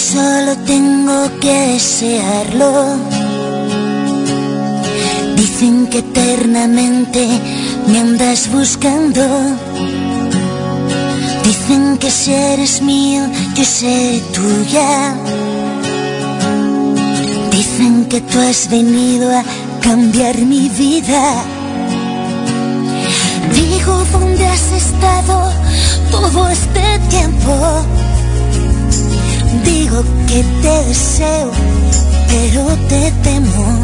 solo tengo que desearlo. Dicen que eternamente me andas buscando. Dicen que si eres mío, yo seré tuya. Dicen que tú has venido a cambiar mi vida. Digo, ¿dónde has estado todo este tiempo? Digo que te deseo, pero te temo.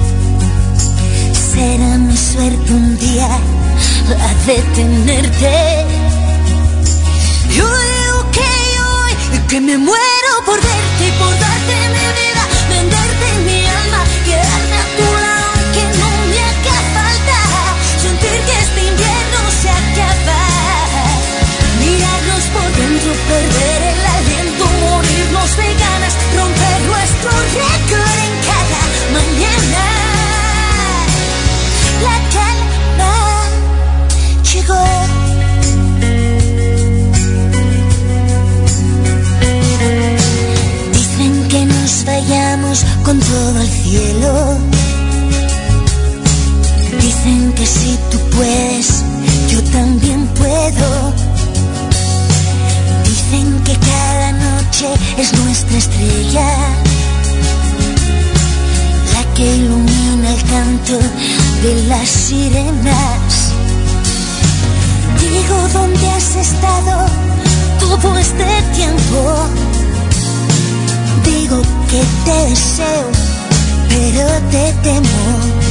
Será mi suerte un día la de tenerte. Yo digo que me muero por verte y por darte mi vida, venderte mi alma, quedarme a tu lado aunque no me haga falta, sentir que este invierno se acaba, mirarnos por dentro, perder el aliento, morirnos de ganas, romper nuestro récord en cada mañana. La calma llegó. Dicen que nos vayamos con todo al cielo. Dicen que si tú puedes, yo también puedo. Dicen que cada noche es nuestra estrella, la que ilumina el canto de las sirenas. Digo, ¿dónde has estado todo este tiempo? Digo que te deseo, pero te temo.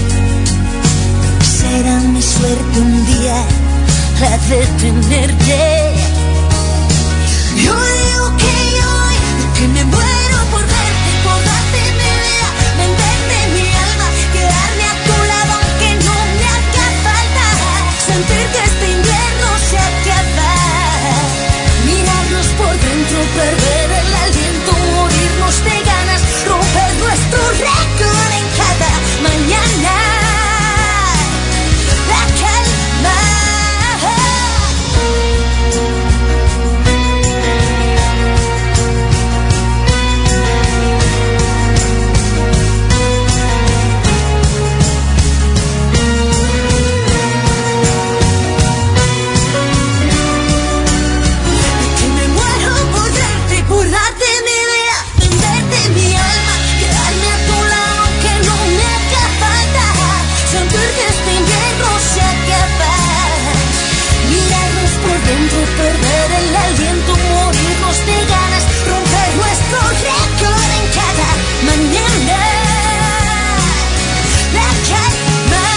Será mi suerte un día la de tenerte. Yo digo que me muero por verte, por darte mi vida, venderte mi alma, quedarme a tu lado aunque no me haga falta, sentir que este invierno se acaba, mirarnos por dentro, perder el aliento, morirnos de ganas, romper nuestro récord en cada mañana. La calma. Perder el aliento, morirnos de ganas, romper nuestro récord en cada mañana. La calma,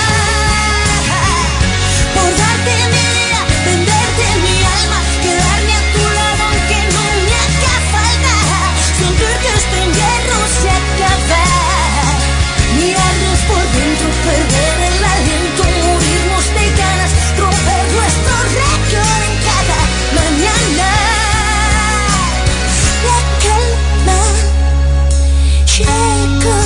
por darte mi vida, venderte mi alma, quedarme a tu lado aunque no me haga falta, sentir que este invierno se acaba, mirarnos por dentro, perder el aliento, morirnos de ganas, romper nuestro récord en cada mañana. La calma llegó.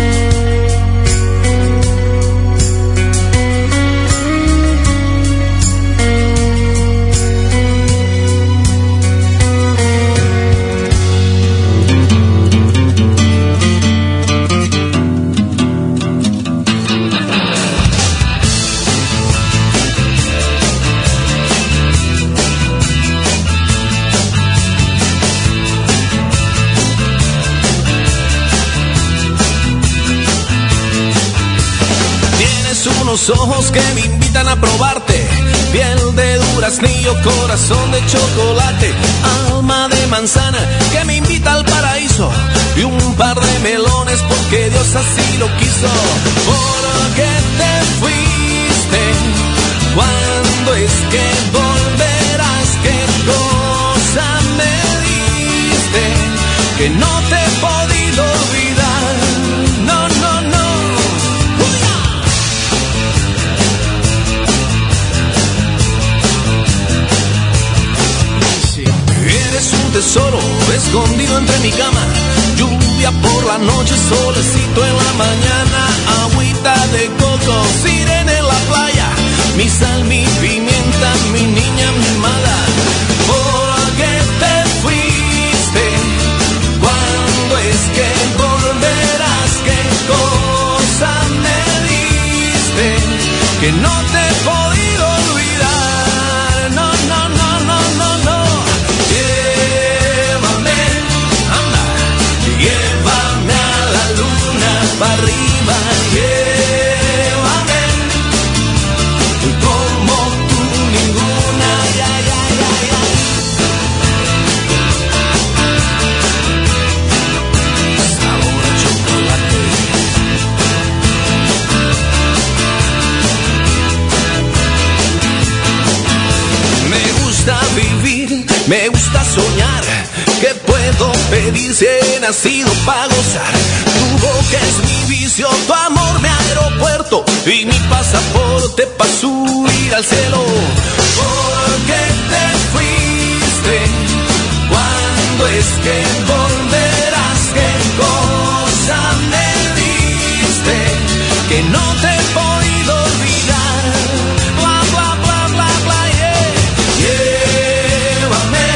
Unos ojos que me invitan a probarte, piel de duraznillo, corazón de chocolate, alma de manzana que me invita al paraíso, y un par de melones porque Dios así lo quiso. ¿Por qué te fuiste? ¿Cuándo es que volverás? ¿Qué cosa me diste que no te he podido olvidar? No, no, no. Eres un tesoro escondido entre mi cama, lluvia por la noche, solecito en la mañana, agüita de coco, sirena en la playa, mi sal, mi pimienta, mi niña mimada. ¿Por qué te fuiste? ¿Cuándo que no te he podido olvidar. No, no, no, no, no, no. Llévame, anda, llévame a la luna para arriba, llévame como tú ninguna, ya, ya, ya, ya. Sabor a chocolate. Me gusta vivir, me gusta soñar. ¿Qué puedo pedir si he nacido para gozar? Tu boca es mi vicio, tu amor mi aeropuerto y mi pasaporte para subir al cielo. ¿Por qué te fuiste? ¿Cuándo es que volverás? ¿Qué cosa me diste que no te he podido olvidar? Bla, bla, bla, bla, bla, yeah. Llévame,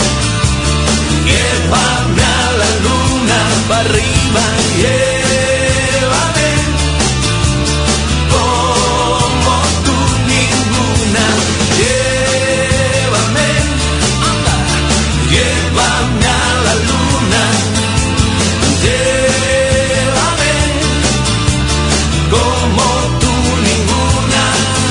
llévame a la luna para arriba, llévame como tú ninguna, llévame, anda, llévame a la luna, llévame como tú ninguna.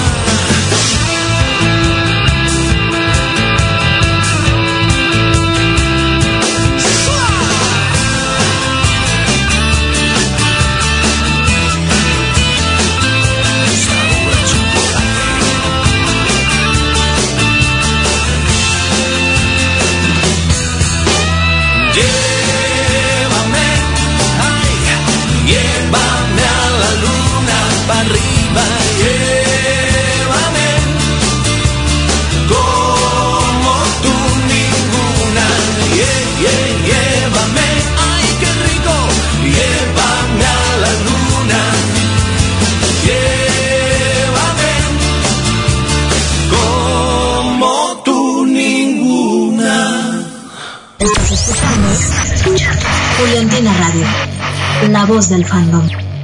Llévame, ay, llévame a la luna para arriba, llévame como tú ninguna, llévame, ay, qué rico, llévame a la luna, llévame como tú ninguna. Estás escuchando Juliantina Radio, la voz del fandom.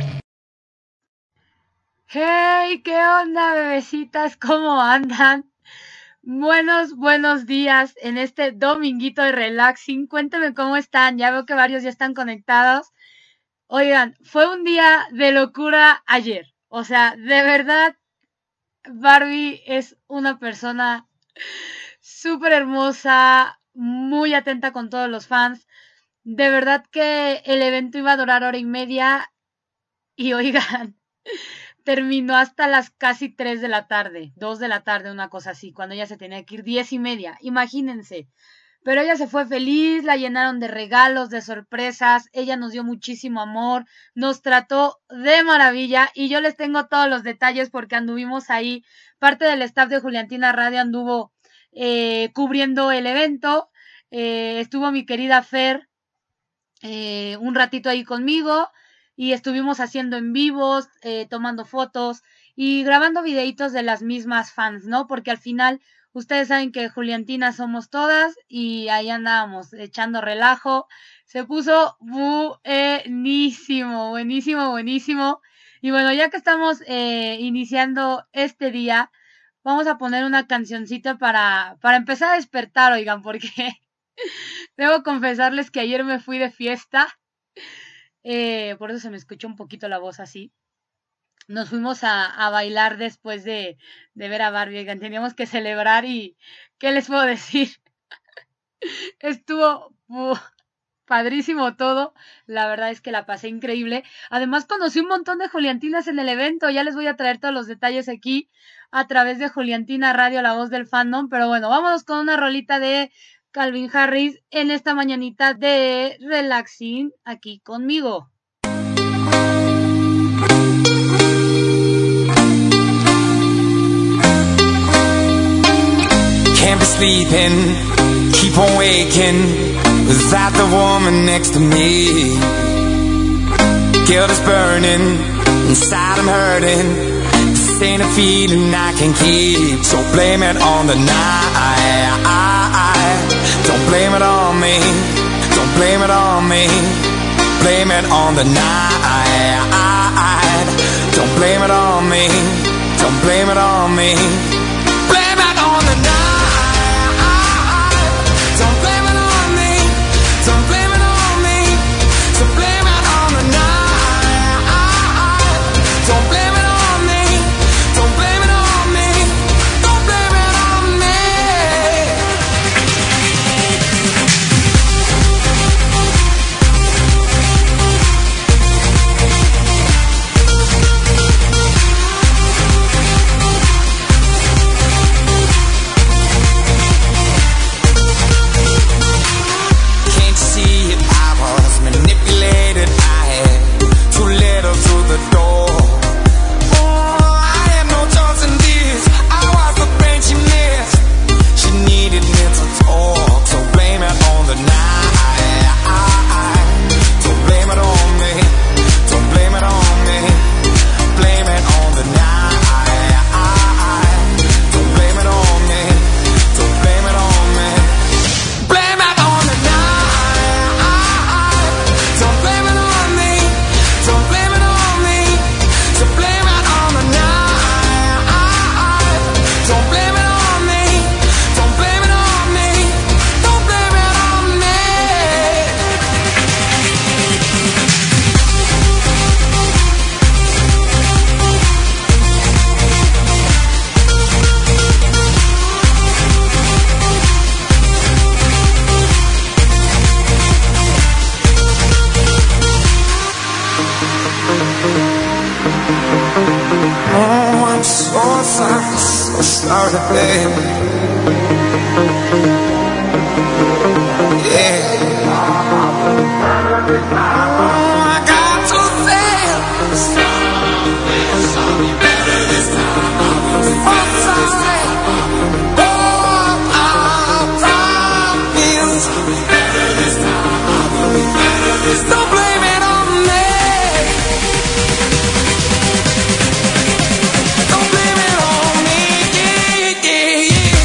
Hey, ¿qué onda, bebecitas? ¿Cómo andan? Buenos días en este dominguito de relaxing. Cuéntenme cómo están. Ya veo que varios ya están conectados. Oigan, fue un día de locura ayer. O sea, de verdad, Barbie es una persona súper hermosa, muy atenta con todos los fans. De verdad que el evento iba a durar 1:30 y oigan, terminó hasta las casi 3 de la tarde, 2 de la tarde, una cosa así, cuando ella se tenía que ir 10:30, imagínense. Pero ella se fue feliz, la llenaron de regalos, de sorpresas, ella nos dio muchísimo amor, nos trató de maravilla y yo les tengo todos los detalles porque anduvimos ahí, parte del staff de Juliantina Radio anduvo cubriendo el evento, estuvo mi querida Fer un ratito ahí conmigo y estuvimos haciendo en vivos, tomando fotos y grabando videitos de las mismas fans, ¿no? Porque al final ustedes saben que Juliantina somos todas y ahí andábamos echando relajo. Se puso buenísimo, buenísimo, buenísimo. Y bueno, ya que estamos iniciando este día, vamos a poner una cancioncita para empezar a despertar, oigan, porque debo confesarles que ayer me fui de fiesta, por eso se me escuchó un poquito la voz así. Nos fuimos a bailar después de ver a Barbie, oigan, teníamos que celebrar y ¿qué les puedo decir? Estuvo padrísimo todo, la verdad es que la pasé increíble. Además conocí un montón de Juliantinas en el evento, ya les voy a traer todos los detalles aquí a través de Juliantina Radio, la voz del fandom, pero bueno, vámonos con una rolita de Calvin Harris en esta mañanita de relaxing aquí conmigo. Can't be sleeping, keep on waking without the woman next to me. Guilt is burning, inside I'm hurting. This ain't a feeling I can keep, so blame it on the night. Don't blame it on me, don't blame it on me. Blame it on the night. Don't blame it on me, don't blame it on me. Blame it on the night. Don't blame it on me. Don't blame it on me. So blame it on the night. Don't blame it on me. Don't blame it on me. Don't blame it on me. Can't you see it? I was manipulated. I had too little to the door. Oh, I had no choice in this. I was the brain she missed. She needed me to talk, so blame it on the night. Don't blame it on me. Don't blame it on me. Blame it on the night. Don't blame it on me. Don't blame it on me. Blame it on the night. Don't blame it on me. Don't blame it on me. So blame it on the night. Don't blame it on me. Don't blame it on me. Don't blame it on me. Oh, I'm so sorry, so sorry, baby. Yeah. Oh, I got to say it. I'm sorry. Oh, I promise. Don't blame it on me. Don't blame it on me. Yeah, yeah, yeah.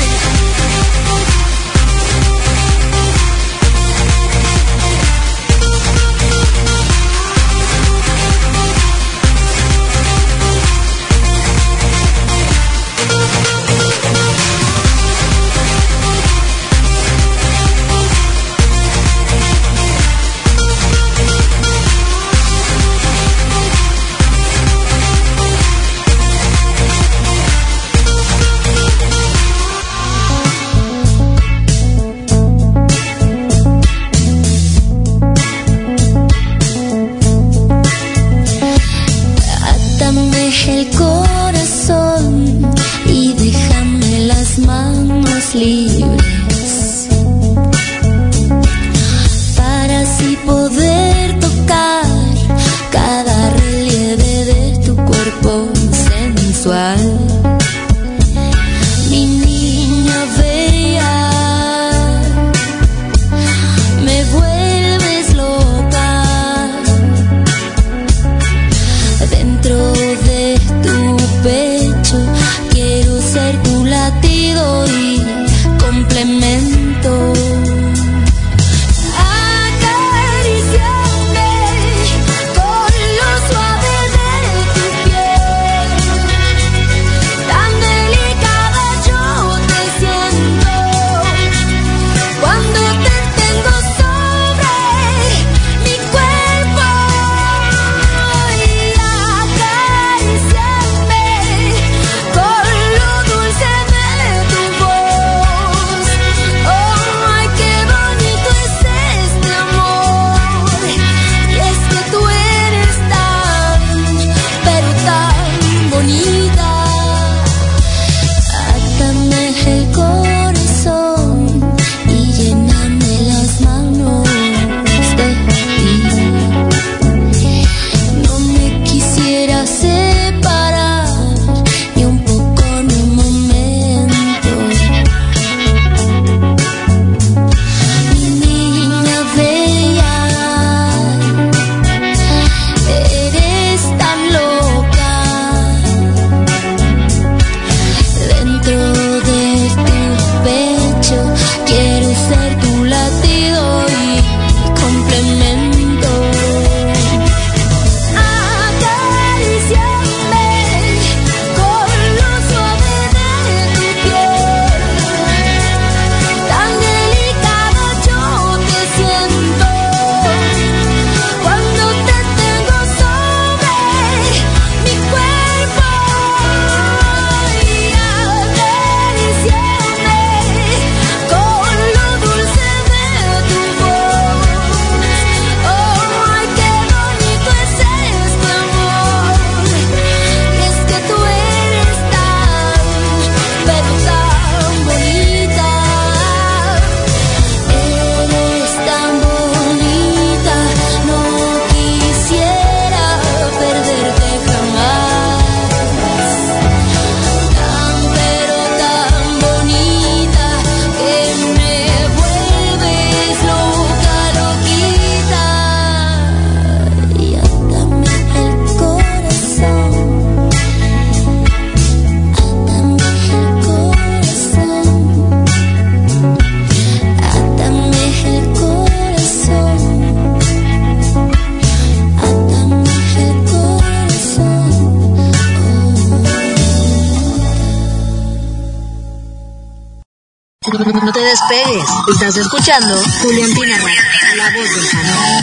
despegues. Estás escuchando Juliantina Radio, la voz del fandom.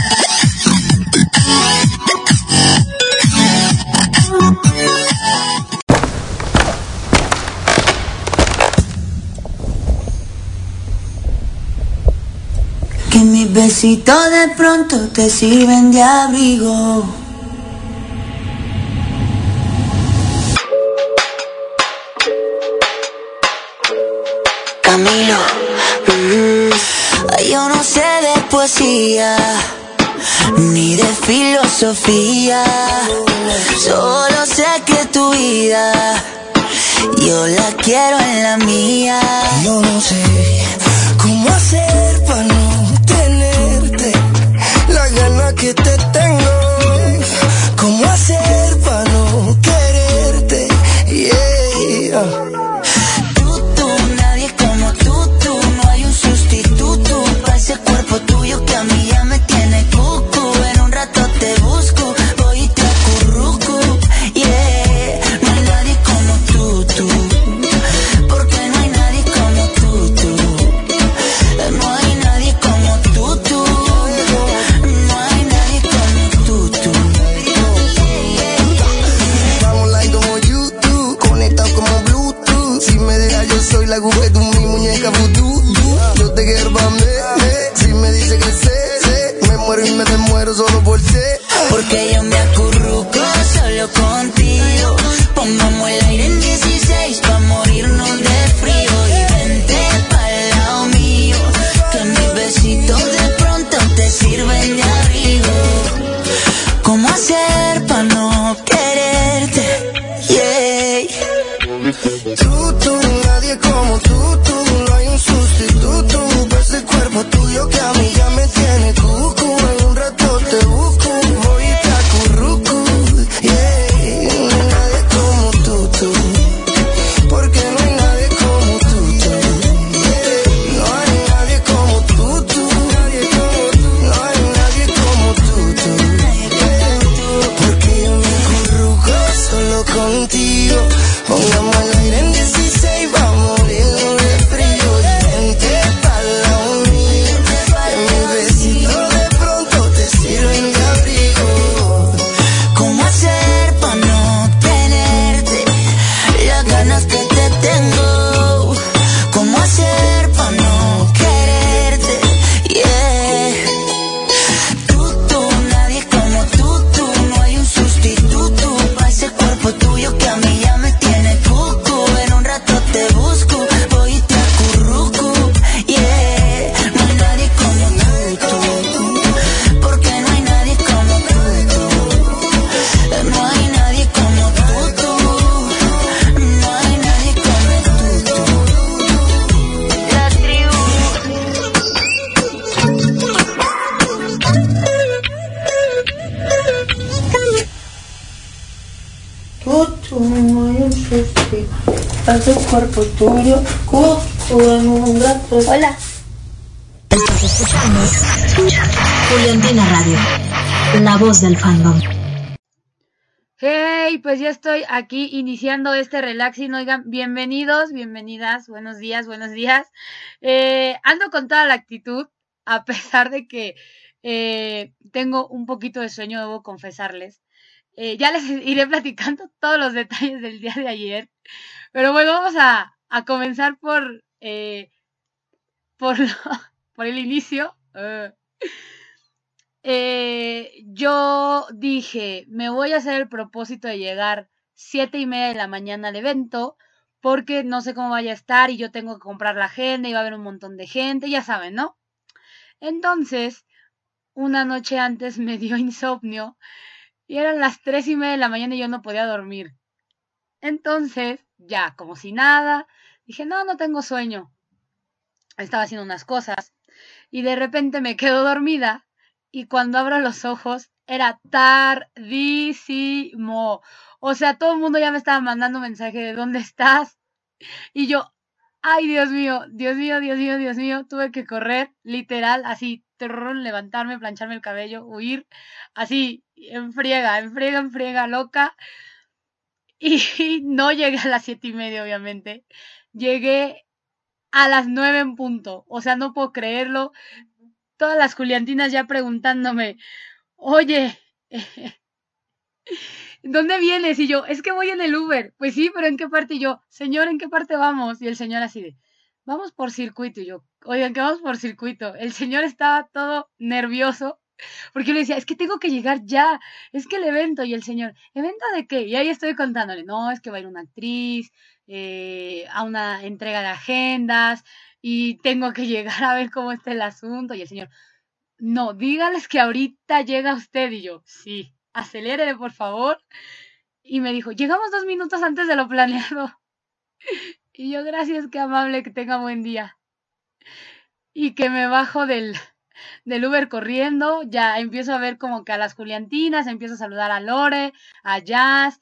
Que mis besitos de pronto te sirven de abrigo. Camilo, yo no sé de poesía ni de filosofía, solo sé que tu vida yo la quiero en la mía. Yo no sé cómo hacer para no tenerte la gana que te tengo, cómo hacer para no quererte, yeah. Ese cuerpo tuyo que a mí ya me tiene cucu. En un rato te busco, voy y te acurruco, yeah. No hay nadie como tú, porque no hay nadie como tú. No hay nadie como tú, no hay nadie como tú. Estamos like como YouTube, conectados como Bluetooth. Si me dejas yo soy la aguja de mi muñeca vudú. Yo te quiero pa' mí. Si me dice que sé, me muero y me desmuero solo por ser. Porque yo me acurruco solo contigo. Pongamos el aire en 16 pa' morirnos de frío. Y vente pa'l lado mío, que mis besitos de pronto te sirven de abrigo. ¿Cómo hacer pa' no quererte? Yeah. Tú, nadie como tú. No hay un sustituto. Ese cuerpo tuyo que a mí ya me tiene cucu. En un rato te busco, voy y te acurruco, yeah. No hay nadie como tú, porque no hay nadie como tú, yeah. No hay nadie como tú, no hay nadie como tú, porque yo me acurruco solo contigo. Pongamos el aire en 16, vamos a morirnos de frío. Vente pa'l lado mío, que mis besitos de pronto te sirven de abrigo. ¿Cómo hacer pa' no tenerte las ganas que te tengo? ¿Cómo hacer pa' no quererte? Yeah. Tú, nadie como tú, no hay un sustituto pa' ese cuerpo tuyo que a mí ya me tiene cucu. En un rato te busco, voy y te acurruco, yeah. No hay nadie como tú, porque no hay nadie como tú. No hay nadie como tú, no hay nadie como tú. La tribu. Tú, no hay un sustituto. Hace cuerpo tuyo, en un rato. Hola. Estás escuchando Juliantina Radio, la voz del fandom. Hey, pues ya estoy aquí iniciando este relaxing. Oigan, bienvenidos, bienvenidas, buenos días. Ando con toda la actitud, a pesar de que tengo un poquito de sueño, debo confesarles. Ya les iré platicando todos los detalles del día de ayer. Pero bueno, vamos a comenzar por el inicio. Yo dije, me voy a hacer el propósito de llegar 7:30 de la mañana al evento, porque no sé cómo vaya a estar y yo tengo que comprar la agenda y va a haber un montón de gente, ya saben, ¿no? Entonces, una noche antes me dio insomnio y eran las 3:30 de la mañana y yo no podía dormir. Entonces, ya, como si nada, dije, no tengo sueño. Estaba haciendo unas cosas y de repente me quedo dormida y cuando abro los ojos era tardísimo. O sea, todo el mundo ya me estaba mandando mensaje de ¿dónde estás? Y yo, ay, Dios mío, tuve que correr, literal, así, levantarme, plancharme el cabello, huir, así, en friega, loca. Y no llegué a las 7:30, obviamente. Llegué a las 9 en punto. O sea, no puedo creerlo. Todas las juliantinas ya preguntándome, oye, ¿dónde vienes? Y yo, es que voy en el Uber. Pues sí, pero ¿en qué parte? Y yo, señor, ¿en qué parte vamos? Y el señor así de, vamos por circuito. Y yo, oigan, que vamos por circuito. El señor estaba todo nervioso porque yo le decía, es que tengo que llegar ya, es que el evento. Y el señor, ¿evento de qué? Y ahí estoy contándole, no, es que va a ir una actriz a una entrega de agendas y tengo que llegar a ver cómo está el asunto. Y el señor, no, dígales que ahorita llega usted. Y yo, sí, acelérele, por favor. Y me dijo, llegamos 2 minutos antes de lo planeado. Y yo, gracias, qué amable, que tenga buen día. Y que me bajo del Uber corriendo, ya empiezo a ver como que a las juliantinas, empiezo a saludar a Lore, a Jazz,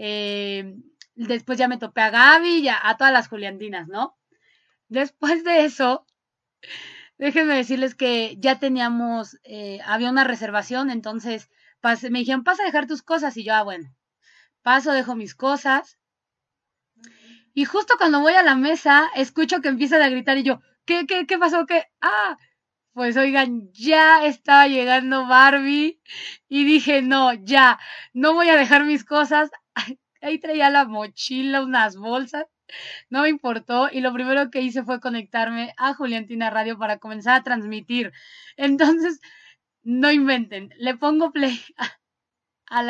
después ya me topé a Gaby, ya a todas las juliantinas, ¿no? Después de eso, déjenme decirles que ya teníamos, había una reservación, entonces me dijeron, pasa a dejar tus cosas, y yo, bueno, paso, dejo mis cosas, y justo cuando voy a la mesa, escucho que empiezan a gritar, y yo, ¿qué pasó? ¿Qué? Pues oigan, ya estaba llegando Barbie, y dije, no, ya, no voy a dejar mis cosas, ahí traía la mochila, unas bolsas, no me importó, y lo primero que hice fue conectarme a Juliantina Radio para comenzar a transmitir. Entonces, no inventen, le pongo play al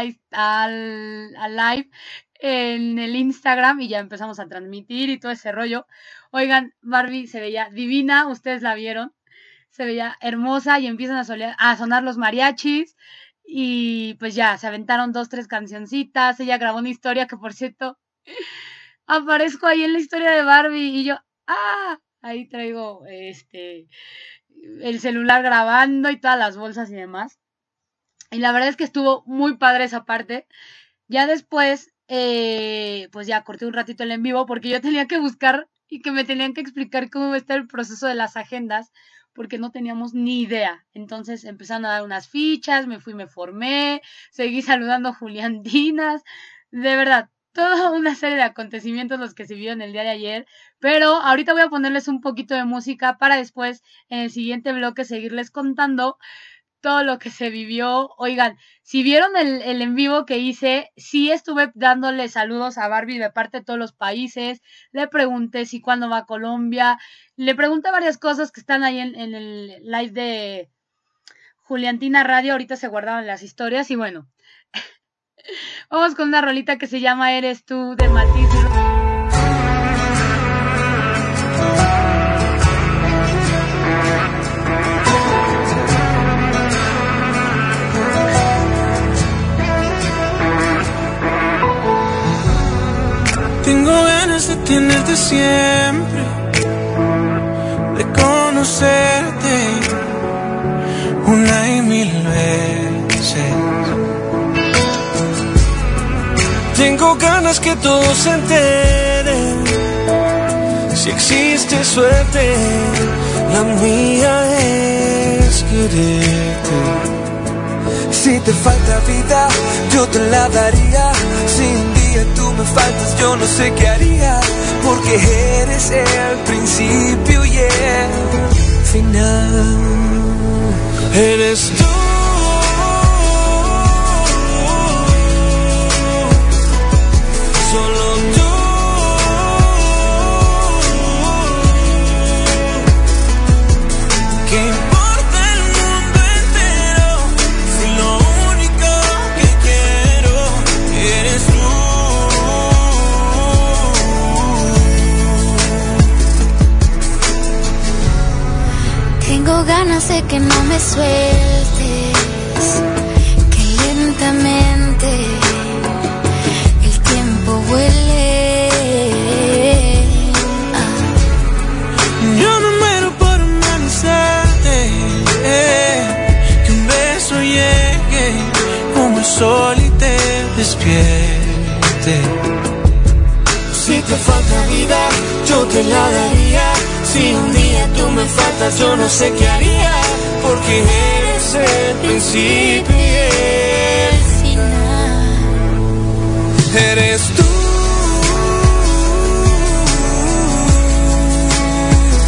live en el Instagram y ya empezamos a transmitir y todo ese rollo. Oigan, Barbie se veía divina, ustedes la vieron, se veía hermosa y empiezan a sonar los mariachis y pues ya, se aventaron 2, 3 cancioncitas, ella grabó una historia que, por cierto, aparezco ahí en la historia de Barbie y yo, ahí traigo el celular grabando y todas las bolsas y demás. Y la verdad es que estuvo muy padre esa parte. Ya después, pues ya corté un ratito el en vivo porque yo tenía que buscar y que me tenían que explicar cómo iba a estar el proceso de las agendas porque no teníamos ni idea. Entonces empezaron a dar unas fichas, me formé, seguí saludando juliantinas. De verdad, toda una serie de acontecimientos los que se vieron el día de ayer, pero ahorita voy a ponerles un poquito de música para después, en el siguiente bloque, seguirles contando todo lo que se vivió. Oigan, si vieron el en vivo que hice, sí estuve dándole saludos a Barbie de parte de todos los países, le pregunté si cuándo va a Colombia, le pregunté varias cosas que están ahí en el live de Juliantina Radio, ahorita se guardaban las historias y bueno, vamos con una rolita que se llama Eres tú de Matiz. Tengo ganas de tenerte siempre, de conocerte una y mil veces. Tengo ganas que todos se enteren, si existe suerte, la mía es quererte. Si te falta vida, yo te la daría. Si un día tú me faltas, yo no sé qué haría, porque eres el principio y el final. Eres tú. Solo tú. ¿Qué importa el mundo entero si lo único que quiero eres tú? Tengo ganas de que no me sueltes, que lentamente el tiempo huele. Yo me muero por amanecerte, que un beso llegue como el sol y te despierte. Si te falta vida, yo te la daría. Si un día tú me faltas, yo no sé qué haría, porque eres el principio y el final. Eres tú.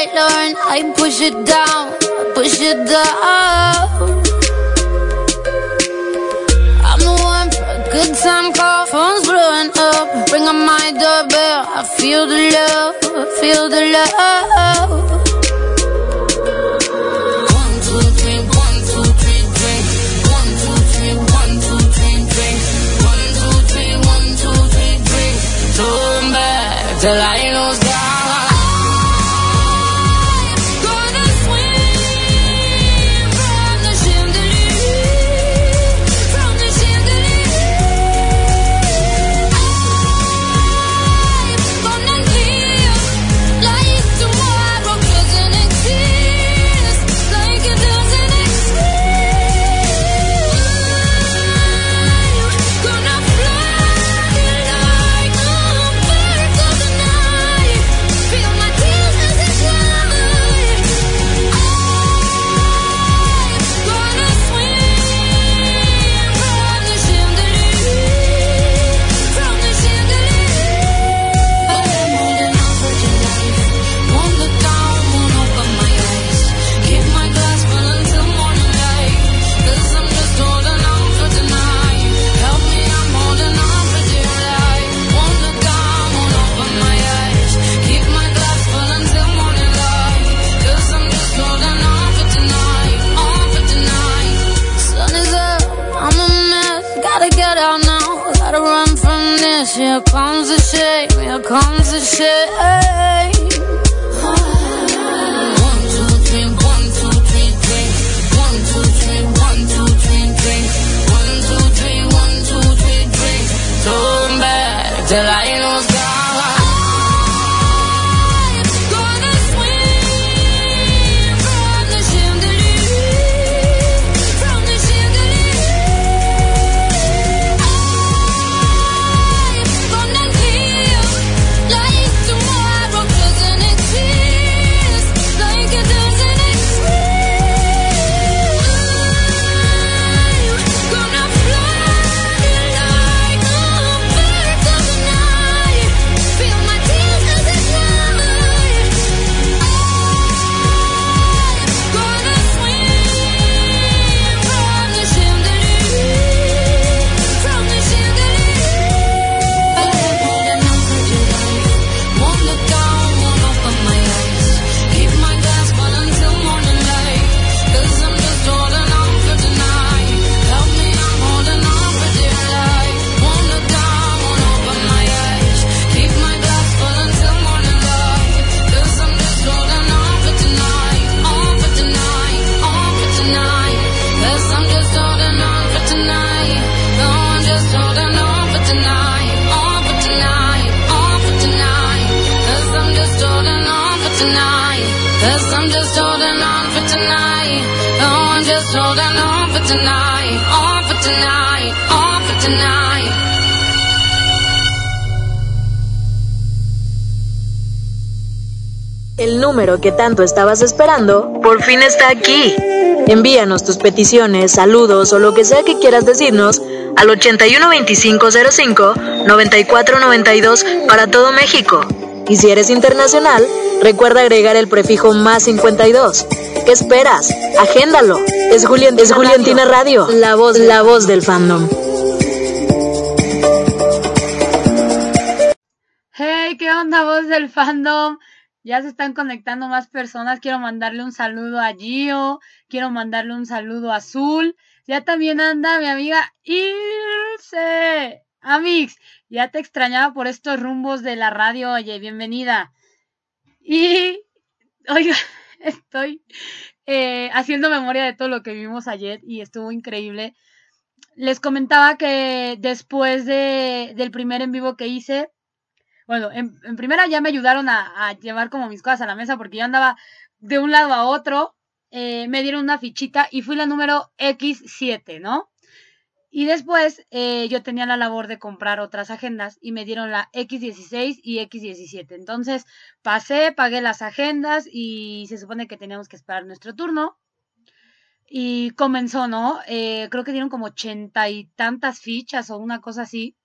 right, Lauren, I push it down, push it down. I'm the one for a good time call, phone's blowing up, ring on my doorbell, I feel the love, I feel the love. Till I ain't no sky. Here comes the shame, here comes the shame. 1, 2, 3, 1, 2, 3, drink. 1, 2, 3, 1, 2, 3, drink. 1, 2, 3, 1, 2, 3, drink. Turn back till I ain't no sky. El número que tanto estabas esperando por fin está aquí. Envíanos tus peticiones, saludos o lo que sea que quieras decirnos al 812505-9492 para todo México. Y si eres internacional, recuerda agregar el prefijo más 52. ¿Qué esperas? Agéndalo. Es Juliantina Radio, la voz del fandom. Hey, ¿qué onda, voz del fandom? Ya se están conectando más personas. Quiero mandarle un saludo a Gio. Quiero mandarle un saludo a Azul. Ya también anda mi amiga Ilse. Amix, ya te extrañaba por estos rumbos de la radio. Oye, bienvenida. Y, oiga, estoy haciendo memoria de todo lo que vimos ayer y estuvo increíble. Les comentaba que después del primer en vivo que hice, bueno, en primera ya me ayudaron a llevar como mis cosas a la mesa porque yo andaba de un lado a otro, me dieron una fichita y fui la número X7, ¿no? Y después yo tenía la labor de comprar otras agendas y me dieron la X16 y X17. Entonces pagué las agendas y se supone que teníamos que esperar nuestro turno. Y comenzó, ¿no? Creo que dieron como 80 y tantas fichas o una cosa así.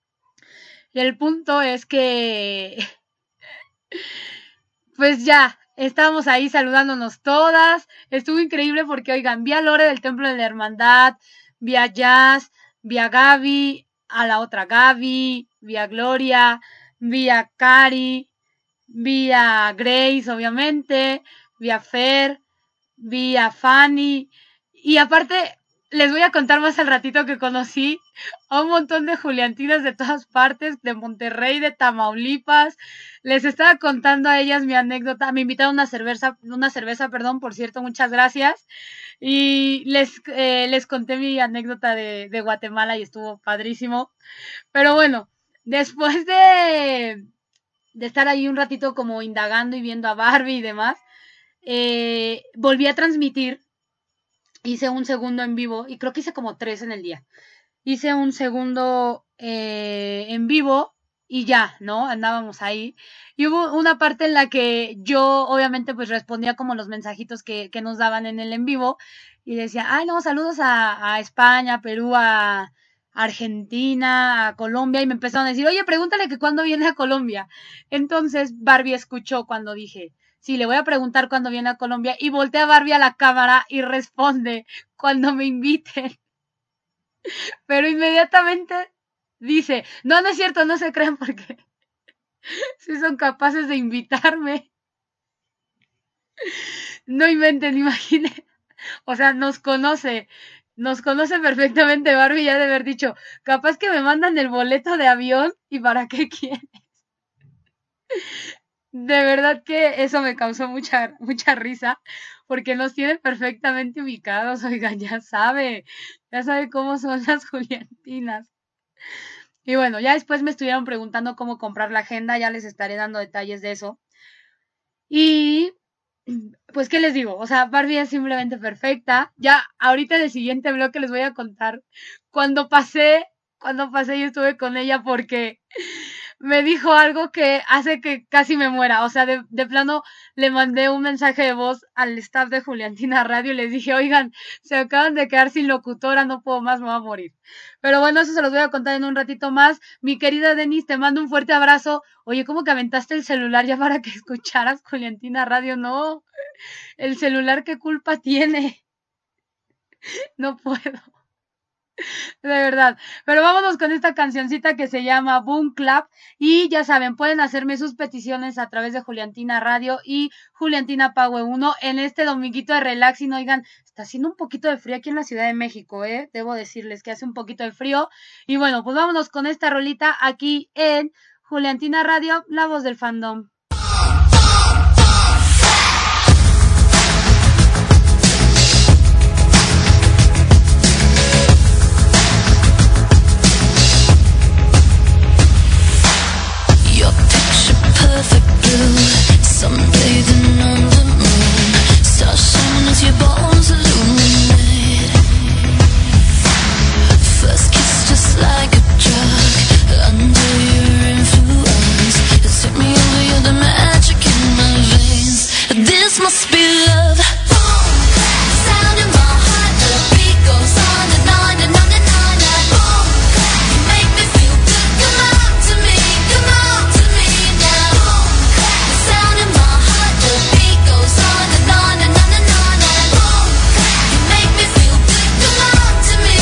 Y el punto es que, pues ya, estábamos ahí saludándonos todas. Estuvo increíble porque, oigan, vi a Lore del Templo de la Hermandad, vi a Jazz, vi a Gaby, a la otra Gaby, vi a Gloria, vi a Cari, vi a Grace, obviamente, vi a Fer, vi a Fanny, y aparte les voy a contar más al ratito que conocí a un montón de juliantinas de todas partes, de Monterrey, de Tamaulipas. Les estaba contando a ellas mi anécdota. Me invitaron una cerveza, por cierto, muchas gracias. Y les conté mi anécdota de Guatemala y estuvo padrísimo. Pero bueno, después de estar ahí un ratito como indagando y viendo a Barbie y demás, volví a transmitir. Hice un segundo en vivo y creo que hice como 3 en el día. Hice un segundo en vivo y ya, ¿no? Andábamos ahí. Y hubo una parte en la que yo obviamente pues respondía como los mensajitos que nos daban en el en vivo y decía, ay no, saludos a España, Perú, a Argentina, a Colombia, y me empezaron a decir, oye, pregúntale que cuándo viene a Colombia. Entonces Barbie escuchó cuando dije, sí, le voy a preguntar cuándo viene a Colombia, y voltea a Barbie a la cámara y responde, cuando me inviten. Pero inmediatamente dice, no es cierto, no se crean porque sí son capaces de invitarme. No inventen, imaginen. O sea, nos conoce perfectamente Barbie, ya de haber dicho, capaz que me mandan el boleto de avión y para qué quieres. De verdad que eso me causó mucha risa, porque nos tiene perfectamente ubicados, oigan, ya sabe cómo son las juliantinas. Y bueno, ya después me estuvieron preguntando cómo comprar la agenda, ya les estaré dando detalles de eso. Y pues, ¿qué les digo? O sea, Barbie es simplemente perfecta. Ya ahorita en el siguiente bloque les voy a contar cuando pasé yo estuve con ella, porque me dijo algo que hace que casi me muera. O sea, de plano le mandé un mensaje de voz al staff de Juliantina Radio y les dije, oigan, se acaban de quedar sin locutora, no puedo más, me voy a morir. Pero bueno, eso se los voy a contar en un ratito más. Mi querida Denise, te mando un fuerte abrazo. Oye, ¿cómo que aventaste el celular ya para que escucharas Juliantina Radio? No, el celular, ¿qué culpa tiene? No puedo. De verdad, pero vámonos con esta cancioncita que se llama Boom Clap, y ya saben, pueden hacerme sus peticiones a través de Juliantina Radio y Juliantina Pague 1 en este dominguito de relaxing. Oigan, está haciendo un poquito de frío aquí en la Ciudad de México, debo decirles que hace un poquito de frío, y bueno, pues vámonos con esta rolita aquí en Juliantina Radio, la voz del fandom. Perfect blue, sunbathing on the moon, stars shining as your bones illuminate. First kiss just like a drug, under your influence, it took me over, you're the magic in my veins. This must be love. Sound in my heart, the beat goes on and on and on and on. Boom, you make me feel good. Come on to me, come on to me now. The sound in my heart, the beat goes on and on and on and on. Boom, you make me feel good. Come on to me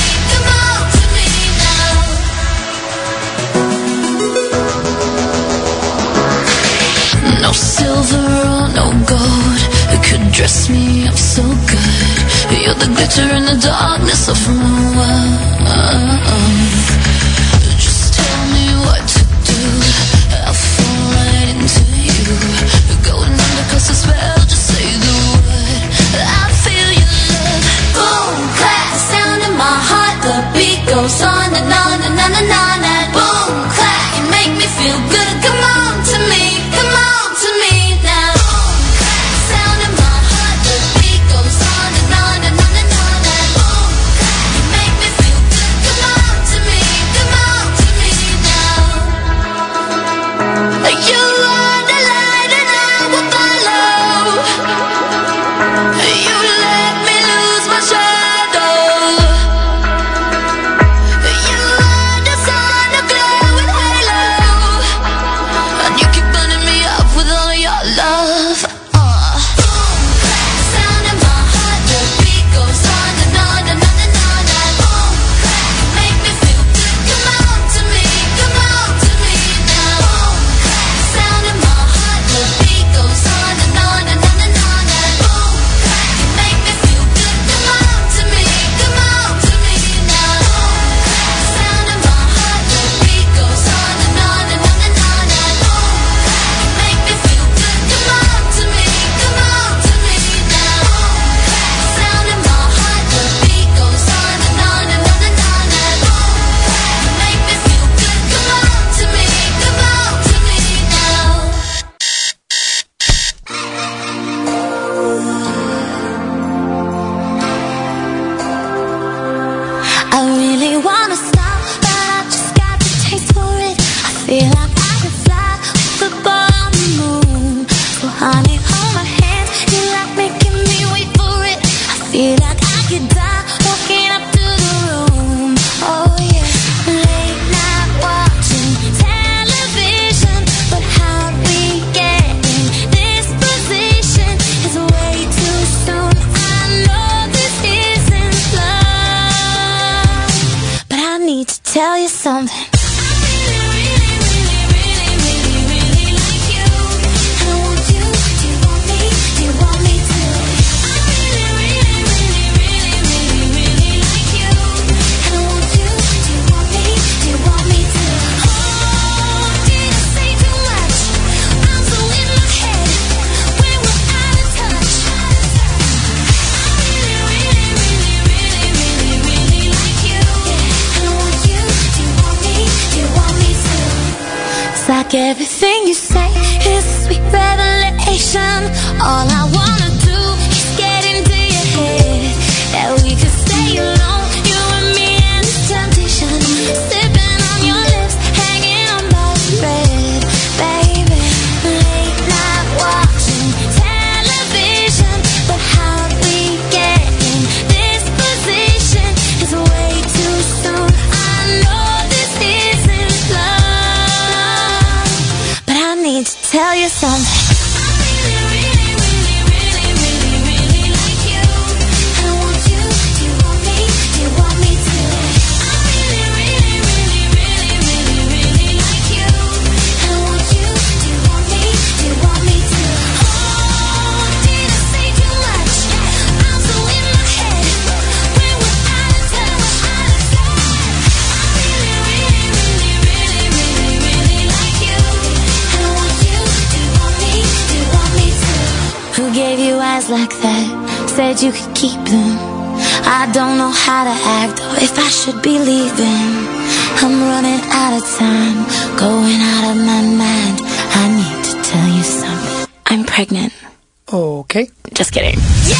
now. No silver or no gold could dress me up so good. You're the glitter in the darkness of my world. Just tell me what to do, I'll fall right into you. Going under 'cause the spell, just say the word, I feel your love. Boom, clap, sound in my heart, the beat goes on and on and on and on. And boom, clap, you make me feel good. Come on to me, come on to me now. Sound in my heart, the beat goes on and on and on and on. And boom, you make me feel good. Come on to something. Like everything you say is a sweet revelation. All I wanna do is get into your head. That we could stay alone, you and me and this temptation. Sipping on your lips, hanging on by a thread. Baby, late night watching television. But how do we get in this position? It's way too soon. I know this isn't love. I need to tell you something. Gave you eyes like that, said you could keep them. I don't know how to act or if I should be leaving. I'm running out of time, going out of my mind. I need to tell you something. I'm pregnant. Okay. Just kidding. Yeah!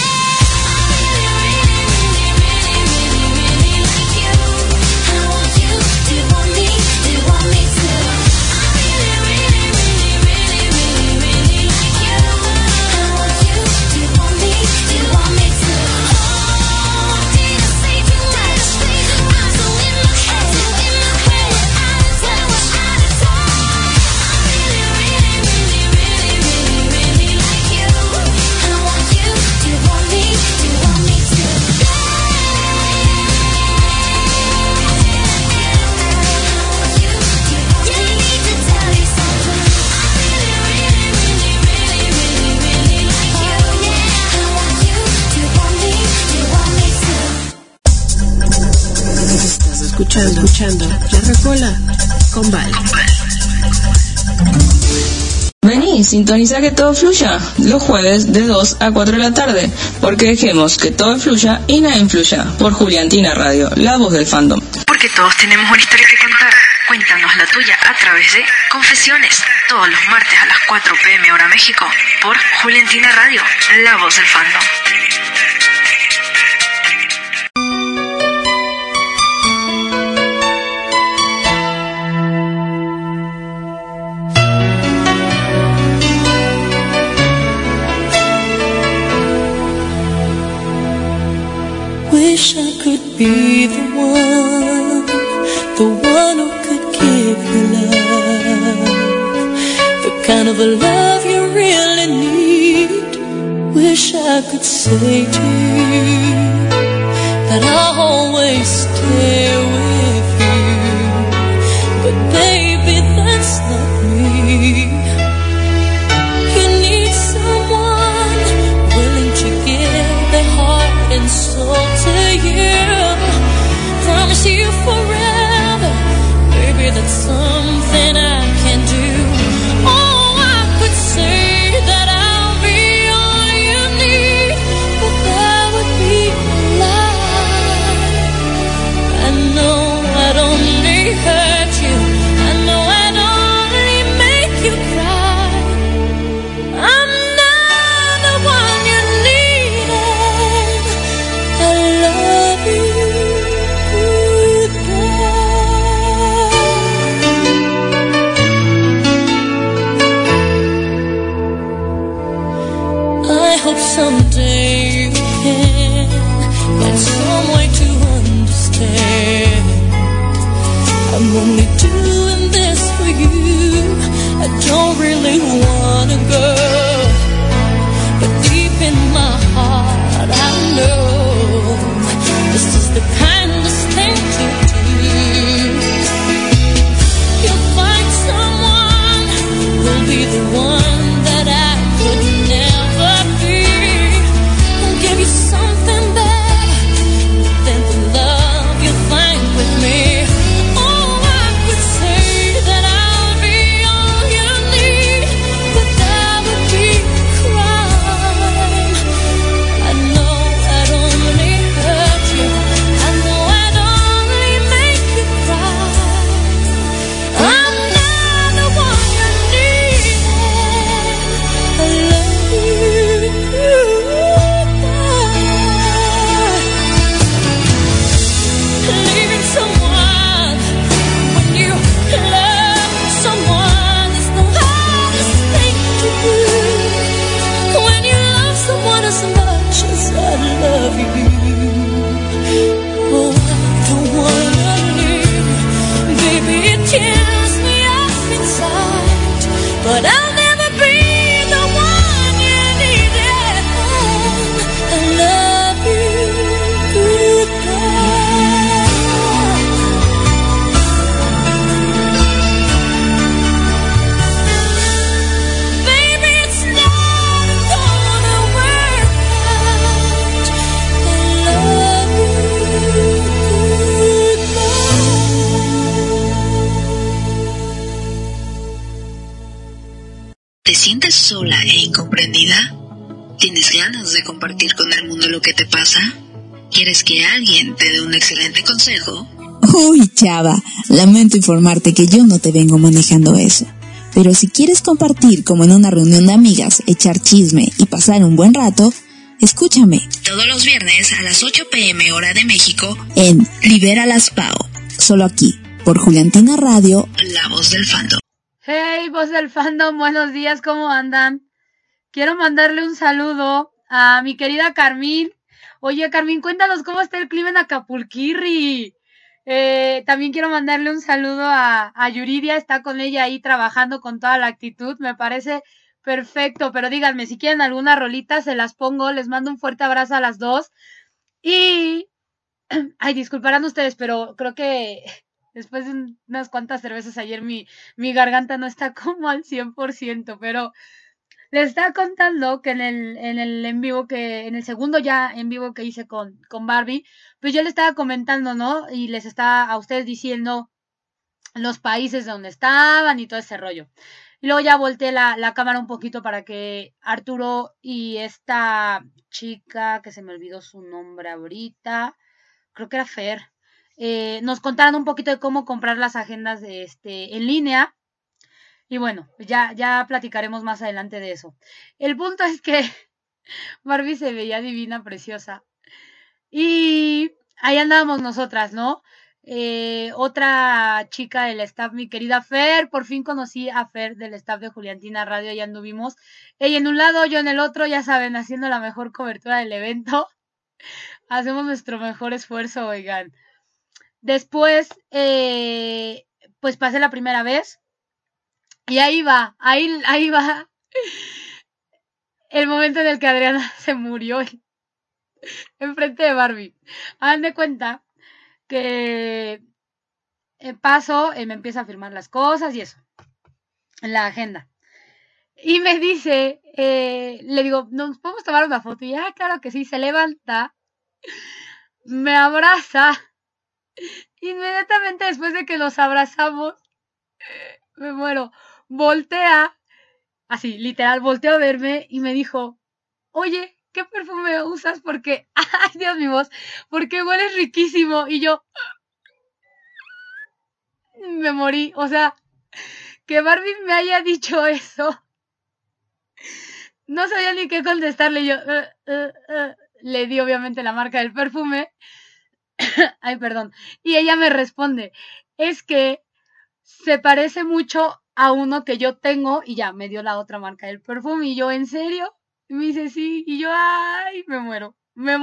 Escuchando La Rocola con Val. Vení, sintoniza que todo fluya los jueves de 2 a 4 de la tarde, porque dejemos que todo fluya y nada influya. Por Juliantina Radio, la voz del fandom. Porque todos tenemos una historia que contar. Cuéntanos la tuya a través de Confesiones, todos los martes a las 4 p.m. hora México, por Juliantina Radio, la voz del fandom. Wish I could be the one who could give you love, the kind of a love you really need. Wish I could say to you that I'll always stay with you, but baby, that's not me. You need someone willing to give their heart and soul to you, promise you forever, baby, that's something I can do. Oh, I could say that I'll be all you need, but that would be a lie. I sola e incomprendida? ¿Tienes ganas de compartir con el mundo lo que te pasa? ¿Quieres que alguien te dé un excelente consejo? Uy, chava, lamento informarte que yo no te vengo manejando eso. Pero si quieres compartir como en una reunión de amigas, echar chisme y pasar un buen rato, escúchame. Todos los viernes a las 8 p.m. hora de México En Libera las Pao. Solo aquí, por Juliantina Radio, la voz del fandom. Hey, voz del fandom, buenos días, ¿cómo andan? Quiero mandarle un saludo a mi querida Carmín. Oye, Carmín, cuéntanos cómo está el clima en Acapulquirri. También quiero mandarle un saludo a Yuridia, está con ella ahí trabajando con toda la actitud, me parece perfecto, pero díganme, si quieren alguna rolita, se las pongo, les mando un fuerte abrazo a las dos. Y, ay, disculparán ustedes, pero creo que después de unas cuantas cervezas ayer mi garganta no está como al 100%, pero les estaba contando que en el en vivo en el segundo ya en vivo que hice con Barbie, pues yo le estaba comentando, ¿no? Y les estaba a ustedes diciendo los países donde estaban y todo ese rollo. Y luego ya volteé la cámara un poquito para que Arturo y esta chica, que se me olvidó su nombre ahorita, creo que era Fer, nos contaran un poquito de cómo comprar las agendas de en línea. Y bueno, ya platicaremos más adelante de eso. El punto es que Barbie se veía divina, preciosa. Y ahí andábamos nosotras, ¿no? Otra chica del staff, mi querida Fer, por fin conocí a Fer del staff de Juliantina Radio, ya anduvimos. Ella en un lado, yo en el otro, ya saben, haciendo la mejor cobertura del evento. Hacemos nuestro mejor esfuerzo, oigan. Después, pues pasé la primera vez. Y ahí va el momento en el que Adriana se murió enfrente de Barbie. Hagan de cuenta que paso, me empieza a firmar las cosas y eso, en la agenda. Y me dice, le digo, ¿nos podemos tomar una foto? Y claro que sí, se levanta, me abraza. Inmediatamente después de que nos abrazamos, me muero. Voltea, así, literal, volteó a verme y me dijo, oye, ¿qué perfume usas? Porque, ay, Dios mi voz, porque hueles riquísimo. Y yo, me morí, o sea, que Barbie me haya dicho eso. No sabía ni qué contestarle, yo, le di obviamente la marca del perfume. Ay, perdón. Y ella me responde, es que se parece mucho a uno que yo tengo, y ya me dio la otra marca del perfume. Y yo, ¿en serio? Y me dice, sí. Y yo, ay, me muero.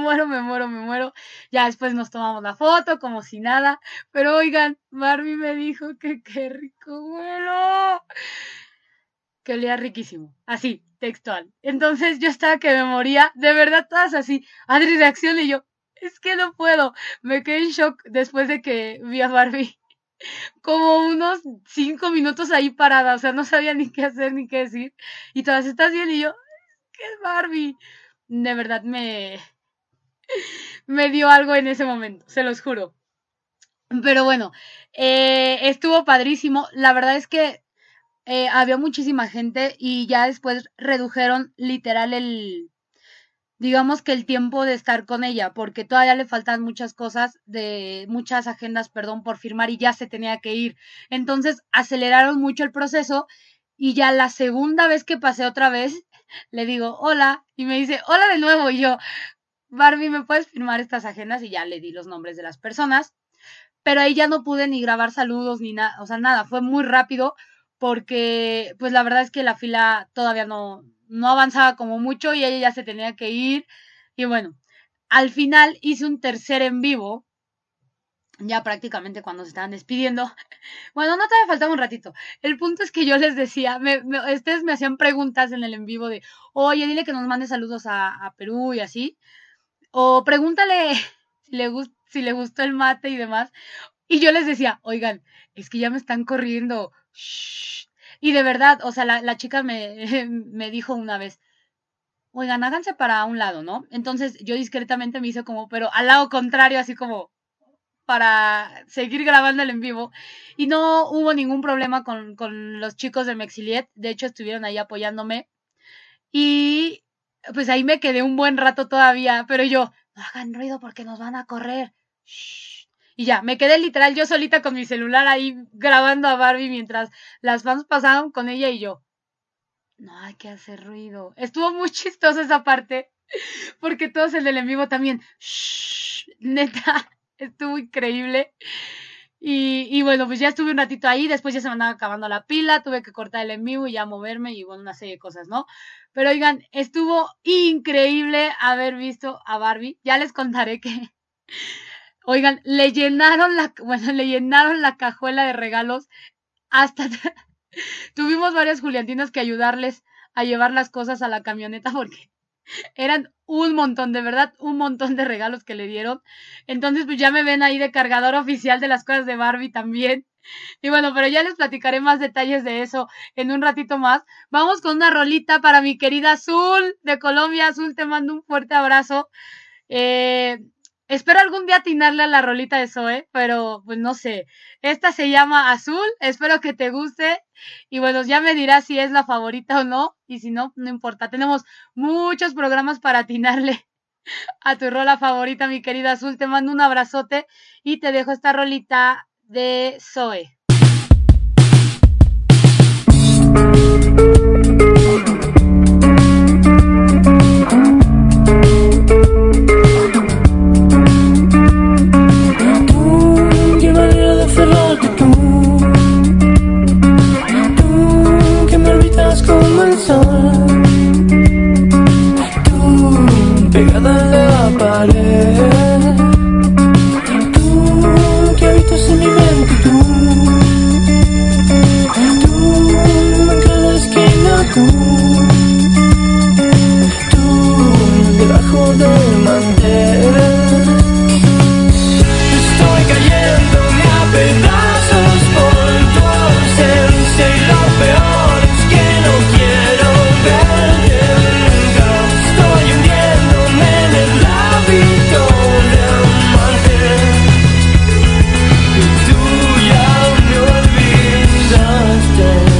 Ya después nos tomamos la foto como si nada. Pero oigan, Barbie me dijo que qué rico huelo. Que olía riquísimo. Así, textual. Entonces yo estaba que me moría. De verdad, todas así. Adri reacciona y yo, es que no puedo. Me quedé en shock después de que vi a Barbie. Como unos 5 minutos ahí parada, o sea, no sabía ni qué hacer ni qué decir. Y todas, ¿estás bien? Y yo, ¿qué es Barbie? De verdad me dio algo en ese momento, se los juro. Pero bueno, estuvo padrísimo. La verdad es que había muchísima gente y ya después redujeron literal digamos que el tiempo de estar con ella, porque todavía le faltan muchas agendas, por firmar y ya se tenía que ir. Entonces aceleraron mucho el proceso y ya la segunda vez que pasé otra vez, le digo, hola, y me dice, hola de nuevo, y yo, Barbie, ¿me puedes firmar estas agendas? Y ya le di los nombres de las personas, pero ahí ya no pude ni grabar saludos ni nada, o sea, nada, fue muy rápido porque pues la verdad es que la fila todavía no avanzaba como mucho y ella ya se tenía que ir. Y bueno, al final hice un tercer en vivo, ya prácticamente cuando se estaban despidiendo. Bueno, no todavía faltaba un ratito. El punto es que yo les decía, ustedes me hacían preguntas en el en vivo de, oye, dile que nos mande saludos a Perú y así. O pregúntale si le gustó el mate y demás. Y yo les decía, oigan, es que ya me están corriendo. Shh. Y de verdad, o sea, la chica me dijo una vez, oigan, háganse para un lado, ¿no? Entonces yo discretamente me hice como, pero al lado contrario, así como para seguir grabando el en vivo. Y no hubo ningún problema con los chicos de Mexiliet. De hecho, estuvieron ahí apoyándome. Y pues ahí me quedé un buen rato todavía, pero yo, no hagan ruido porque nos van a correr. Shh. Y ya, me quedé literal yo solita con mi celular ahí grabando a Barbie mientras las fans pasaban con ella y yo, no hay que hacer ruido. Estuvo muy chistosa esa parte, porque todos el del en vivo también, shh, neta, estuvo increíble. Y bueno, pues ya estuve un ratito ahí, después ya se me andaba acabando la pila, tuve que cortar el en vivo y ya moverme y bueno, una serie de cosas, ¿no? Pero oigan, estuvo increíble haber visto a Barbie. Ya les contaré que, oigan, le llenaron la cajuela de regalos hasta tuvimos varias juliantinas que ayudarles a llevar las cosas a la camioneta porque eran un montón, de verdad, un montón de regalos que le dieron. Entonces, pues ya me ven ahí de cargador oficial de las cosas de Barbie también. Y bueno, pero ya les platicaré más detalles de eso en un ratito más. Vamos con una rolita para mi querida Azul de Colombia. Azul, te mando un fuerte abrazo. Espero algún día atinarle a la rolita de Zoe, pero pues no sé. Esta se llama Azul, espero que te guste. Y bueno, ya me dirás si es la favorita o no. Y si no, no importa. Tenemos muchos programas para atinarle a tu rola favorita, mi querida Azul. Te mando un abrazote y te dejo esta rolita de Zoe. Como el sol, tú pegada a la pared, tú que habitas en mi mente, tú en cada esquina, tú debajo del mantel. Estoy cayéndome a pedazos por tu ausencia y lo peor es que no quiero verte nunca. Estoy hundiéndome en el hábito de amarte y tú ya me olvidaste.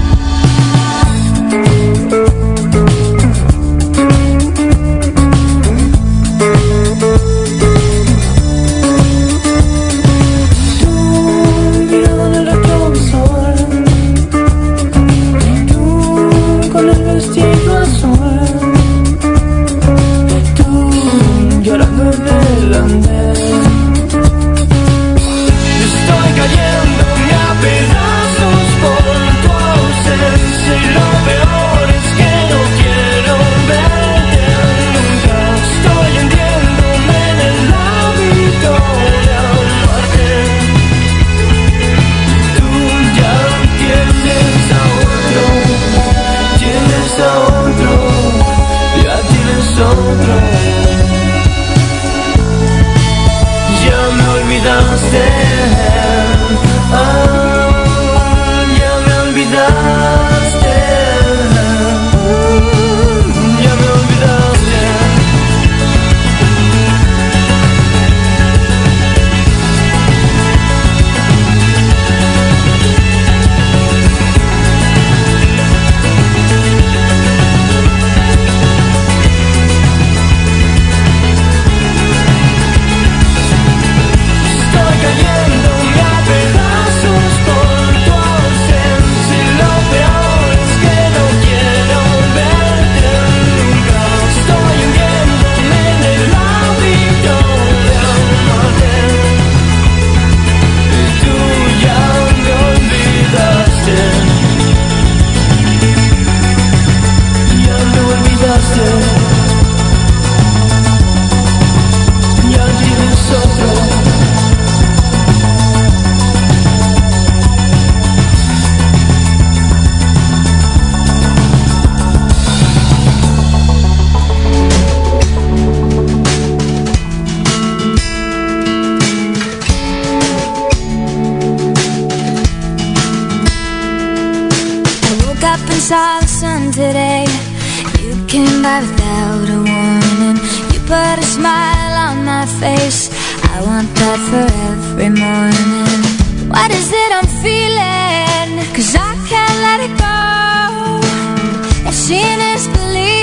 Saw the sun today. You came by without a warning. You put a smile on my face. I want that for every morning. What is it I'm feeling? 'Cause I can't let it go. If seeing is believing,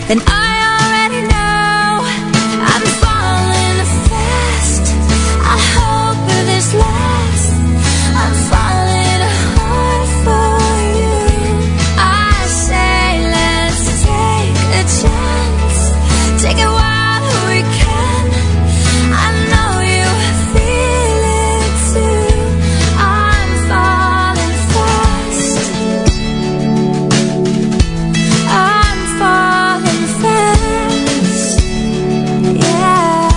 And I already know I'm falling fast. I hope this lasts. I'm falling hard for you. I say let's take a chance. Take it while we can. I know you feel it too. I'm falling fast. I'm falling fast. Yeah.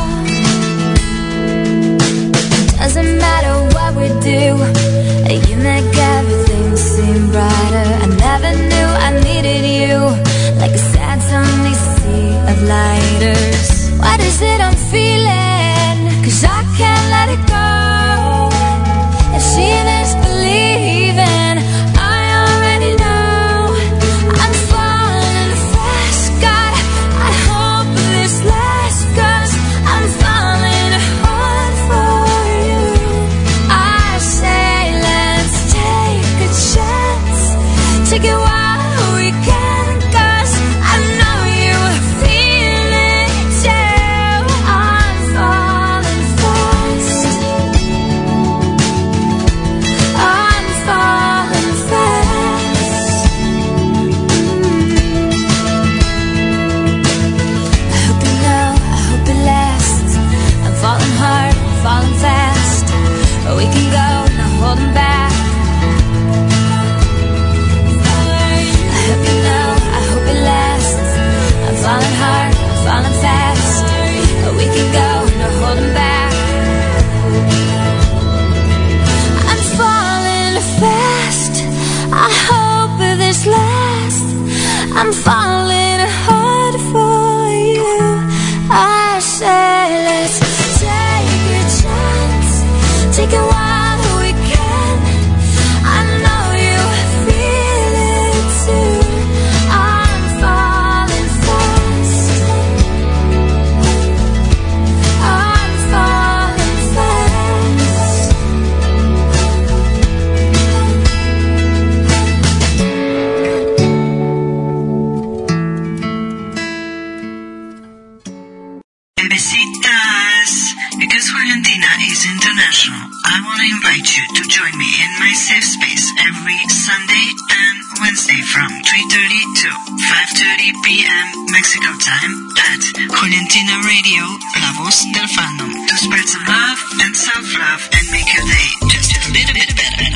Doesn't matter what we do, you make everything seem brighter. I never knew I needed you, like a sad sunny sea of lighters. What is it I'm feeling? 'Cause I can't let it go. If seeing is believing, I already know I'm falling fast. God, I hope this lasts, 'cause I'm falling hard for you. I say let's take a chance. Take it while we can, 'cause I know you feel it too. I'm falling fast. I'm falling fast. I hope you know, I hope it lasts. I'm falling hard, I'm falling fast. We can go, no holding back. I hope you know, I hope it lasts. I'm falling hard, I'm falling fast. We can go, no holding back. I'm falling fast. I hope this lasts. I'm falling hard for you. I say let's take a chance. Take it while we can. I know you feel it too. I'm falling fast. I'm falling fast. Bebecitas, because Juliantina is international, I want to invite you to join me in my safe space every Sunday and Wednesday from 3:30 to 5:30 p.m. Mexico time at Juliantina Radio, La Voz del Fandom, to spread some love and self-love and make your day just a little bit better.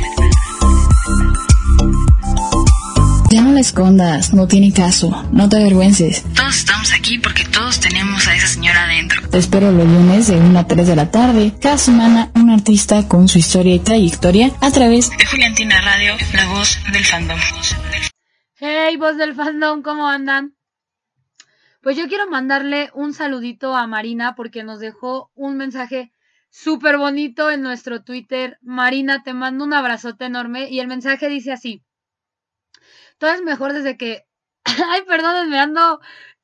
Ya no la escondas, no tiene caso, no te avergüences. Todos estamos aquí porque todos tenemos a esa señora adentro. Te espero los lunes de 1 a 3 de la tarde. Cada semana un artista con su historia y trayectoria a través De Juliantina Radio, La Voz del Fandom. Hey, voz del fandom, ¿cómo andan? Pues yo quiero mandarle un saludito a Marina porque nos dejó un mensaje súper bonito en nuestro Twitter. Marina, te mando un abrazote enorme y el mensaje dice así: todo es mejor desde que... Ay, perdónenme, ando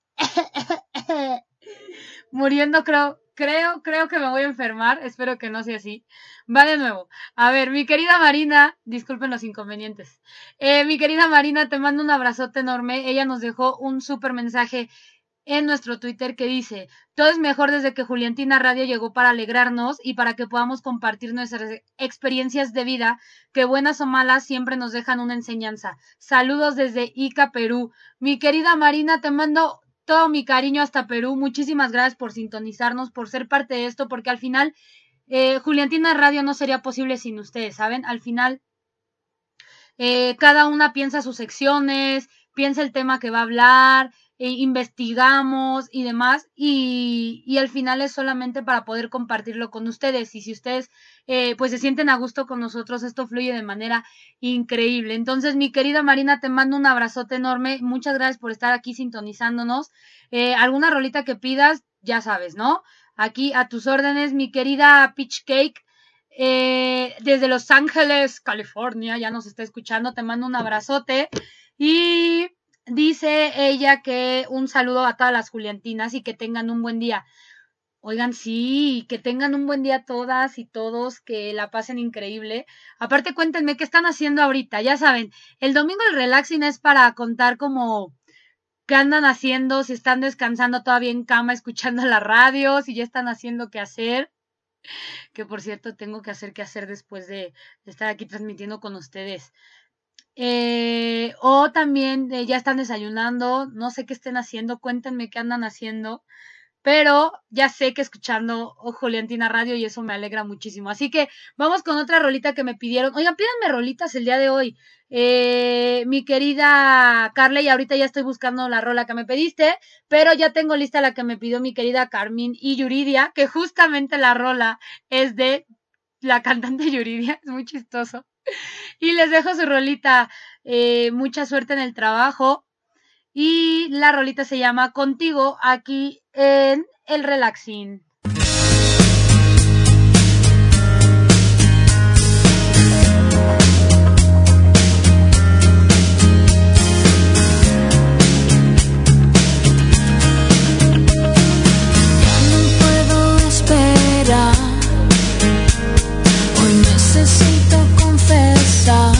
muriendo, creo que me voy a enfermar. Espero que no sea así. Va de nuevo. A ver, mi querida Marina, disculpen los inconvenientes. Mi querida Marina, te mando un abrazote enorme. Ella nos dejó un súper mensaje en nuestro Twitter que dice: todo es mejor desde que Juliantina Radio llegó para alegrarnos y para que podamos compartir nuestras experiencias de vida, que buenas o malas siempre nos dejan una enseñanza. Saludos desde Ica, Perú. Mi querida Marina, te mando todo mi cariño hasta Perú. Muchísimas gracias por sintonizarnos, por ser parte de esto, porque al final Juliantina Radio no sería posible sin ustedes, ¿saben? Al final cada una piensa sus secciones, piensa el tema que va a hablar, investigamos y demás, y al final es solamente para poder compartirlo con ustedes, y si ustedes pues se sienten a gusto con nosotros, esto fluye de manera increíble. Entonces, mi querida Marina, te mando un abrazote enorme, muchas gracias por estar aquí sintonizándonos. Alguna rolita que pidas, ya sabes, ¿no? Aquí a tus órdenes, mi querida Peach Cake, desde Los Ángeles, California, ya nos está escuchando, te mando un abrazote. Y dice ella que un saludo a todas las Juliantinas y que tengan un buen día. Oigan, sí, que tengan un buen día todas y todos, que la pasen increíble. Aparte, cuéntenme qué están haciendo ahorita. Ya saben, el domingo el relaxing es para contar como qué andan haciendo, si están descansando todavía en cama escuchando la radio, si ya están haciendo qué hacer. Que por cierto tengo que hacer qué hacer después de estar aquí transmitiendo con ustedes. O también ya están desayunando, no sé qué estén haciendo, cuéntenme qué andan haciendo. Pero ya sé que escuchando Juliantina Radio y eso me alegra muchísimo. Así que vamos con otra rolita que me pidieron. Oigan, pídanme rolitas el día de hoy. Mi querida Carla, y ahorita ya estoy buscando la rola que me pediste, pero ya tengo lista la que me pidió mi querida Carmín y Yuridia, que justamente la rola es de la cantante Yuridia, es muy chistoso. Y les dejo su rolita, mucha suerte en el trabajo. Y la rolita se llama Contigo, aquí en el Relaxing. Ya no puedo esperar, hoy necesito confesar,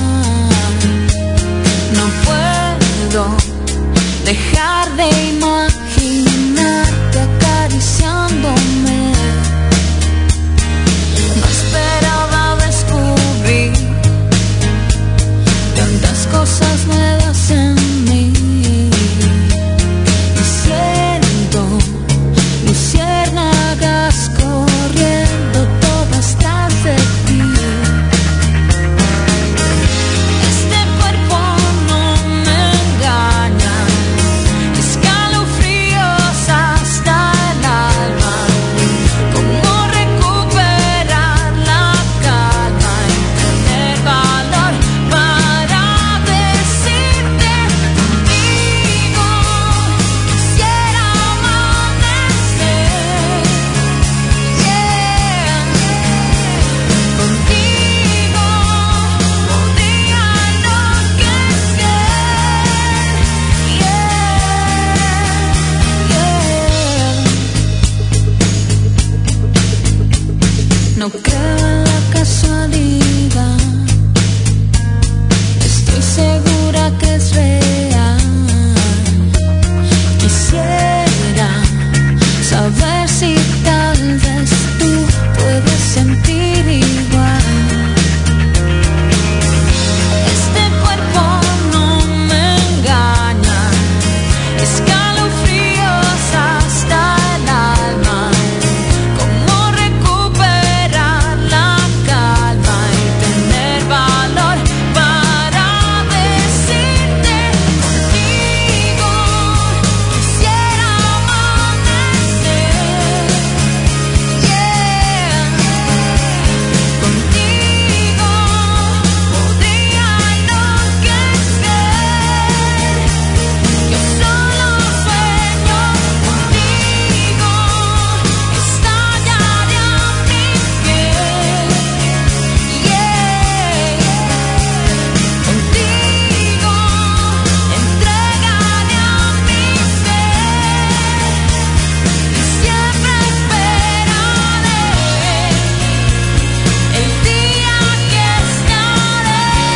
no puedo dejar de imaginarte acariciándome. No esperaba descubrir tantas cosas nuevas en mí. Y siento luciérnagas corriendo todas tras de ti. Este cuerpo no me engaña, escalofríos hasta el alma. Cómo recuperar la calma y tener valor para decirte contigo quisiera amanecer, yeah. Contigo podría enloquecer, yeah. No creo en la casualidad, estoy segura que es real. Quisiera saber si tal vez tú puedes sentir igual. Este cuerpo no me engaña, escalofríos hasta el alma. Cómo recuperar la calma y tener valor para decirte contigo quisiera amanecer, yeah. Contigo podría enloquecer. Yo solo sueño contigo, estallaría mi piel, yeah. Contigo entregaría mi ser y siempre esperaré el día que estaré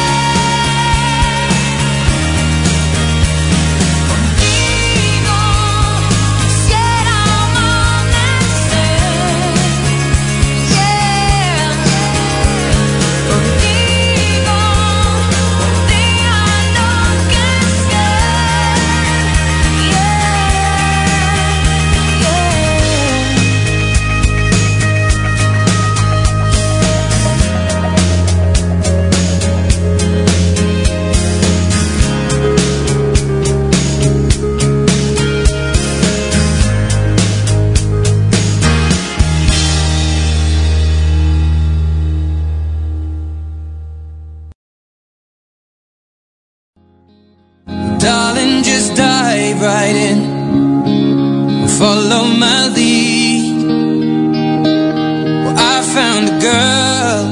contigo. Quisiera amanecer, yeah. Contigo podría enloquecer, yeah, Darling, just dive right in, follow my lead. Well, I found a girl,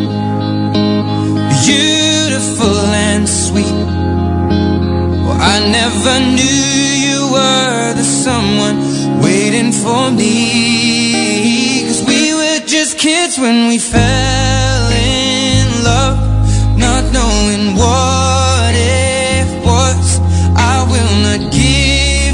beautiful and sweet. Well, I never knew you were the someone waiting for me. 'Cause we were just kids when we fell in love, not knowing what it was. I will not give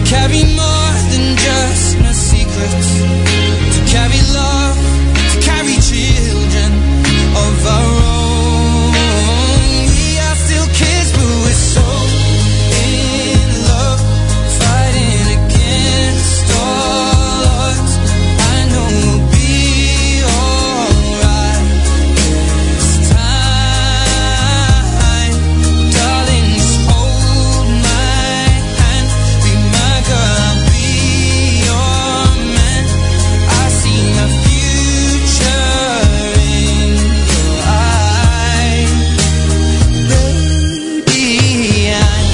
carry more than just my secrets, to carry love, to carry children of our own. We are still kids, but we're so in love, fighting against all odds. I know we'll be alright this time, darling. Just hold my hand, be my girl, I'll be your man. I see my future in your eyes, baby. I'm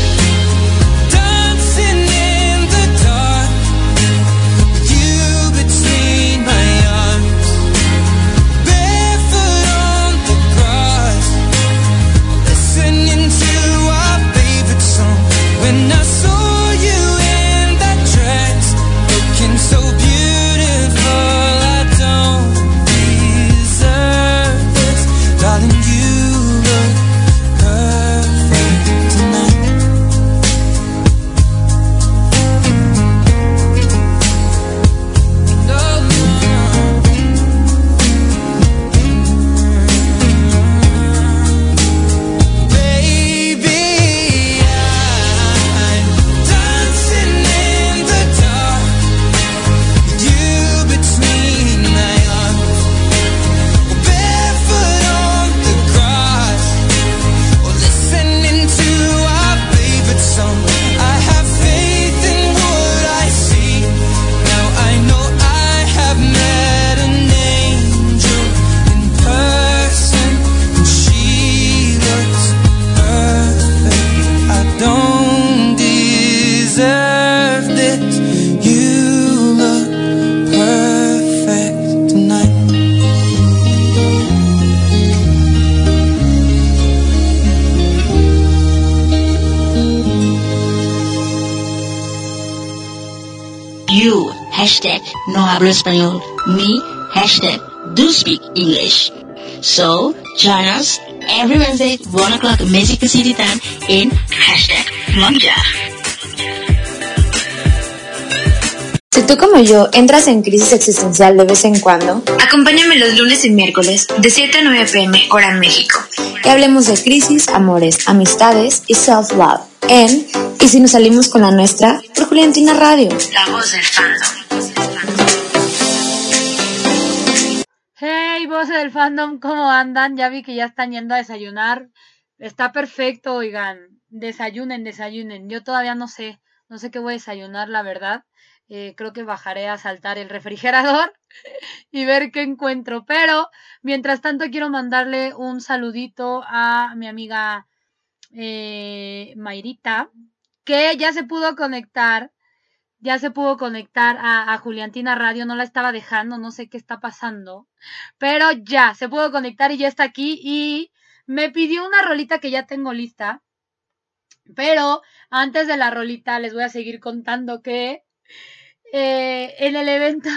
dancing in the dark with you between my arms, barefoot on the grass, listening to our favorite song. When I saw you in that dress, looking so beautiful, I don't deserve this, darling. You look perfect tonight. No, baby, I'm dancing in the dark with you between my arms, barefoot on the grass, or listening to our favorite song. I have faith in what I see. Now I know I have met an angel in person, and she looks perfect. I don't deserve this. You look perfect tonight. You, hashtag no hablo español. Me, hashtag do speak English. So, join us every Wednesday, 1 o'clock Mexico City time in hashtag Monja. Si tú como yo entras en crisis existencial de vez en cuando, Acompáñame los lunes y miércoles de 7 a 9 p.m. hora México. y hablemos de crisis, amores, amistades y self-love en Y si nos salimos con la nuestra por Juliantina Radio. La voz del fandom. Hey, voces del fandom, ¿cómo andan? Ya vi que ya están yendo a desayunar. Está perfecto, oigan. Desayunen, desayunen. Yo todavía no sé qué voy a desayunar, la verdad. Creo que bajaré a saltar el refrigerador y ver qué encuentro. Pero, mientras tanto, quiero mandarle un saludito a mi amiga Mayrita, que ya se pudo conectar a Juliantina Radio. No la estaba dejando, no sé qué está pasando, pero ya se pudo conectar y ya está aquí, y me pidió una rolita que ya tengo lista. Pero antes de la rolita les voy a seguir contando que en el evento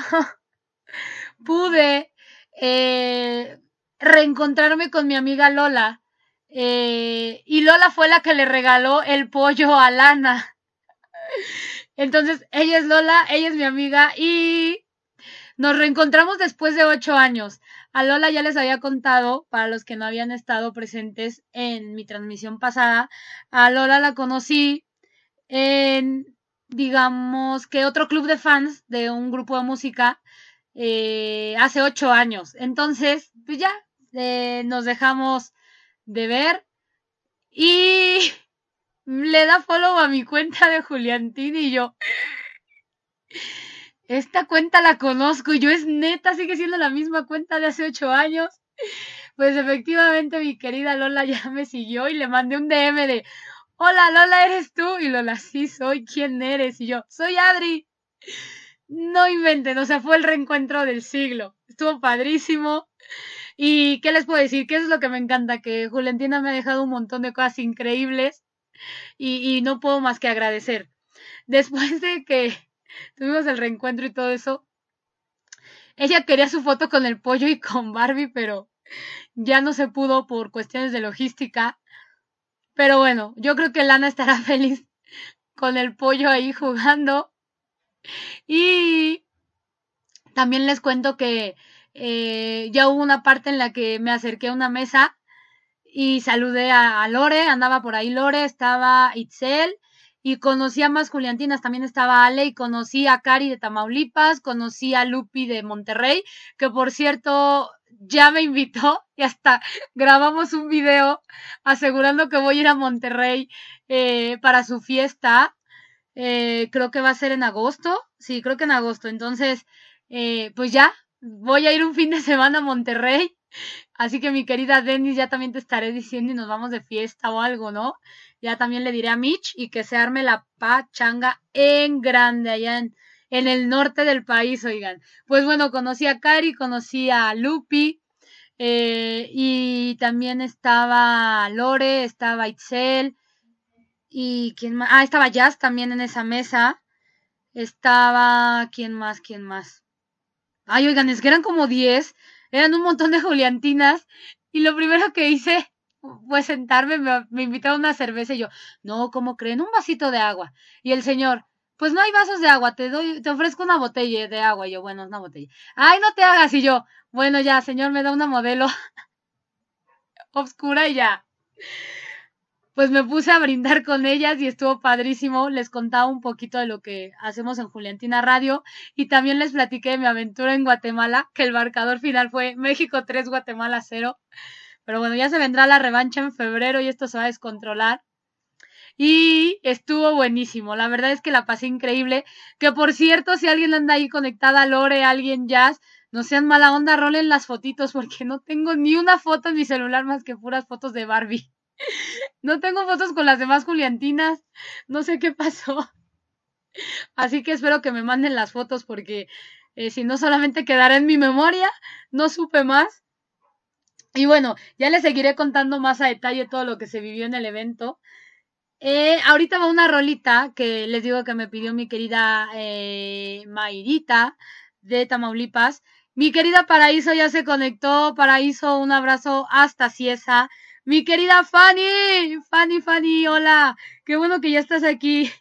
pude reencontrarme con mi amiga Lola, y Lola fue la que le regaló el pollo a Lana. Entonces ella es Lola, ella es mi amiga, y nos reencontramos después de 8 años. A Lola ya les había contado, para los que no habían estado presentes en mi transmisión pasada, a Lola la conocí en, digamos, que otro club de fans de un grupo de música hace 8 años. Entonces, pues ya, nos dejamos de ver y le da follow a mi cuenta de Juliantina y yo, esta cuenta la conozco, y yo, es neta, sigue siendo la misma cuenta de hace 8 años. Pues efectivamente mi querida Lola ya me siguió y le mandé un DM de, hola Lola, ¿eres tú? Y Lola, sí soy, ¿quién eres? Y yo, soy Adri. No inventen, o sea, fue el reencuentro del siglo, estuvo padrísimo. Y ¿qué les puedo decir? Que eso es lo que me encanta, que Juliantina me ha dejado un montón de cosas increíbles y no puedo más que agradecer. Después de que tuvimos el reencuentro y todo eso, ella quería su foto con el pollo y con Barbie, pero ya no se pudo por cuestiones de logística. Pero bueno, yo creo que Lana estará feliz con el pollo ahí jugando. Y también les cuento que ya hubo una parte en la que me acerqué a una mesa y saludé a Lore, andaba por ahí Lore, estaba Itzel, y conocí a más juliantinas, también estaba Ale, y conocí a Cari de Tamaulipas, conocí a Lupi de Monterrey, que por cierto ya me invitó, y hasta grabamos un video asegurando que voy a ir a Monterrey para su fiesta. Creo que va a ser en agosto, sí, creo que en agosto. Entonces, pues ya, voy a ir un fin de semana a Monterrey, así que mi querida Denis, ya también te estaré diciendo y nos vamos de fiesta o algo, ¿no? Ya también le diré a Mitch y que se arme la pachanga en grande allá en el norte del país, oigan. Pues bueno, conocí a Cari, conocí a Lupi, y también estaba Lore, estaba Itzel, y ¿quién más? Ah, estaba Jazz también en esa mesa. Estaba, ¿quién más? Ay, oigan, es que eran como 10, eran un montón de juliantinas, y lo primero que hice fue sentarme, me invitaron a una cerveza, y yo, no, ¿cómo creen? Un vasito de agua. Y el señor, pues no hay vasos de agua, te ofrezco una botella de agua. Y yo, bueno, es una botella. Ay, no te hagas. Y yo, bueno, ya, señor, me da una modelo oscura y ya. Pues me puse a brindar con ellas y estuvo padrísimo. Les contaba un poquito de lo que hacemos en Juliantina Radio y también les platiqué de mi aventura en Guatemala, que el marcador final fue México 3, Guatemala 0. Pero bueno, ya se vendrá la revancha en febrero y esto se va a descontrolar. Y estuvo buenísimo. La verdad es que la pasé increíble. Que por cierto, si alguien anda ahí conectada, Lore, alguien Jazz, no sean mala onda, rolen las fotitos porque no tengo ni una foto en mi celular más que puras fotos de Barbie. No tengo fotos con las demás juliantinas, no sé qué pasó. Así que espero que me manden las fotos porque si no solamente quedará en mi memoria, no supe más. Y bueno, ya les seguiré contando más a detalle todo lo que se vivió en el evento. Ahorita va una rolita que les digo que me pidió mi querida Mayrita de Tamaulipas. Mi querida Paraíso ya se conectó. Paraíso, un abrazo hasta Cieza. Mi querida Fanny, hola, qué bueno que ya estás aquí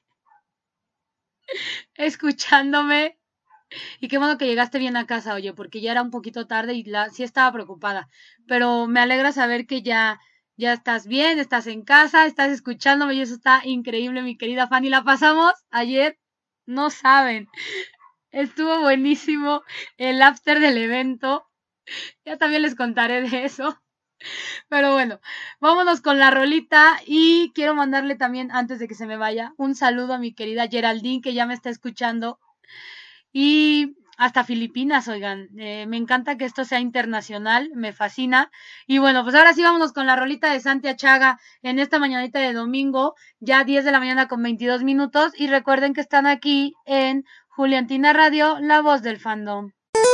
escuchándome y qué bueno que llegaste bien a casa, oye, porque ya era un poquito tarde y sí estaba preocupada, pero me alegra saber que ya estás bien, estás en casa, estás escuchándome y eso está increíble, mi querida Fanny. La pasamos ayer, no saben, estuvo buenísimo el after del evento, ya también les contaré de eso. Pero bueno, vámonos con la rolita y quiero mandarle también, antes de que se me vaya, un saludo a mi querida Geraldine que ya me está escuchando y hasta Filipinas, oigan, me encanta que esto sea internacional, me fascina. Y bueno, pues ahora sí vámonos con la rolita de Santi Achaga en esta mañanita de domingo, ya 10 de la mañana con 22 minutos y recuerden que están aquí en Juliantina Radio, la voz del fandom.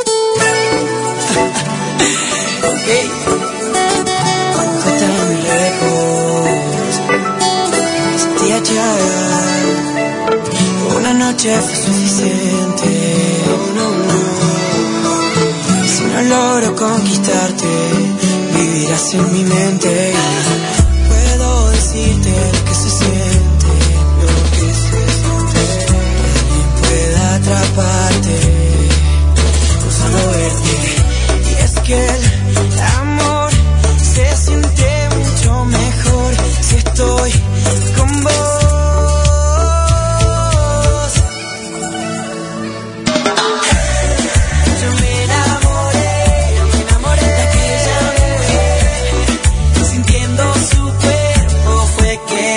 Okay. Está muy lejos, Santi Achaga. Una noche fue suficiente. Si no logro conquistarte, vivirás en mi mente. Puedo decirte lo que se siente, que alguien pueda atraparte con solo verte. Y es que el amor se siente mucho mejor si estoy con vos. Yo me enamoré de aquella mujer, sintiendo su cuerpo fue que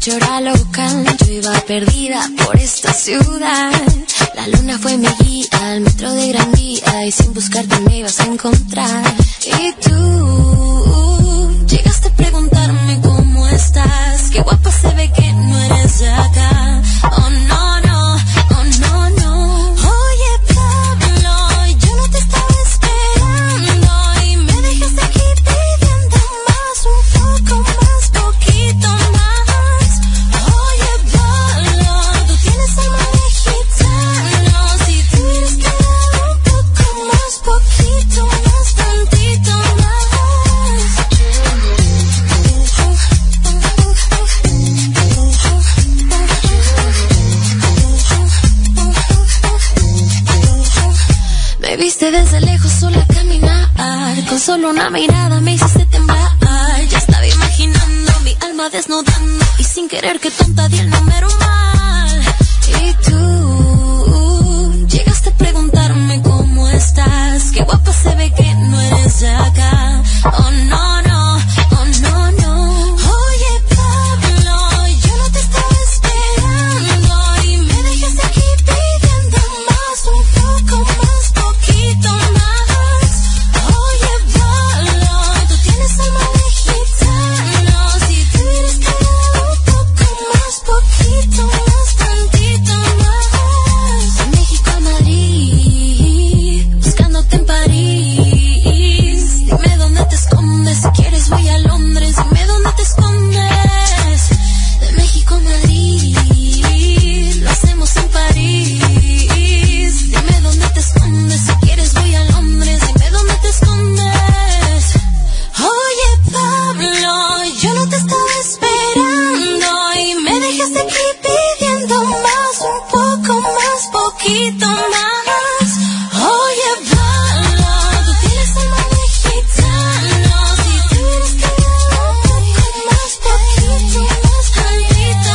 yo era loca, yo iba perdida por esta ciudad. La luna fue mi guía, al metro de Gran Vía, y sin buscarte me ibas a encontrar. Y tú llegaste a preguntarme cómo estás, qué guapa se ve que no eres de acá. Oh no, no, oh no, no. Oye Pablo, yo no te estaba esperando y me dejaste aquí pidiendo más, un poco más, poquito más. Oye Pablo, tú tienes alma de gitano, si te hubieras quedado un poco más, poquito más, tantito más. Me viste desde lejos sola caminar, con solo una mirada me hiciste temblar. Ya estaba imaginando mi alma desnudando y sin querer que tonta di el número mal. Y tú llegaste a preguntarme cómo estás, qué guapa se ve que no eres de acá. Oh no, no, oh no, no. Oye Pablo, yo no te estaba esperando y me dejaste aquí pidiendo más, un poco más, poquito más. Oye Pablo, tú tienes alma de gitano, si te hubieras quedado un poco más, poquito más, tantito más. De México a Madrid, buscándote en París. Dime dónde te escondes, si quieres voy a Londres. Dime dónde te escondes. De México a Madrid, lo hacemos en París. Dime dónde te escondes, si quieres voy a Londres. Dime dónde te escondes. Oye Pablo, yo no te estaba esperando y me dejaste aquí pidiendo más, un poco más, poquito más. Oye Pablo, tú tienes alma de gitano, si te hubieras quedado un poco más, poquito más, tantito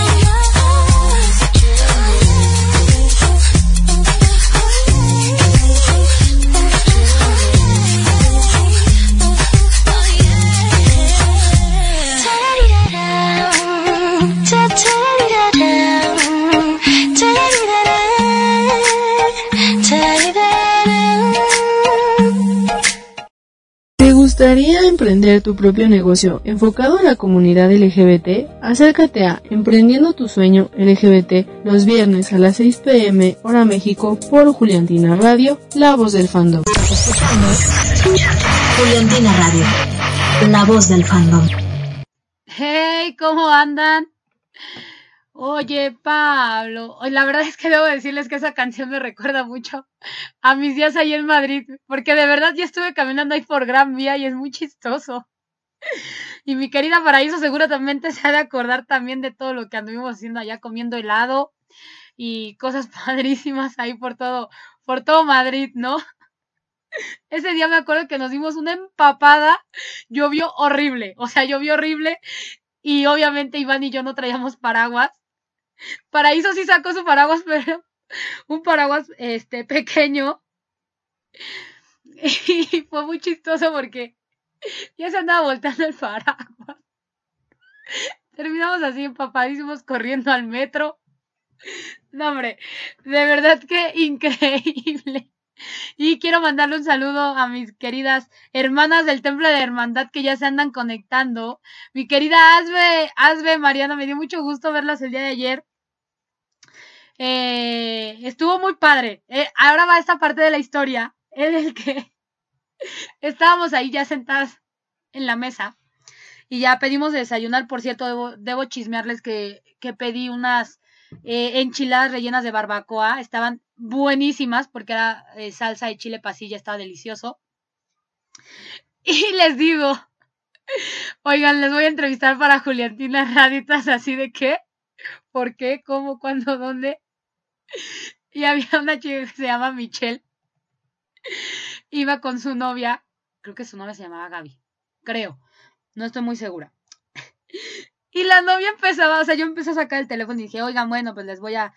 ¿Te gustaría emprender tu propio negocio enfocado a la comunidad LGBT? Acércate a Emprendiendo tu Sueño LGBT los viernes a las 6 p.m. hora México por Juliantina Radio, la voz del fandom. Juliantina Radio, la voz del fandom. Hey, ¿cómo andan? Oye, Pablo, la verdad es que debo decirles que esa canción me recuerda mucho a mis días ahí en Madrid, porque de verdad ya estuve caminando ahí por Gran Vía y es muy chistoso. Y mi querida Paraíso seguramente se ha de acordar también de todo lo que anduvimos haciendo allá, comiendo helado y cosas padrísimas ahí por todo Madrid, ¿no? Ese día me acuerdo que nos dimos una empapada, llovió horrible y obviamente Iván y yo no traíamos paraguas. Paraíso sí sacó su paraguas, pero un paraguas pequeño. Y fue muy chistoso porque ya se andaba volteando el paraguas. Terminamos así empapadísimos corriendo al metro. No, hombre, de verdad que increíble. Y quiero mandarle un saludo a mis queridas hermanas del Templo de Hermandad que ya se andan conectando. Mi querida Asbe, Mariana, me dio mucho gusto verlas el día de ayer. Estuvo muy padre. Ahora va esta parte de la historia en el que estábamos ahí ya sentadas en la mesa y ya pedimos de desayunar. Por cierto, debo chismearles que pedí unas enchiladas rellenas de barbacoa. Estaban buenísimas porque era salsa de chile pasilla, estaba delicioso. Y les digo, oigan, les voy a entrevistar para Juliantina Raditas, así de qué, por qué, cómo, cuándo, dónde. Y había una chica que se llama Michelle, iba con su novia, creo que su novia se llamaba Gaby, creo, no estoy muy segura. Y la novia empezaba, yo empecé a sacar el teléfono y dije, oigan, bueno, pues las voy a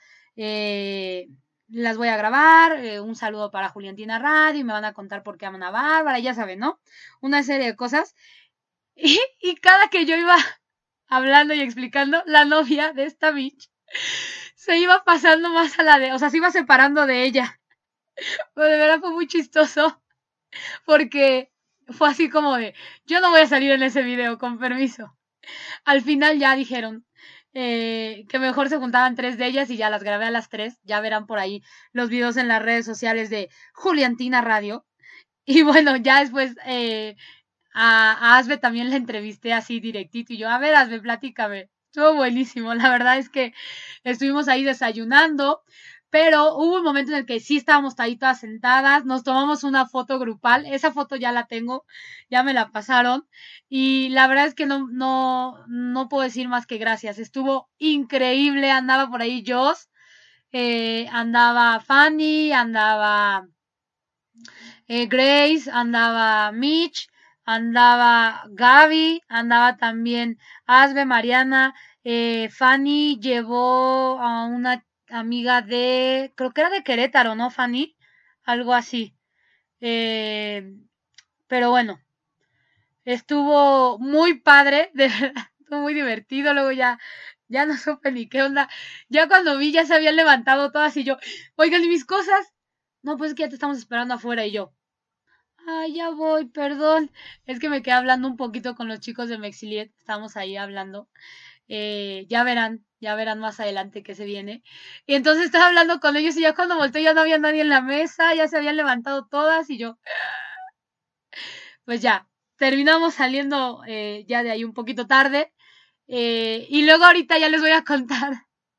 grabar, un saludo para Juliantina Radio, y me van a contar por qué aman a Bárbara, ya saben, ¿no? Una serie de cosas. Y cada que yo iba hablando y explicando, la novia de esta bitch se iba pasando más a la de, o sea, se iba separando de ella. Pero de verdad fue muy chistoso porque fue así como de, yo no voy a salir en ese video, con permiso. Al final ya dijeron que mejor se juntaban 3 de ellas y ya las grabé a las 3. Ya verán por ahí los videos en las redes sociales de Juliantina Radio. Y bueno, ya después a Asbe también la entrevisté así directito y yo, a ver, Asbe, platícame. Estuvo buenísimo, la verdad es que estuvimos ahí desayunando, pero hubo un momento en el que sí estábamos ahí todas sentadas, nos tomamos una foto grupal, esa foto ya la tengo, ya me la pasaron, y la verdad es que no puedo decir más que gracias, estuvo increíble, andaba por ahí Joss, andaba Fanny, andaba Grace, andaba Mitch, andaba Gaby, andaba también Asbe, Mariana, Fanny llevó a una amiga de, creo que era de Querétaro, ¿no, Fanny? Algo así. Pero bueno, estuvo muy padre, de verdad, estuvo muy divertido, luego ya no supe ni qué onda. Ya cuando vi ya se habían levantado todas y yo, oigan, ¿y mis cosas? No, pues es que ya te estamos esperando afuera y yo. Ay, ya voy, perdón. Es que me quedé hablando un poquito con los chicos de Mexiliet. Estamos ahí hablando. Ya verán más adelante qué se viene. Y entonces estaba hablando con ellos y ya cuando volteé ya no había nadie en la mesa, ya se habían levantado todas y yo. Pues ya, terminamos saliendo ya de ahí un poquito tarde. Y luego ahorita ya les voy a contar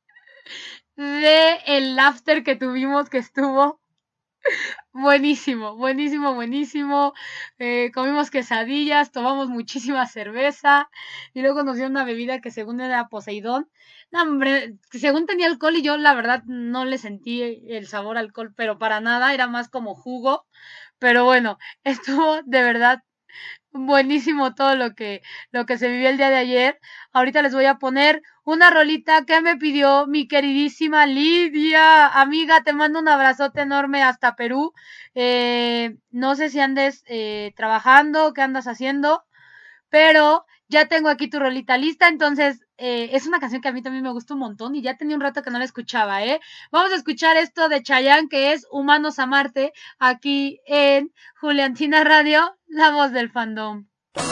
de el after que tuvimos, que estuvo buenísimo, buenísimo, buenísimo. Comimos quesadillas, tomamos muchísima cerveza y luego nos dio una bebida que según era Poseidón. No, hombre, que según tenía alcohol y yo la verdad no le sentí el sabor alcohol, pero para nada, era más como jugo. Pero bueno, estuvo de verdad buenísimo todo lo que se vivió el día de ayer. Ahorita les voy a poner una rolita que me pidió mi queridísima Lidia. Amiga, te mando un abrazote enorme hasta Perú. No sé si andes trabajando, qué andas haciendo, pero ya tengo aquí tu rolita lista, entonces es una canción que a mí también me gusta un montón y ya tenía un rato que no la escuchaba, Vamos a escuchar esto de Chayanne, que es Humanos a Marte, aquí en Juliantina Radio, la voz del fandom.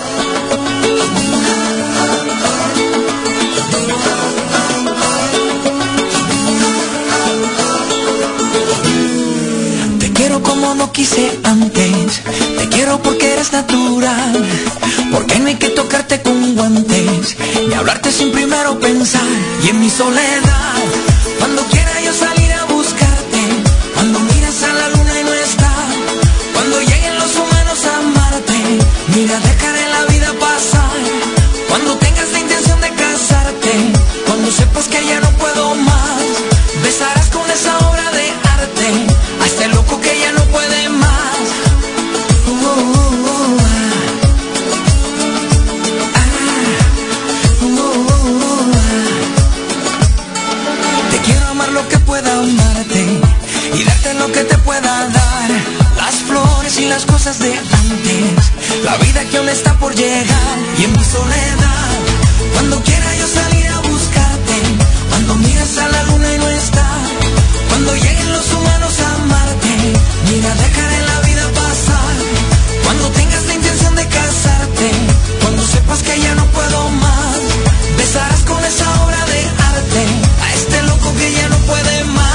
Te quiero como no quise antes, te quiero porque eres natural, porque no hay que tocarte con guantes, ni hablarte sin primero pensar. Y en mi soledad, cuando quiera yo salir a buscarte, cuando miras a la luna y no está, cuando lleguen los humanos a Marte, mira, dejaré la vida pasar, cuando tengas la intención de casarte, cuando sepas que ya no puedo más, besarás con esa obra de arte a este loco que ya no puede más. Te quiero amar lo que pueda amarte y darte lo que te pueda dar, las flores y las cosas de antes, la vida que aún está por llegar. Y en mi soledad, cuando quiera yo salir a buscarte, cuando miras a la luna y no está, cuando lleguen los humanos a Marte, mira, dejaré la vida pasar, cuando tengas la intención de casarte, cuando sepas que ya no puedo más, besarás con esa obra de arte a este loco que ya no puede más.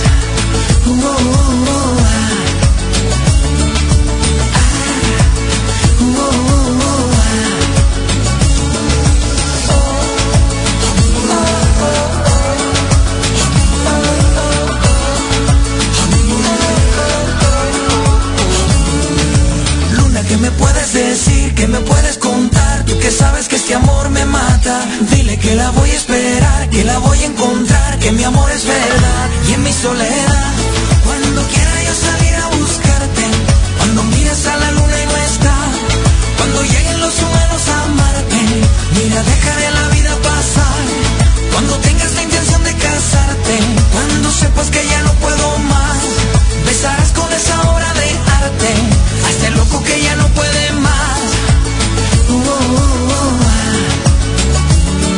¿Qué me puedes decir? ¿Qué me puedes contar? Tú que sabes que este amor me mata. Dile que la voy a esperar, que la voy a encontrar, que mi amor es verdad. Y en mi soledad, cuando quiera yo salir a buscarte, cuando mires a la luna y no está, cuando lleguen los humanos a Marte, mira, dejaré la vida pasar, cuando tengas la intención de casarte, cuando sepas que ya no puedo más, besarás con esa obra de arte a este loco que ya no puede más.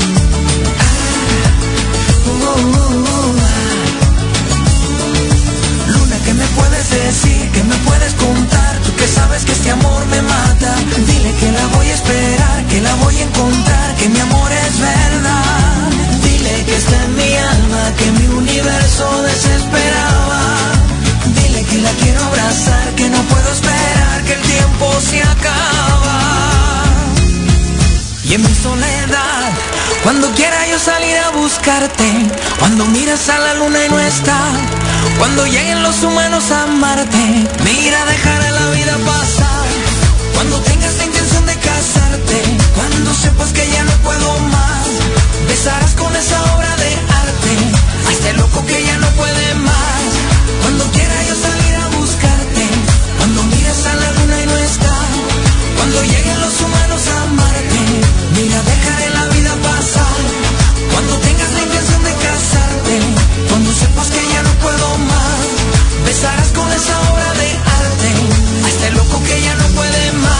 contar que mi amor es verdad. Dile que está en mi alma, que mi universo desesperaba. Dile que la quiero abrazar, que no puedo esperar, que el tiempo se acaba. Y en mi soledad, cuando quiera yo salir a buscarte, cuando miras a la luna y no está, cuando lleguen los humanos a amarte, mira, dejaré la vida pasar. Cuando tengas la intención de casarte, cuando sepas que ya no puedo más, besarás con esa obra de arte a este loco que ya no puede más. Cuando quiera yo salir a buscarte, cuando mires a la luna y no está, cuando lleguen los humanos a amarte, mira, dejaré la vida pasar. Cuando tengas la intención de casarte, cuando sepas que ya no puedo más, besarás con esa obra de arte a este loco que ya no puede más.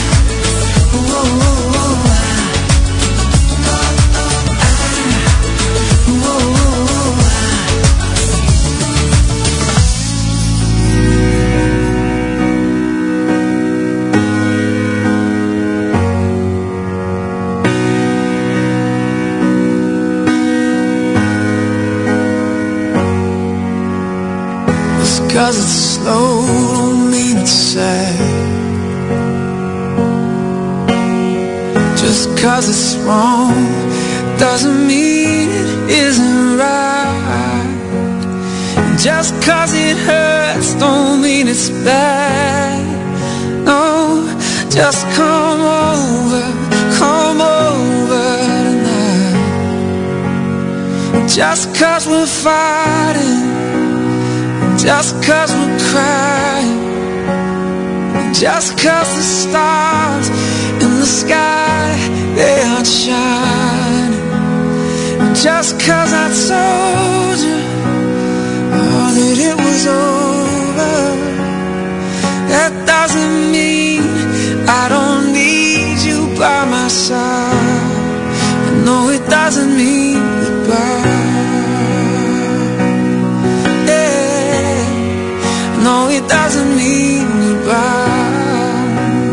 Cause it's slow, don't mean it's sad. Just cause it's wrong doesn't mean it isn't right. Just cause it hurts don't mean it's bad. No, just come over tonight. Just cause we're fighting, just cause we're crying, just cause the stars in the sky, they aren't shining, just cause I told you that it was over, that doesn't mean I don't need you by my side. No, it doesn't mean goodbye. No, it doesn't mean goodbye.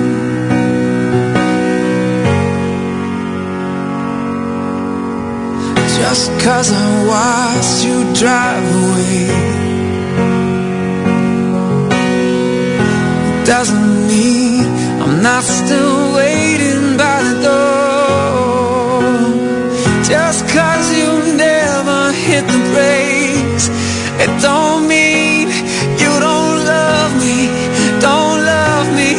Just cause I watched you drive away, it doesn't mean I'm not still waiting by the door. Just cause you never hit the brakes, it don't mean you don't love me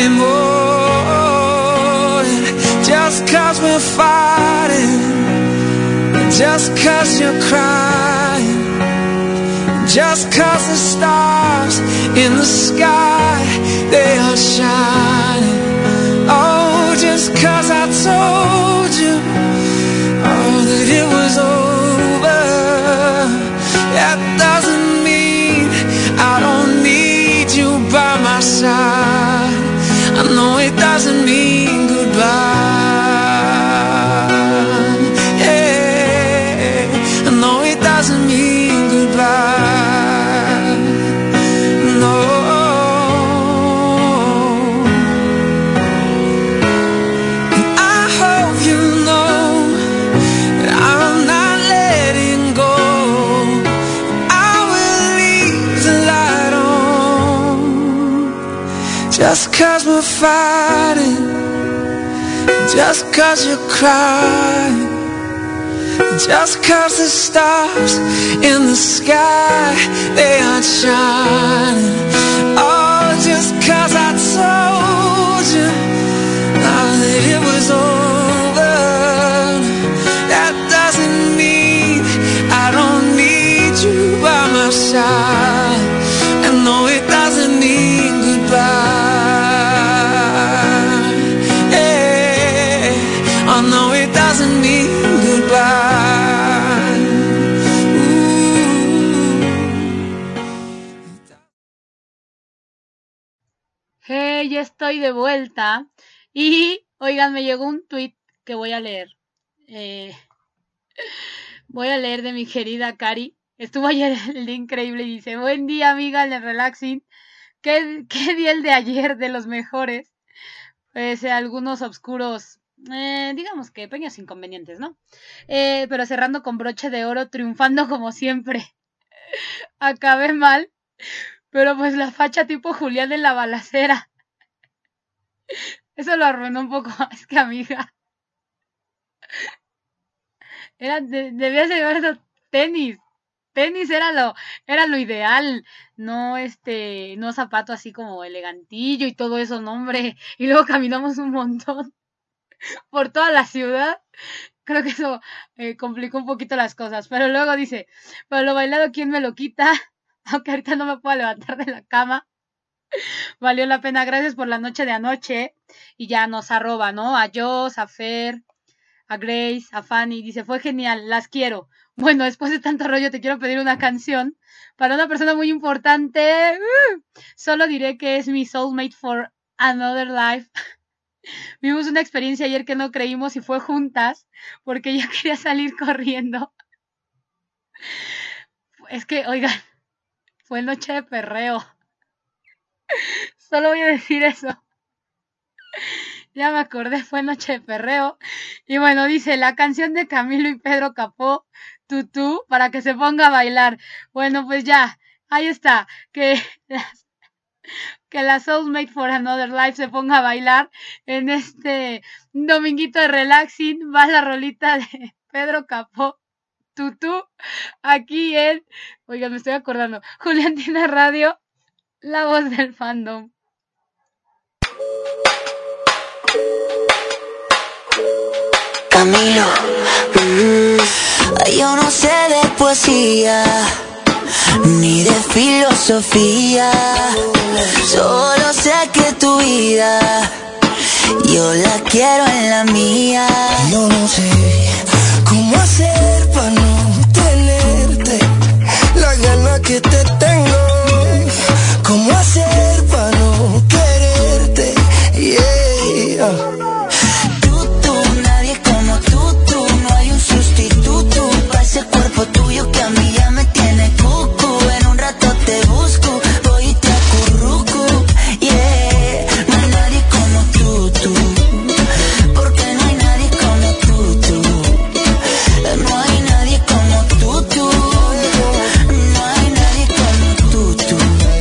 anymore. Just cause we're fighting, just cause you're crying, just cause the stars in the sky, they are shining. Oh, just cause I told you that it was over, that doesn't mean I don't need you by my side. I know it doesn't mean goodbye. Yeah, I know it doesn't mean goodbye. No. And I hope you know that I'm not letting go. I will leave the light on. Just cause we're fighting, just cause you're crying, just cause the stars in the sky, they aren't shining. Oh, just cause I told you that it was over, that doesn't mean I don't need you by my side. And no, it doesn't mean goodbye. Oh no, it doesn't mean goodbye. Hey, ya estoy de vuelta. Y, oigan, me llegó un tweet que voy a leer. Voy a leer de mi querida Cari. Estuvo ayer el día increíble y dice: buen día, amiga, en el relaxing. ¿Qué día el de ayer de los mejores? Pues algunos oscuros digamos que pequeños inconvenientes, ¿no? Pero cerrando con broche de oro, triunfando como siempre. Acabé mal, pero pues la facha tipo Julián en la balacera. Eso lo arruinó un poco. Es que, amiga, debías llevar esos tenis. Tenis era lo ideal, no no zapato así como elegantillo y todo eso, no, hombre. Y luego caminamos un montón por toda la ciudad. Creo que eso complicó un poquito las cosas. Pero luego dice, pero lo bailado, ¿quién me lo quita? Aunque ahorita no me puedo levantar de la cama. Valió la pena, gracias por la noche de anoche. Y ya nos arroba, ¿no? A Joss, a Fer, a Grace, a Fanny. Dice, fue genial, las quiero. Bueno, después de tanto rollo te quiero pedir una canción para una persona muy importante. Solo diré que es mi soulmate for another life. Vimos una experiencia ayer que no creímos y fue juntas porque yo quería salir corriendo. Es que, oigan, fue noche de perreo. Solo voy a decir eso. Ya me acordé, fue noche de perreo. Y bueno, dice, la canción de Camilo y Pedro Capó, Tutú, para que se ponga a bailar. Bueno, pues ya, ahí está. Que la Soulmate for Another Life se ponga a bailar en este dominguito de relaxing. Va la rolita de Pedro Capó, Tutú, aquí en, oigan, me estoy acordando, Juliantina Radio, la voz del fandom. Camilo, yo no sé de poesía ni de filosofía, solo sé que tu vida yo la quiero en la mía. Yo no sé cómo hacer para no tenerte la gana que te tengo, cómo hacer para no quererte, yeah. Ese cuerpo tuyo que a mí ya me tiene cucu. En un rato te busco, voy y te acurruco, yeah. No hay nadie como tú, porque no hay nadie como tú. No hay nadie como tú, no hay nadie como tú.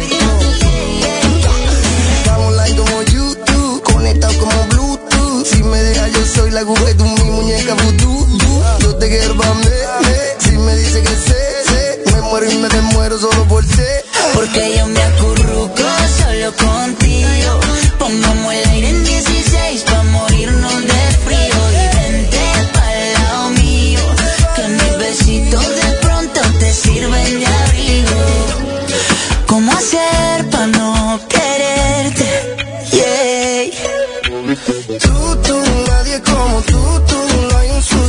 Estamos like como YouTube, conectados como Bluetooth. Si me dejas yo soy la Google, tú mi muñeca vudú. Yo te quiero pa' mí. Me dice que sé, me muero y me desmuero solo por sé. Porque yo me acurruco solo contigo. Pongamos el aire en 16 pa' morirnos de frío. Y vente pa'l lado mío, que mis besitos de pronto te sirven de abrigo. ¿Cómo hacer pa' no quererte? Yeah. Tú, nadie como tú, no hay un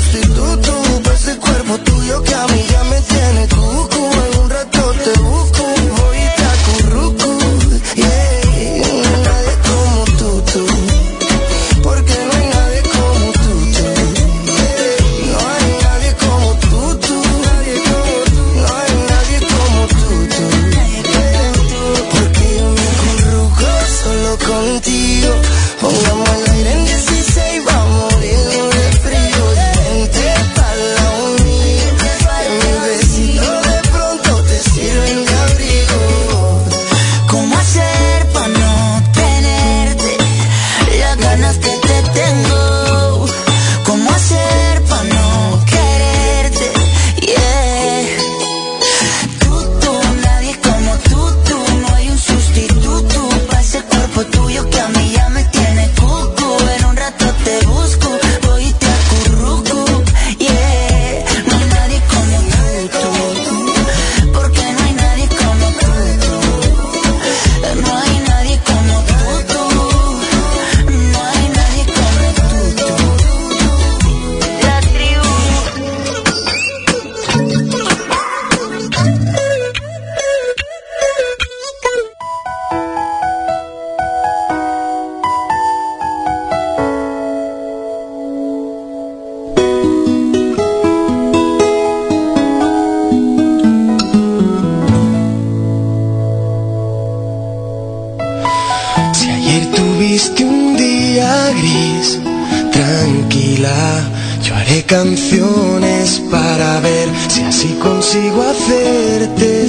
día yo haré canciones para ver si así consigo hacerte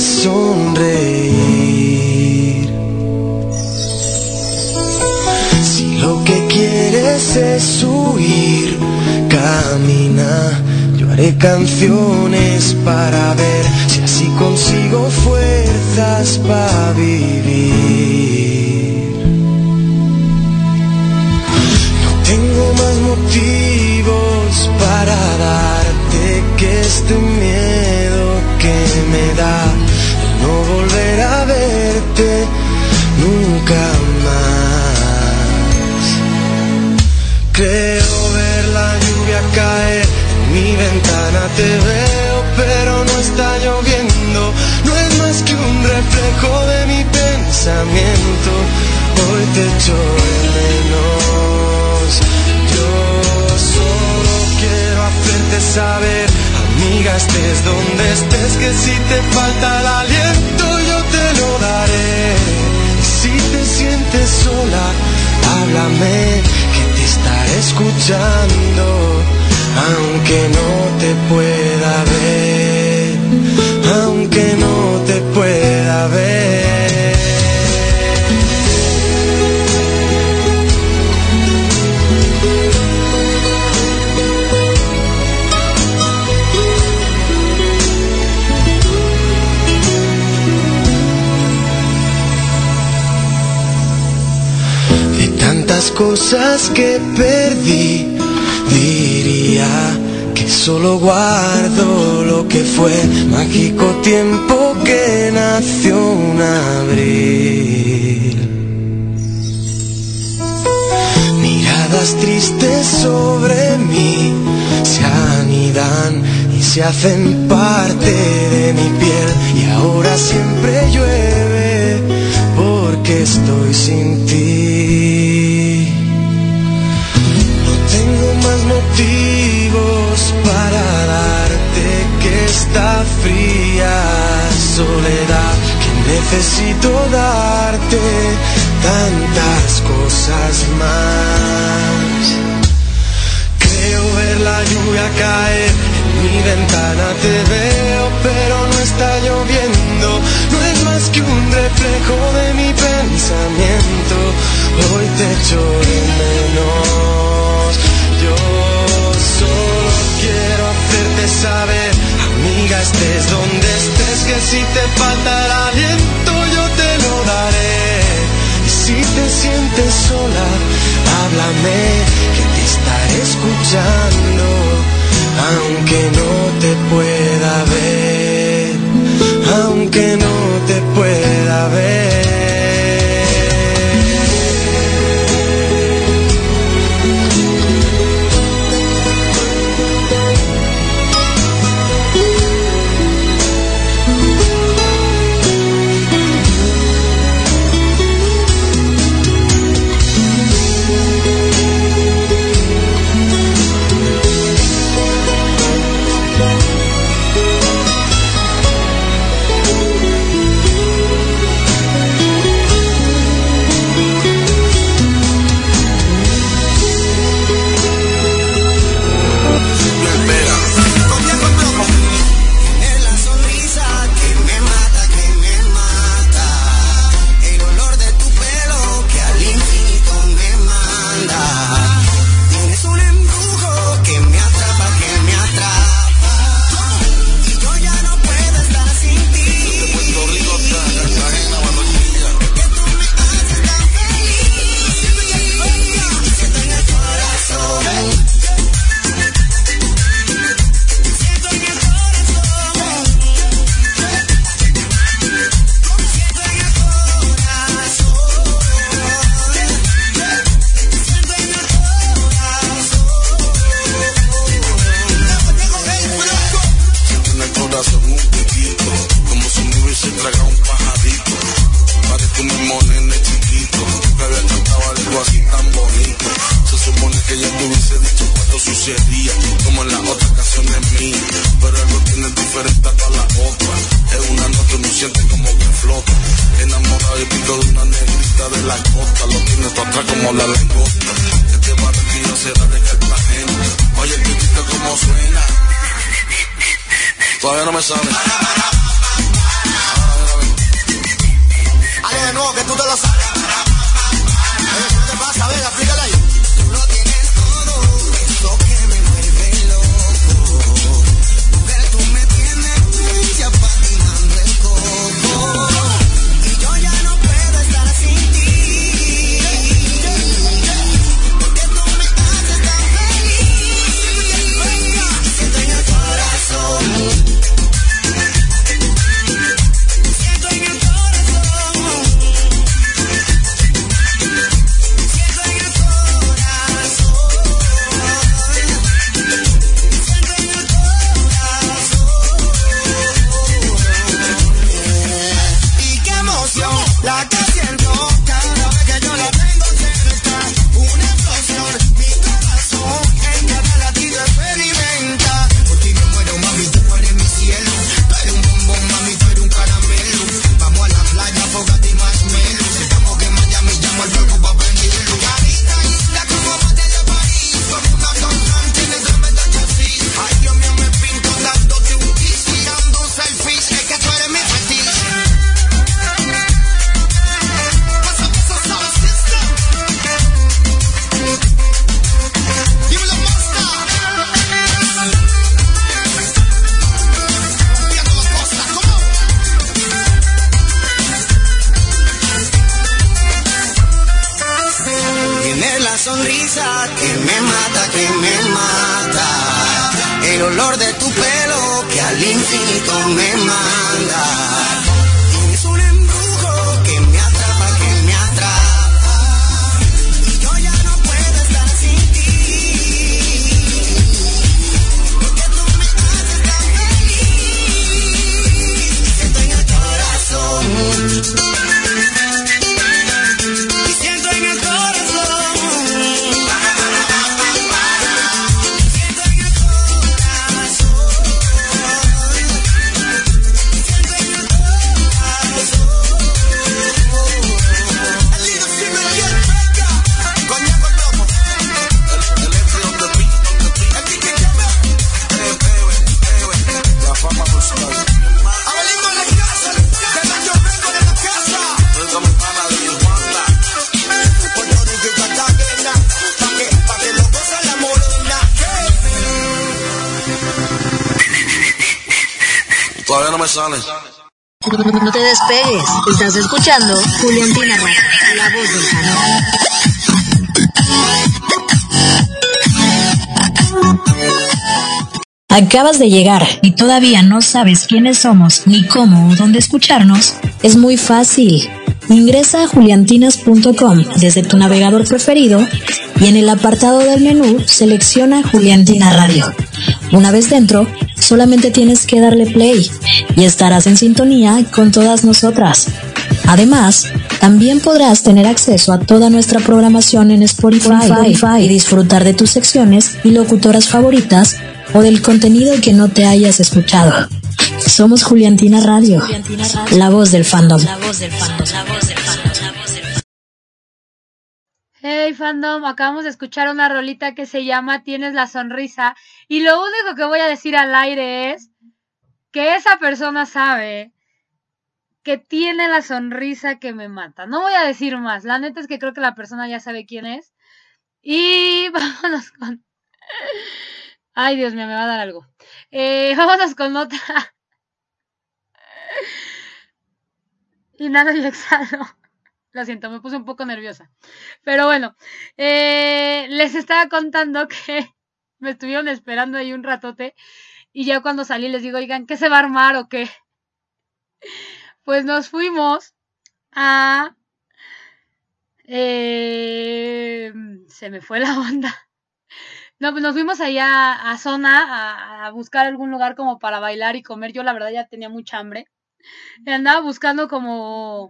sonreír. Si lo que quieres es huir, camina. Yo haré canciones para ver si así consigo fuerzas para vivir. No tengo más motivos para darte que este miedo que me da de no volver a verte nunca más. Creo ver la lluvia caer en mi ventana, te veo pero no está lloviendo, no es más que un reflejo de mi pensamiento. Hoy te echo de menos, yo solo quiero hacerte saber, amiga, estés donde estés, que si te falta el aliento yo te lo daré. Y si te sientes sola, háblame, que te estaré escuchando, aunque no te pueda ver, aunque no te pueda ver. De tantas cosas que perdí, diría que solo guardo lo que fue mágico tiempo que nació un abril. Miradas tristes sobre mí se anidan y se hacen parte de mi piel, y ahora siempre llueve porque estoy sin ti. Más motivos para darte que esta fría soledad, que necesito darte tantas cosas más. Creo ver la lluvia caer en mi ventana, te veo pero no está lloviendo, no es más que un reflejo de mi pensamiento. Hoy te echo de menos, yo solo quiero hacerte saber, amiga, estés donde estés, que si te falta el aliento yo te lo daré. Y si te sientes sola, háblame, que te estaré escuchando, aunque no te pueda ver, aunque no te pueda ver. la costa, lo tienes tú atrás como la langosta. Que te va a quiero cerrarte Cartagena. Oye, el pitito como suena. Todavía no me sale. Dale de nuevo que tú te lo sabes. ¿Qué te pasa? Venga, explícale ahí. Tú lo tienes todo, eso que me vuelve loco. Mujer, tú me tienes ya patinando el coco. Y yo ya no puedo estar sin ti. Porque tú me haces tan feliz. Siento en el corazón. La que siento cada vez que yo la tengo cerca, una explosión, mi corazón en cada latido experimenta. Por ti me muero, mami, tú eres mi cielo. Tú eres un bombón, mami, tú eres un caramelo. Vamos a la playa, fogata y marshmallow. Si estamos en Miami, llamo al fuego pa' prenderlo. Carita isla como bandera de París, como una constante en el tremendo chasis. Ay, Dios mío, me pinto dándote un kiss, tirando un selfie. Es que tú eres mi fetiche. Sonrisa que me mata, que me mata. El olor de tu pelo que al infinito me manda. Tienes un embrujo que me atrapa, que me atrapa. Y yo ya no puedo estar sin ti. Porque tú me haces tan feliz. Siento en el corazón. Todavía no me sale. No te despegues. Estás escuchando Juliantina Radio, la voz del canal. ¿Acabas de llegar y todavía no sabes quiénes somos, ni cómo o dónde escucharnos? Es muy fácil. Ingresa a juliantinas.com desde tu navegador preferido y en el apartado del menú selecciona Juliantina Radio. Una vez dentro, solamente tienes que darle play y estarás en sintonía con todas nosotras. Además, también podrás tener acceso a toda nuestra programación en Spotify y disfrutar de tus secciones y locutoras favoritas o del contenido que no te hayas escuchado. Somos Juliantina Radio, la voz del fandom. Hey fandom, acabamos de escuchar una rolita que se llama Tienes la sonrisa y lo único que voy a decir al aire es que esa persona sabe que tiene la sonrisa que me mata. No voy a decir más, la neta es que creo que la persona ya sabe quién es. Y vámonos con... Ay, Dios mío, me va a dar algo. Vámonos con otra. Inhalo y exhalo. Lo siento, me puse un poco nerviosa. Pero bueno, les estaba contando que me estuvieron esperando ahí un ratote. Y ya cuando salí les digo, oigan, ¿qué se va a armar o qué? Pues nos fuimos a... se me fue la onda. No, pues nos fuimos allá a Zona a buscar algún lugar como para bailar y comer. Yo la verdad ya tenía mucha hambre. Y andaba buscando como...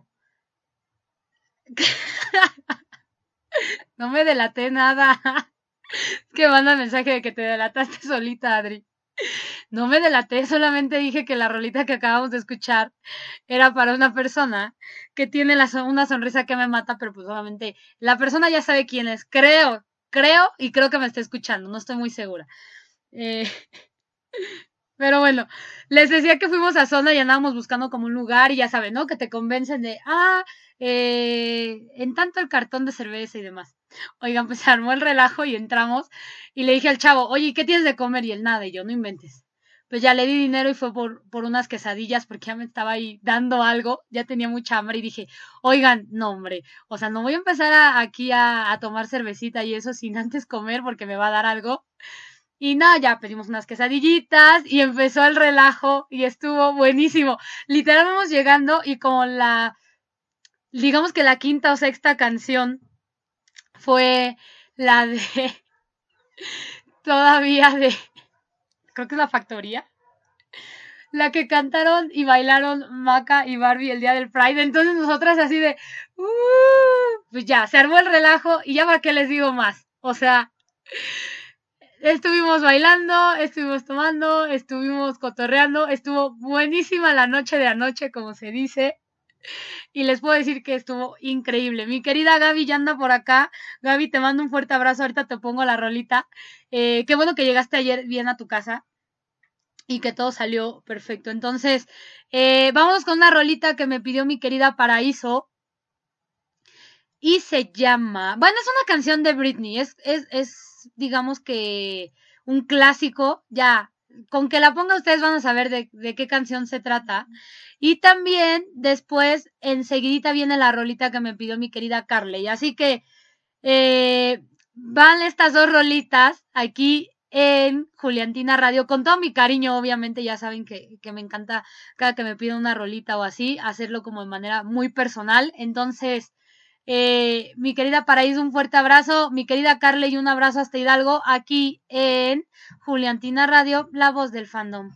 No me delaté nada. Es que manda mensaje de que te delataste solita, Adri. No me delaté, solamente dije que la rolita que acabamos de escuchar era para una persona que tiene una sonrisa que me mata, pero pues obviamente la persona ya sabe quién es. Creo creo que me está escuchando, no estoy muy segura. Pero bueno, les decía que fuimos a Zona y andábamos buscando como un lugar y ya saben, ¿no? Que te convencen de, en tanto el cartón de cerveza y demás. Oigan, pues se armó el relajo y entramos y le dije al chavo, oye, ¿qué tienes de comer? Y él, nada, y yo, no inventes. Pues ya le di dinero y fue por unas quesadillas porque ya me estaba ahí dando algo, ya tenía mucha hambre y dije, oigan, no hombre, o sea, no voy a empezar aquí a tomar cervecita y eso sin antes comer porque me va a dar algo. Y nada, ya pedimos unas quesadillitas y empezó el relajo y estuvo buenísimo. Literal vamos llegando y como digamos que la quinta o sexta canción fue la de, todavía de, creo que es La Factoría, la que cantaron y bailaron Maca y Barbie el día del Pride. Entonces nosotras así de, pues ya, se armó el relajo y ya para qué les digo más. O sea, estuvimos bailando, estuvimos tomando, estuvimos cotorreando, estuvo buenísima la noche de anoche, como se dice, y les puedo decir que estuvo increíble. Mi querida Gaby ya anda por acá. Gaby, te mando un fuerte abrazo, ahorita te pongo la rolita. Qué bueno que llegaste ayer bien a tu casa y que todo salió perfecto. Entonces, vámonos con una rolita que me pidió mi querida Paraíso. Y se llama, bueno, es una canción de Britney, es digamos que un clásico, ya, con que la ponga ustedes van a saber de qué canción se trata. Y también después, enseguidita viene la rolita que me pidió mi querida Carley. Así que van estas dos rolitas aquí en Juliantina Radio, con todo mi cariño, obviamente, ya saben que me encanta cada que me piden una rolita o así, hacerlo como de manera muy personal. Entonces, mi querida Paraíso, un fuerte abrazo, mi querida Carley, un abrazo hasta Hidalgo, aquí en Juliantina Radio, la voz del fandom.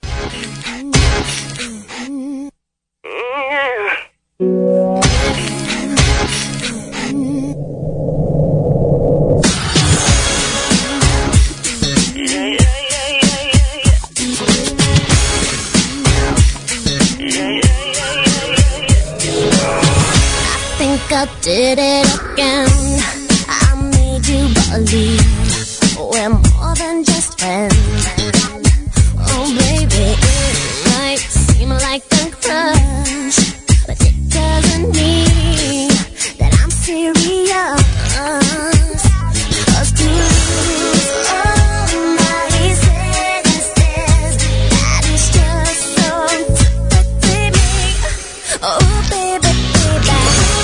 I did it again. I made you believe we're more than just friends. Oh baby, it might seem like a crush, but it doesn't mean that I'm serious. 'Cause to lose all my senses, that is just so baby. Oh baby, baby.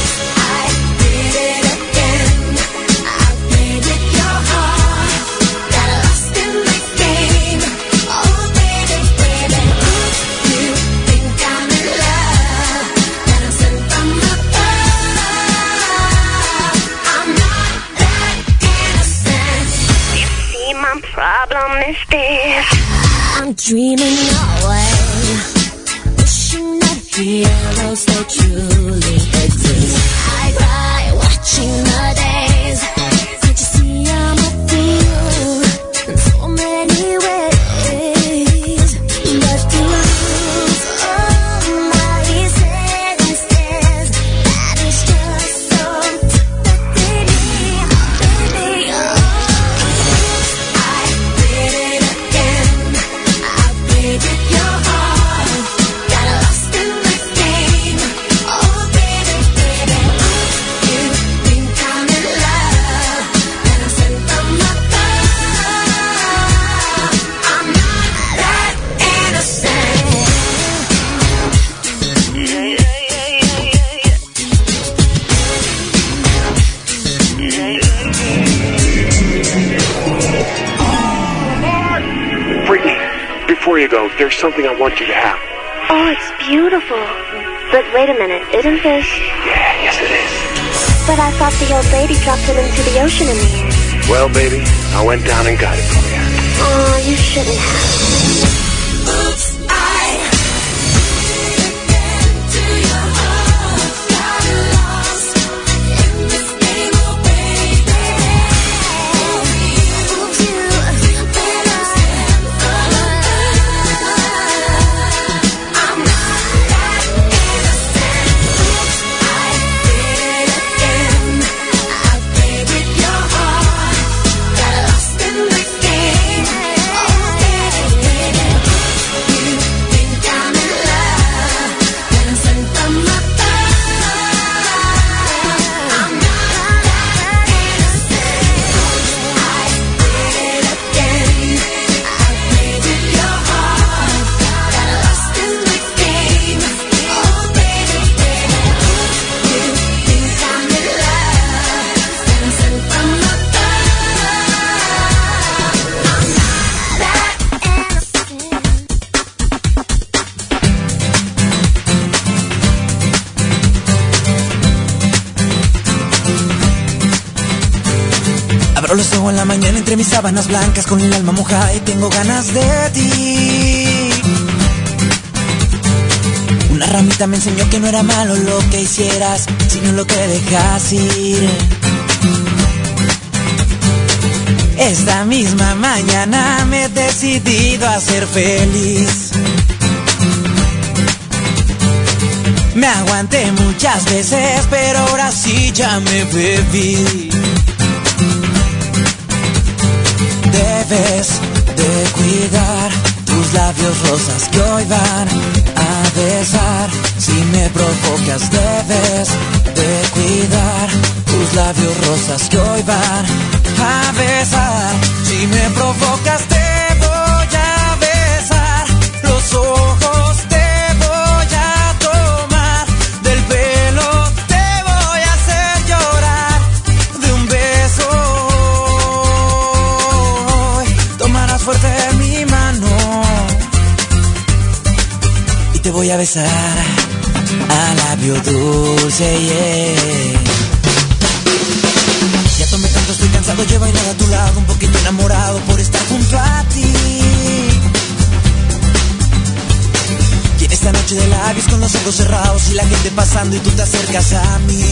Problem is this: I'm dreaming away, wishing that heroes they truly exist. I cry watching the days. Can't you see I'm a fool in so many ways? But to lose all my senses, that is just so baby, baby. Before you go, there's something I want you to have. Oh, it's beautiful. But wait a minute, isn't this... Yeah, yes it is. But I thought the old lady dropped it into the ocean in the air. Well, baby, I went down and got it for you. Oh, you shouldn't have. Abro los ojos en la mañana entre mis sábanas blancas con el alma mojada y tengo ganas de ti. Una ramita me enseñó que no era malo lo que hicieras, sino lo que dejas ir. Esta misma mañana me he decidido a ser feliz. Me aguanté muchas veces, pero ahora sí ya me bebí. Debes de cuidar tus labios rosas que hoy van a besar. Si me provocas, debes de cuidar tus labios rosas que hoy van a besar. Si me provocas, te voy a besar. Los ojos te voy a tomar. Del pelo te voy a hacer llorar. De un beso tomarás fuerte mi mano y te voy a besar a labio dulce, yeah. Ya tomé tanto, estoy cansado, llevo bailar a tu lado, un poquito enamorado por estar junto a ti. Y en esta noche de labios con los ojos cerrados y la gente pasando y tú te acercas a mí.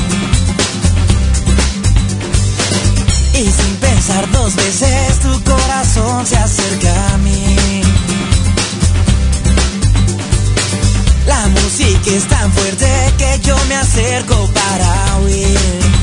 Y sin pensar dos veces tu corazón se acerca a mí. La música es tan fuerte que yo me acerco para huir.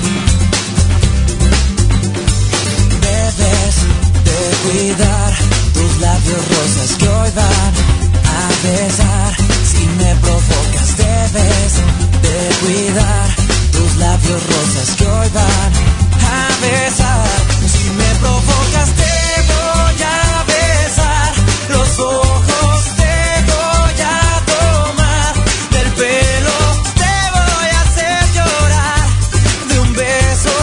Debes de cuidar tus labios rosas que hoy van a besar. Si me provocas, debes de cuidar tus labios rosas que hoy van a besar. Si me provocas, te voy a besar. Los ojos te voy a tomar. Del pelo te voy a hacer llorar. De un beso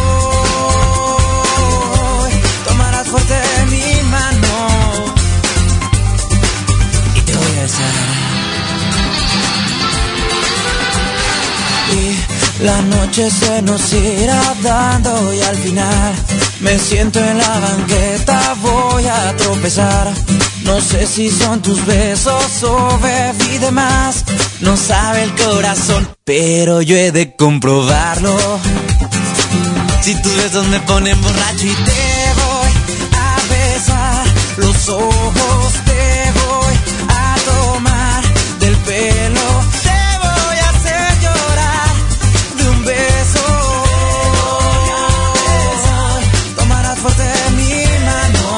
tomarás fuerte mi mano y te voy a besar. Y la noche se nos irá dando y al final me siento en la banqueta, voy a tropezar. No sé si son tus besos o bebí de más. No sabe el corazón, pero yo he de comprobarlo. Si tus besos me ponen borracho y te voy a besar. Los ojos te voy a tomar. Del pelo te voy a hacer llorar. De un beso tomarás fuerte mi mano.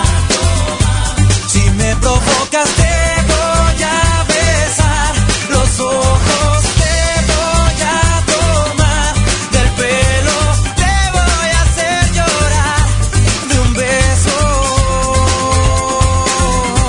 Si me provocas te voy a besar. Los ojos te voy a tomar. Del pelo te voy a hacer llorar. De un beso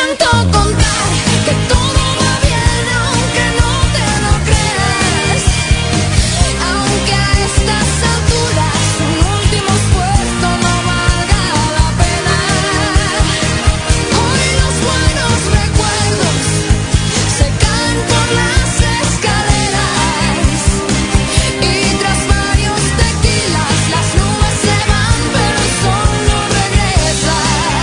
intento contar que todo va bien aunque no te lo creas, aunque a estas alturas un último esfuerzo no valga la pena. Hoy los buenos recuerdos se caen por las escaleras y tras varios tequilas las nubes se van pero el sol no regresa.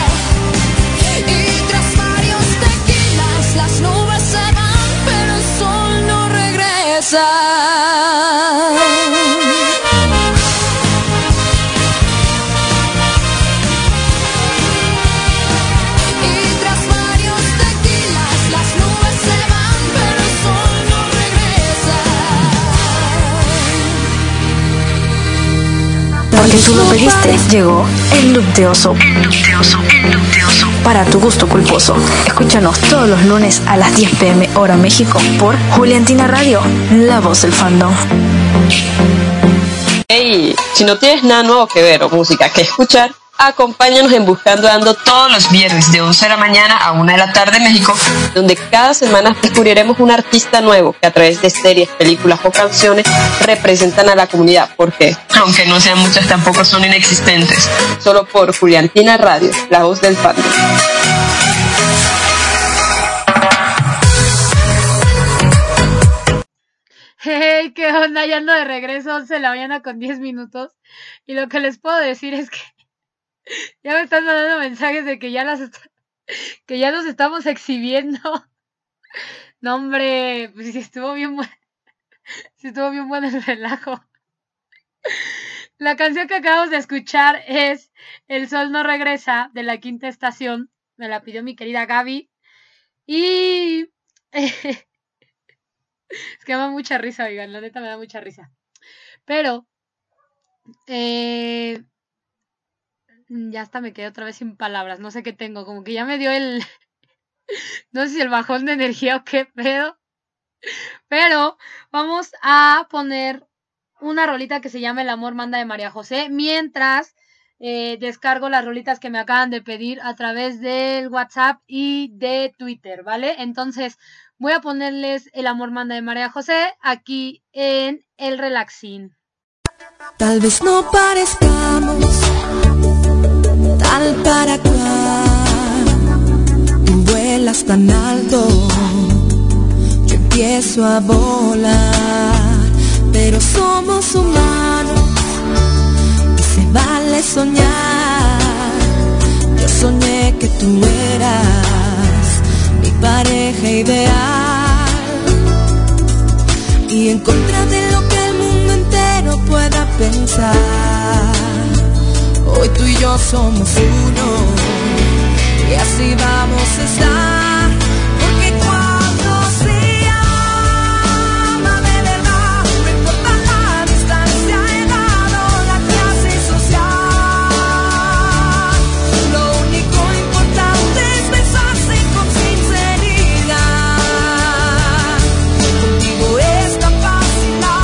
Y tras varios tequilas las nubes se van pero el sol no regresa. Y tras varios tequilas las nubes se van pero el sol no regresa. Porque tú lo pediste, llegó el look de oso. Para tu gusto culposo. Escúchanos todos los lunes a las 10 p.m. hora México por Juliantina Radio, la voz del fandom. Hey, si no tienes nada nuevo que ver o música que escuchar, acompáñanos en Buscando Ando todos los viernes de 11 de la mañana a 1 de la tarde en México, donde cada semana descubriremos un artista nuevo que a través de series, películas o canciones representan a la comunidad, porque, aunque no sean muchas, tampoco son inexistentes. Solo por Juliantina Radio, la voz del fandom. Hey, ¿qué onda? Ya ando de regreso, 11 de la mañana con 10 minutos. Y lo que les puedo decir es que ya me están mandando mensajes de que ya que ya nos estamos exhibiendo. No, hombre, pues sí estuvo bien bueno. Sí estuvo bien bueno el relajo. La canción que acabamos de escuchar es El Sol No Regresa, de La Quinta Estación. Me la pidió mi querida Gaby. Y es que me da mucha risa, oigan, la neta me da mucha risa. Pero ya hasta me quedé otra vez sin palabras. No sé qué tengo, como que ya me dio el no sé si el bajón de energía o qué pedo. Pero vamos a poner una rolita que se llama El Amor Manda de María José, mientras descargo las rolitas que me acaban de pedir a través del WhatsApp y de Twitter, ¿vale? Entonces voy a ponerles El Amor Manda de María José aquí en el Relaxing. Tal vez no parezcamos tal para cual. Tú vuelas tan alto, yo empiezo a volar, pero somos humanos y se vale soñar. Yo soñé que tú eras mi pareja ideal y en contra de lo que el mundo entero pueda pensar, hoy tú y yo somos uno y así vamos a estar, porque cuando se ama de verdad, no importa la distancia, edad o la clase social, lo único importante es besarse con sinceridad. Contigo es tan fácil la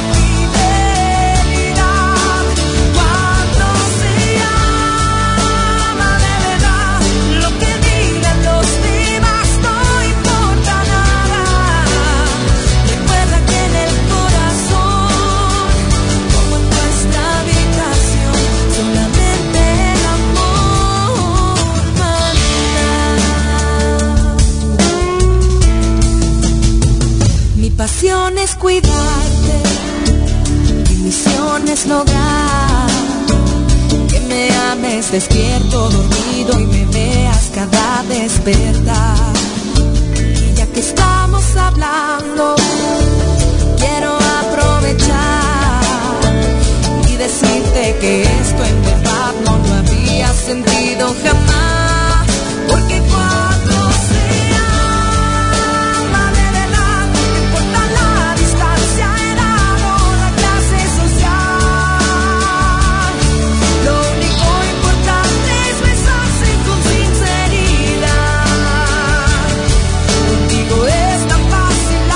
fidelidad. Cuando se ama de verdad, lo que digan los demás no importa nada. Recuerda que en el corazón, como en nuestra habitación, solamente el amor manda. Mi pasión es cuidarte, mi misión es lograr que me ames despierto, dormido y me veas cada despertar. Y ya que estamos hablando, quiero aprovechar y decirte que esto en verdad no lo había sentido jamás, porque cuando se ama de verdad, no importa la distancia, edad o la clase social, lo único importante es besarse con sinceridad. Contigo es tan fácil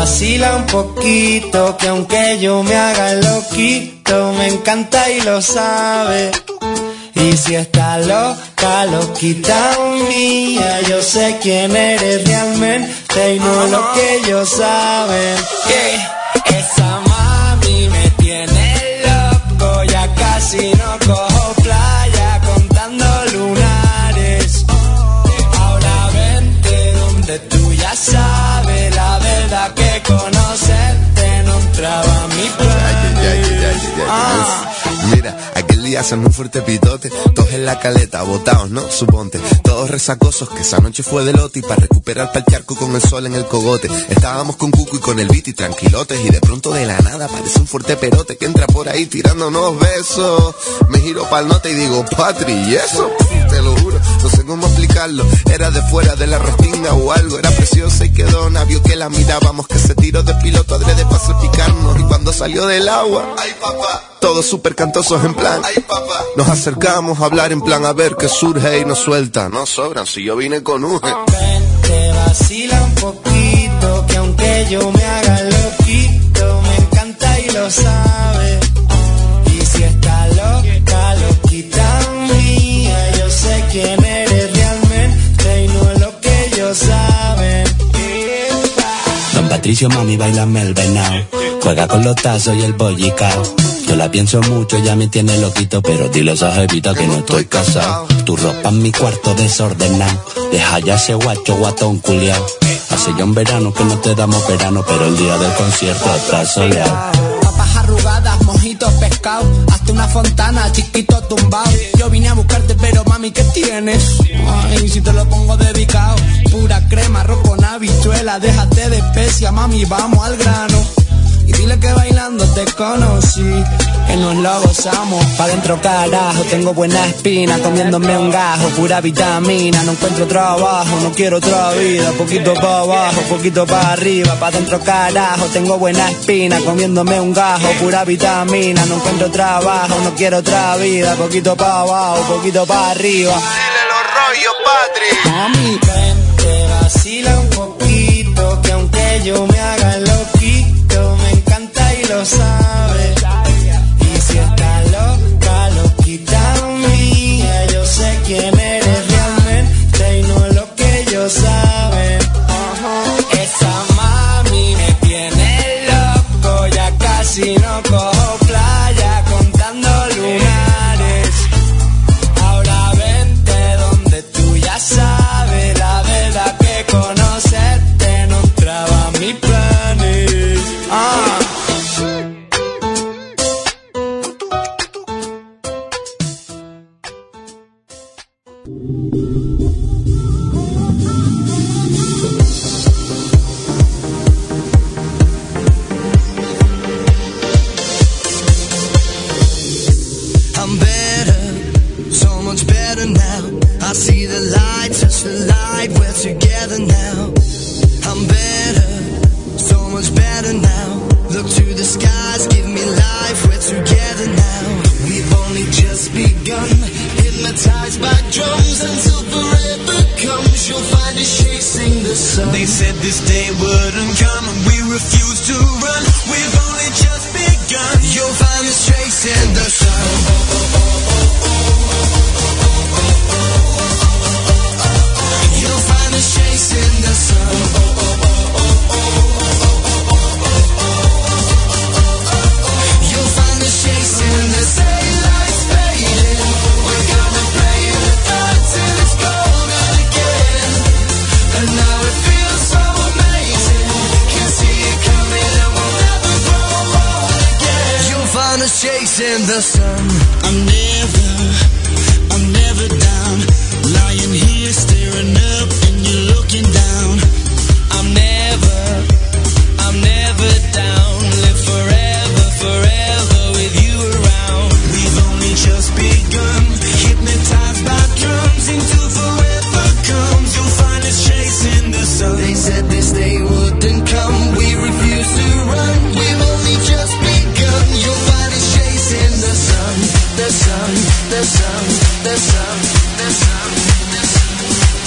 vacila un poquito, que aunque yo me haga loquito, me encanta y lo sabe. Y si está loca, loquita mía, yo sé quién eres realmente y no lo que ellos saben. Esa mami me tiene loco, ya casi no cojo playa contando lunares. Ahora vente donde tú ya sabes, la verdad que conocerte no entraba a mi plan. Mira, aquel día hacen un fuerte pitote, todos en la caleta, botados, ¿no? Suponte, todos resacosos, que esa noche fue de lote y para recuperar pa'l charco con el sol en el cogote. Estábamos con Cuco y con el beat y tranquilotes y de pronto de la nada aparece un fuerte perote que entra por ahí tirándonos besos. Me giro pa'l note y digo, Patri, ¿y eso? Te lo juro, no sé cómo explicarlo. Era de fuera de la restinga o algo, era preciosa y quedó navio que la mirábamos, que se tiró de piloto adrede para salpicarnos. Y cuando salió del agua, ay papá, todos súper cantosos en plan, ay papá. Nos acercamos a hablar en plan a ver qué surge y nos suelta. No sobran, si yo vine con Uge. Te vacila un poquito, que aunque yo me haga loquito, me encanta y lo sabe. Y si está loca, loquita mía, yo sé quién eres realmente y no lo que ellos saben. Don Patricio, mami, bailame el venao, juega con los tazos y el bollicao. Yo la pienso mucho, ya me tiene loquito, pero dile a esa jevita que no estoy casado. Tu ropa en mi cuarto desordenado, deja ya ese guacho guatón culiao. Hace ya un verano que no te damos verano, pero el día del concierto está soleado. Papas arrugadas, mojitos, pescado, hasta una fontana, chiquito tumbado. Yo vine a buscarte, pero mami, ¿qué tienes? Ay, si te lo pongo dedicado, pura crema, arroz con habichuela, déjate de especia, mami, vamos al grano. Y dile que bailando te conocí, que nos lo gozamos. Pa' dentro carajo, tengo buena espina, comiéndome un gajo, pura vitamina. No encuentro trabajo, no quiero otra vida, poquito pa' abajo, poquito pa' arriba. Pa' dentro carajo, tengo buena espina, comiéndome un gajo, pura vitamina. No encuentro trabajo, no quiero otra vida, poquito pa' abajo, poquito pa' arriba. Dile los rollos, Patri. Mami, vente, vacila un poquito, que aunque yo me haga loquito, me encanta y lo sabe. Y si está loca, loquita mía, yo sé quién eres realmente y no lo que ellos saben. Esa mami me tiene loco, ya casi no cojo playa contando lunares. Ahora vente donde tú ya sabes, la verdad que conocerte no entraba a mis planes. I'm better, so much better now. I see the light, touch the light, we're together now. I'm better, so much better now. Look to the skies, give me life, we're together now. We've only just begun, hypnotized by drums until forever comes. You'll find us chasing the sun. They said this day wouldn't come and we refuse to run. We've only just begun. You'll find us chasing the sun. You'll find us chasing the sun. You'll find us chasing the daylight's fading. We're gonna play the dark till it's golden again. And now it feels so amazing. Can see it coming and we'll never grow old again. You'll find us chasing the sun. I'm never down. Lying here staring up and you're looking down. I'm never down. Live forever, forever with you around. We've only just begun. Hypnotized by drums until forever comes. You'll find us chasing the sun. They said this day wouldn't come. We refuse to run. We've only just begun. You'll find us chasing the sun. The sun, the sun, the sun, the sun, the sun.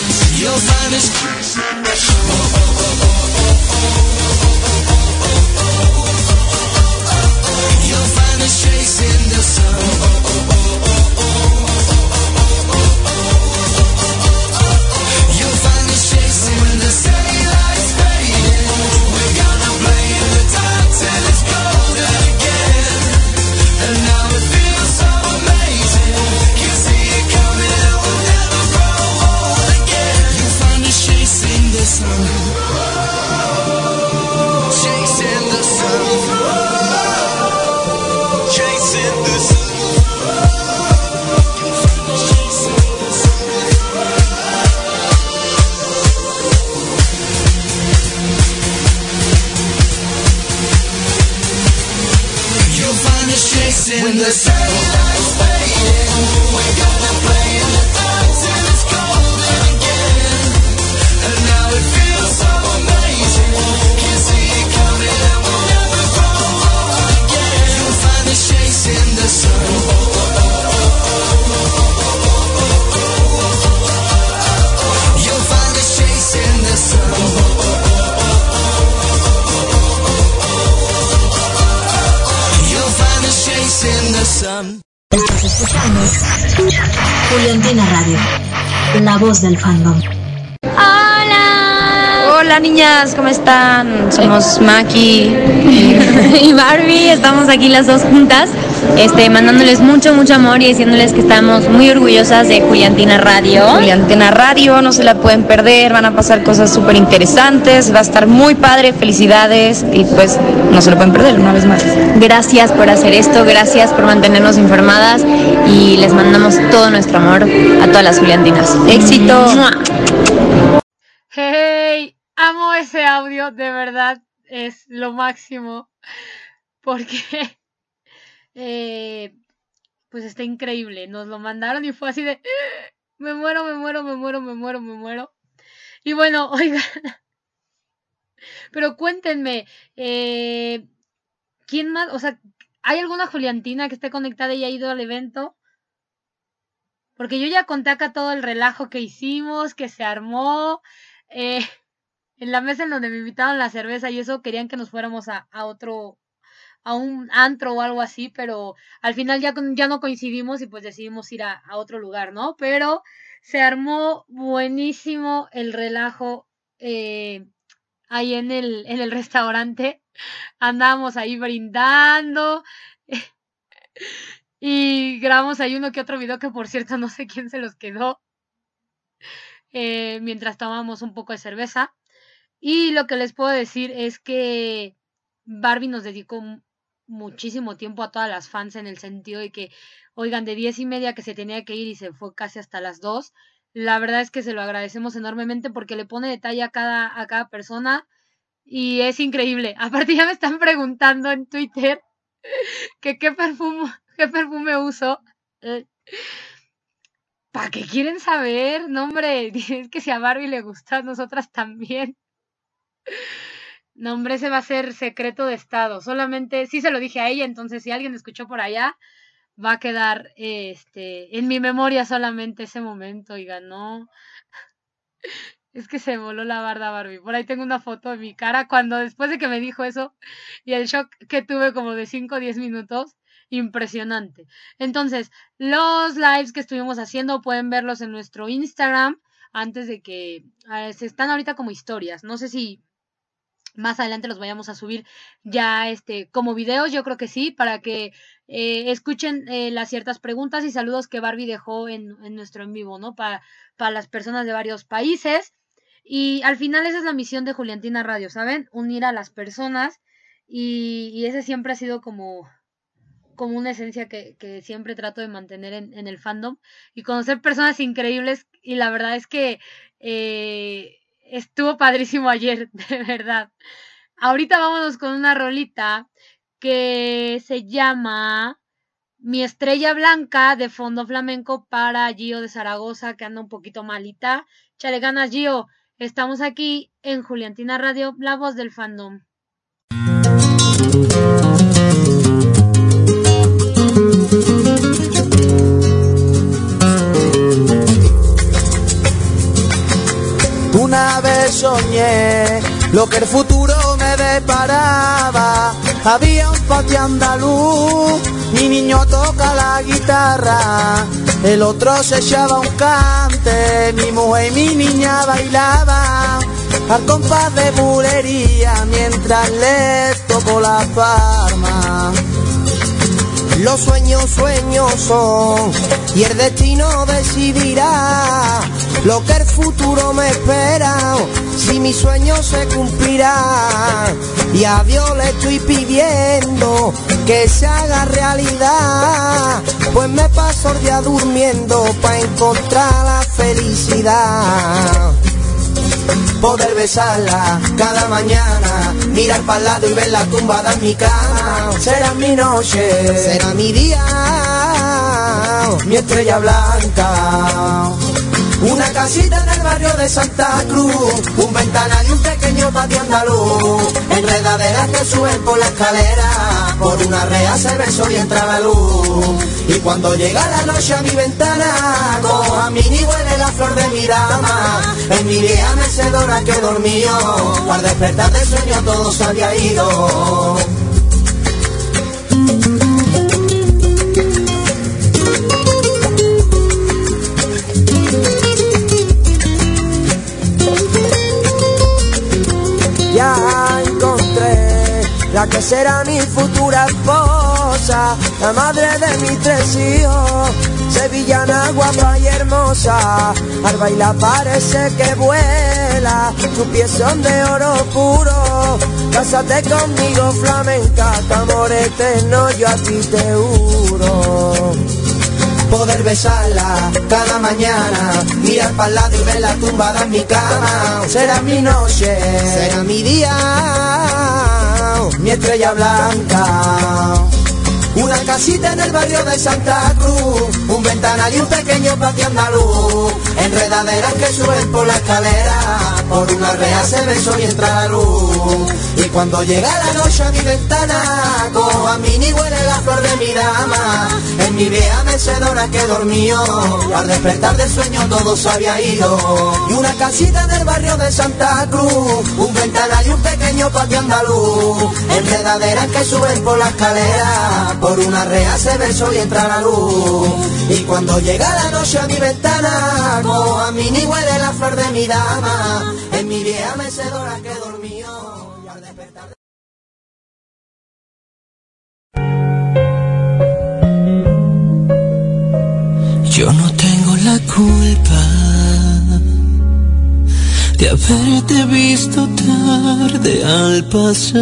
chase in the sun. Daylight's fading, we're gonna play in the dark till it's golden again. And now it feels so amazing, can't see it coming and we'll never fall again. You'll find the chase in the sun. You'll find the chase in the sun. In the sun. Estás escuchando Juliantina Radio, la voz del fandom. Hola niñas, ¿cómo están? Somos Maki y Barbie, estamos aquí las dos juntas, mandándoles mucho amor y diciéndoles que estamos muy orgullosas de Juliantina Radio. Juliantina Radio, no se la pueden perder, van a pasar cosas súper interesantes, va a estar muy padre, felicidades y pues no se lo pueden perder una vez más. Gracias por hacer esto, gracias por mantenernos informadas y les mandamos todo nuestro amor a todas las Juliantinas. ¡Éxito! ¡Hey! Amo ese audio, de verdad, es lo máximo, porque pues está increíble, nos lo mandaron y fue así de, me muero. Y bueno, oigan, pero cuéntenme, ¿quién más? O sea, ¿hay alguna Juliantina que esté conectada y ha ido al evento? Porque yo ya conté acá todo el relajo que hicimos, que se armó, en la mesa en donde me invitaron la cerveza y eso, querían que nos fuéramos a un antro o algo así, pero al final ya no coincidimos y pues decidimos ir a otro lugar, ¿no? Pero se armó buenísimo el relajo ahí en el restaurante. Andábamos ahí brindando y grabamos ahí uno que otro video que por cierto no sé quién se los quedó mientras tomábamos un poco de cerveza. Y lo que les puedo decir es que Barbie nos dedicó muchísimo tiempo a todas las fans en el sentido de que, oigan, de 10:30 que se tenía que ir y se fue casi hasta las 2. La verdad es que se lo agradecemos enormemente porque le pone detalle a cada persona y es increíble. Aparte ya me están preguntando en Twitter que qué perfume uso. ¿Para qué quieren saber? No, hombre, es que si a Barbie le gusta, a nosotras también. No, hombre, ese va a ser secreto de estado. Solamente, sí se lo dije a ella, entonces si alguien escuchó por allá, va a quedar en mi memoria solamente ese momento, oigan, no. Es que se voló la barda Barbie. Por ahí tengo una foto de mi cara cuando después de que me dijo eso y el shock que tuve como de 5 o 10 minutos. Impresionante. Entonces, los lives que estuvimos haciendo pueden verlos en nuestro Instagram antes de que se están ahorita como historias. No sé si más adelante los vayamos a subir ya como videos, yo creo que sí, para que escuchen las ciertas preguntas y saludos que Barbie dejó en nuestro en vivo, ¿no? Para las personas de varios países. Y al final esa es la misión de Juliantina Radio, ¿saben? Unir a las personas y ese siempre ha sido como una esencia que siempre trato de mantener en el fandom y conocer personas increíbles y la verdad es que estuvo padrísimo ayer, de verdad. Ahorita vámonos con una rolita que se llama Mi Estrella Blanca de Fondo Flamenco para Gio de Zaragoza, que anda un poquito malita. Chale ganas, Gio. Estamos aquí en Juliantina Radio, la voz del fandom. Una vez soñé lo que el futuro me deparaba. Había un patio andaluz, mi niño toca la guitarra, el otro se echaba un cante, mi mujer y mi niña bailaban al compás de bulería mientras les tocó la palma. Los sueños son y el destino decidirá lo que el futuro me espera, si mi sueño se cumplirá. Y a Dios le estoy pidiendo que se haga realidad, pues me paso el día durmiendo para encontrar la felicidad. Poder besarla cada mañana, mirar para el lado y verla tumbada en mi cama. Será mi noche, será mi día, mi estrella blanca. Una casita en el barrio de Santa Cruz, un ventanal y un pequeño patio andaluz, enredaderas que suben por la escalera, por una rea se besó y entra la luz. Y cuando llega la noche a mi ventana, cojo a Mini y huele la flor de mi dama. En mi vieja mecedora que dormió, al despertar del sueño todo se había ido. Ya encontré la que será mi futura esposa, la madre de mis 3 hijos, sevillana, guapa y hermosa. Al bailar parece que vuela, tus pies son de oro puro. Cásate conmigo, flamenca, que amor eterno yo a ti te juro. Poder besarla cada mañana, mirar para el lado y verla tumbada en mi cama. Será mi noche, será mi día, mi estrella blanca. Una casita en el barrio de Santa Cruz, un ventanal y un pequeño patio andaluz, enredaderas que suben por la escalera, por una rea se besó y entra la luz. Y cuando llega la noche a mi ventana, cojo a Mini y huele la flor de mi dama. En mi vieja mecedora que dormió, al despertar del sueño todo se había ido. Y una casita en el barrio de Santa Cruz, un ventanal y un pequeño patio andaluz, enredaderas que suben por la escalera, por una rea se besó y entra la luz. Y cuando llega la noche a mi ventana, cojo a Mini y huele la flor de mi dama. En mi vieja mecedora que dormió, y al despertar yo no tengo la culpa de haberte visto tarde al pasar,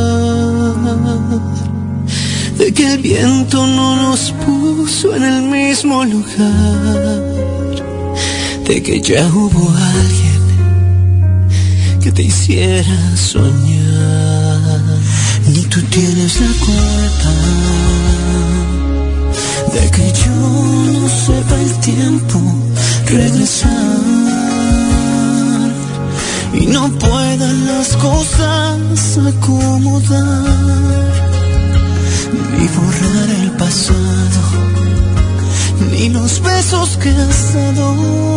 de que el viento no nos puso en el mismo lugar, de que ya hubo alguien que te hiciera soñar. Ni tú tienes la culpa de que yo no sepa el tiempo regresar y no puedan las cosas acomodar, ni borrar el pasado, ni los besos que has dado.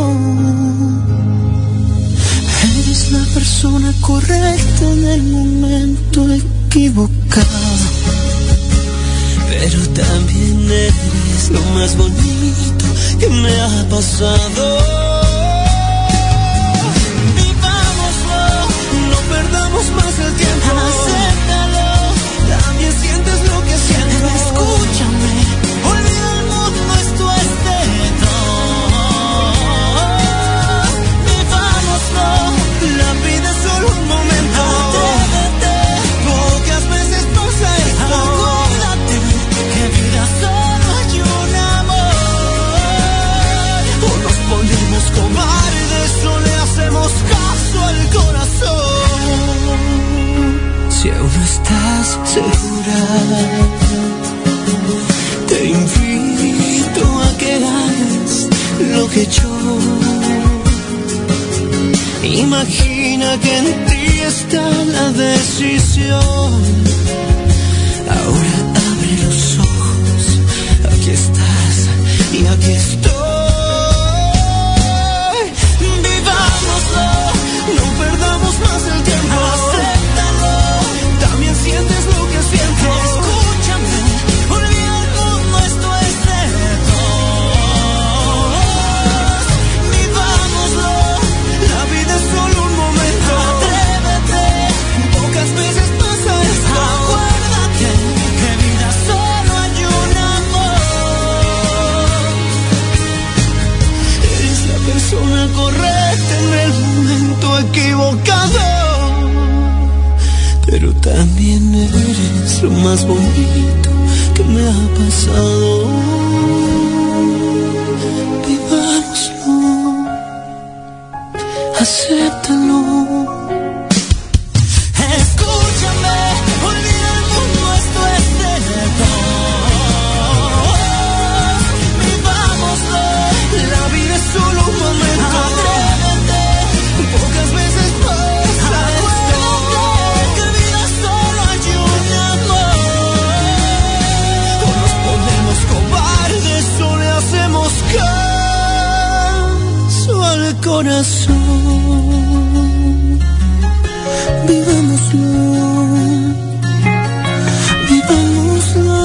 Eres la persona correcta en el momento equivocado, pero también eres lo más bonito que me ha pasado. Vivámoslo, no perdamos más el tiempo. Acéptalo, también sientes lo que siento. Escúchame, olvida el mundo, esto es de dos. Vivámoslo, la vida es solo un momento. Atrévete, pocas veces pasa esto. Acuérdate que vida solo hay un amor. O nos ponemos cobardes o le hacemos caso al corazón. Si aún no estás segura, te invito a que hagas lo que yo. Imagina que en ti está la decisión. Ahora abre los ojos, aquí estás y aquí estoy. Vivámoslo, no perdamos más el tiempo. Acéptalo, también sientes lo que siento. Escúchame, olvida el mundo, esto es de dos. Vivámoslo, la vida es solo un momento. Atrévete, pocas veces pasa esto. Acuérdate que vida solo hay un amor. Eres la persona correcta en el momento equivocado, pero también eres lo más bonito que me ha pasado. Vivámoslo, acéptalo. Escúchame, olvida el mundo, esto es cierto. Vivámoslo, la vida es solo un momento. Atrévete, pocas veces pasa esto. Que vida solo hay un amor. O nos ponemos cobardes o le hacemos caso al corazón. Vivámoslo, vivámoslo.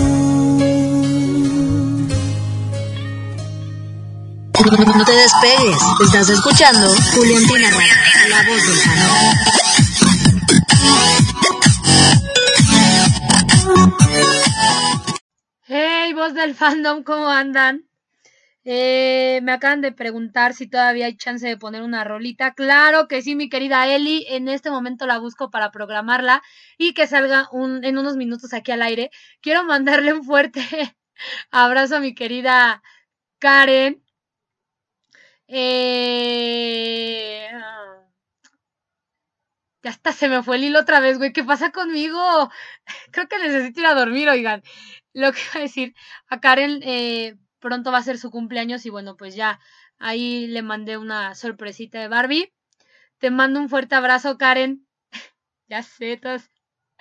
No te despegues, estás escuchando Juliantina Radio, la voz del fandom. Hey, voz del fandom, ¿cómo andan? Me acaban de preguntar si todavía hay chance de poner una rolita. Claro que sí, mi querida Eli. En este momento la busco para programarla y que salga en unos minutos aquí al aire. Quiero mandarle un fuerte abrazo a mi querida Karen. Ya hasta se me fue el hilo otra vez, güey. ¿Qué pasa conmigo? Creo que necesito ir a dormir, oigan. Lo que iba a decir, a Karen pronto va a ser su cumpleaños y bueno, pues ya ahí le mandé una sorpresita de Barbie. Te mando un fuerte abrazo, Karen. Ya sé, todos.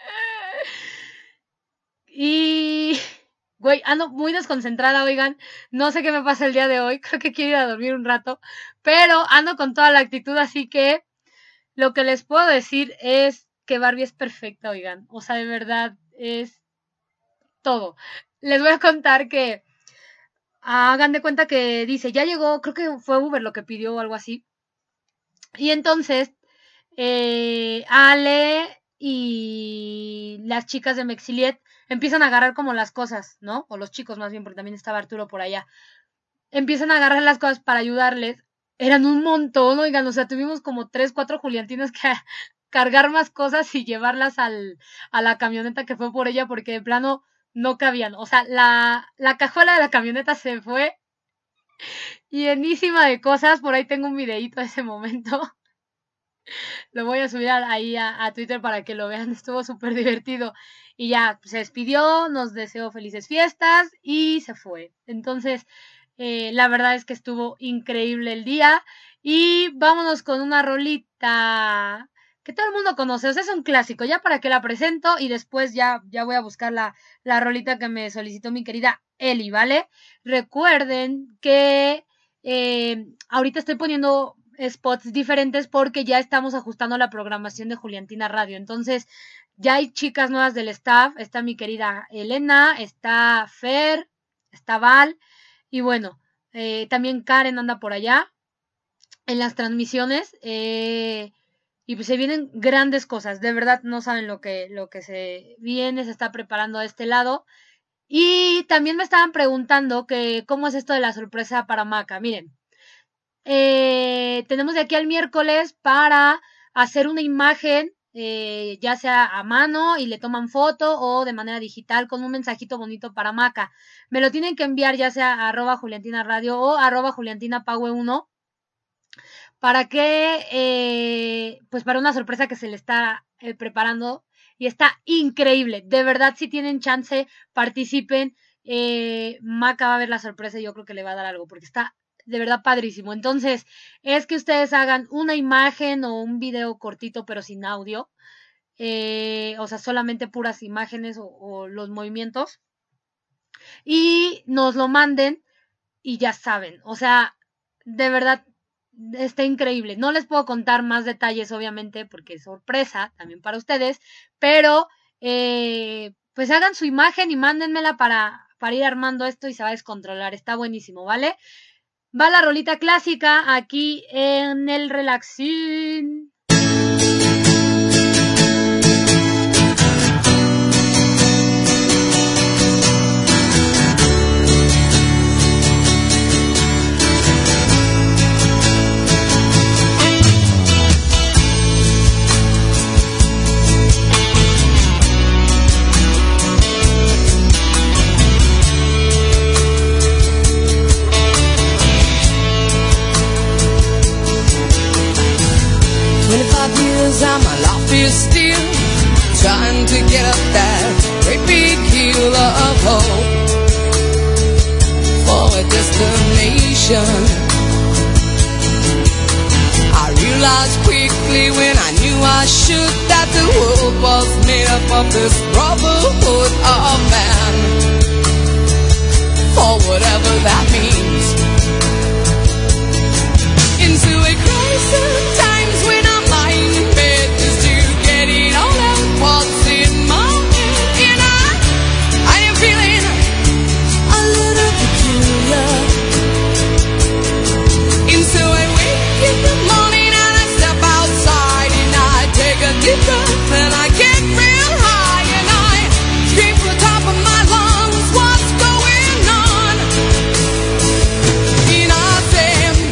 Y... güey, ando muy desconcentrada, oigan. No sé qué me pasa el día de hoy. Creo que quiero ir a dormir un rato. Pero ando con toda la actitud, así que lo que les puedo decir es que Barbie es perfecta, oigan. O sea, de verdad, es todo. Les voy a contar que hagan de cuenta que dice, ya llegó, creo que fue Uber lo que pidió o algo así. Y entonces, Ale y las chicas de Mexiliet empiezan a agarrar como las cosas, ¿no? O los chicos más bien, porque también estaba Arturo por allá. Empiezan a agarrar las cosas para ayudarles. Eran un montón, oigan, o sea, tuvimos como 3, 4 Juliantinas que cargar más cosas y llevarlas a la camioneta que fue por ella, porque de plano no cabían. O sea, la cajuela de la camioneta se fue llenísima de cosas. Por ahí tengo un videíto de ese momento. Lo voy a subir ahí a Twitter para que lo vean. Estuvo súper divertido. Y ya se despidió, nos deseó felices fiestas y se fue. Entonces, la verdad es que estuvo increíble el día. Y vámonos con una rolita que todo el mundo conoce. O sea, es un clásico. Ya para que la presento y después ya voy a buscar la rolita que me solicitó mi querida Eli, ¿vale? Recuerden que ahorita estoy poniendo spots diferentes porque ya estamos ajustando la programación de Juliantina Radio. Entonces, ya hay chicas nuevas del staff. Está mi querida Elena, está Fer, está Val. Y bueno, también Karen anda por allá en las transmisiones. Y pues se vienen grandes cosas. De verdad no saben lo que se viene, se está preparando a este lado. Y también me estaban preguntando que cómo es esto de la sorpresa para Maca. Miren, tenemos de aquí al miércoles para hacer una imagen, ya sea a mano y le toman foto o de manera digital con un mensajito bonito para Maca. Me lo tienen que enviar ya sea a @JuliantinaRadio o @JuliantinaPaue1 para que, pues para una sorpresa que se le está preparando y está increíble. De verdad, si tienen chance, participen. Maca va a ver la sorpresa y yo creo que le va a dar algo porque está de verdad padrísimo. Entonces, es que ustedes hagan una imagen o un video cortito pero sin audio. O sea, solamente puras imágenes o los movimientos. Y nos lo manden y ya saben. O sea, de verdad, está increíble. No les puedo contar más detalles, obviamente, porque es sorpresa también para ustedes. Pero, pues hagan su imagen y mándenmela para ir armando esto y se va a descontrolar. Está buenísimo, ¿vale? Va la rolita clásica aquí en el Relaxín. trying to get up that great big hill of hope for a destination. I realized quickly when I knew I should that the world was made up of this brotherhood of man, for whatever that means. Into a crisis times when I'm lying in bed just to get it all out what's in my head. And I am feeling a little peculiar. And so I wake in the morning and I step outside and I take a deep breath and I get real high and I scream from the top of my lungs, what's going on? And I say,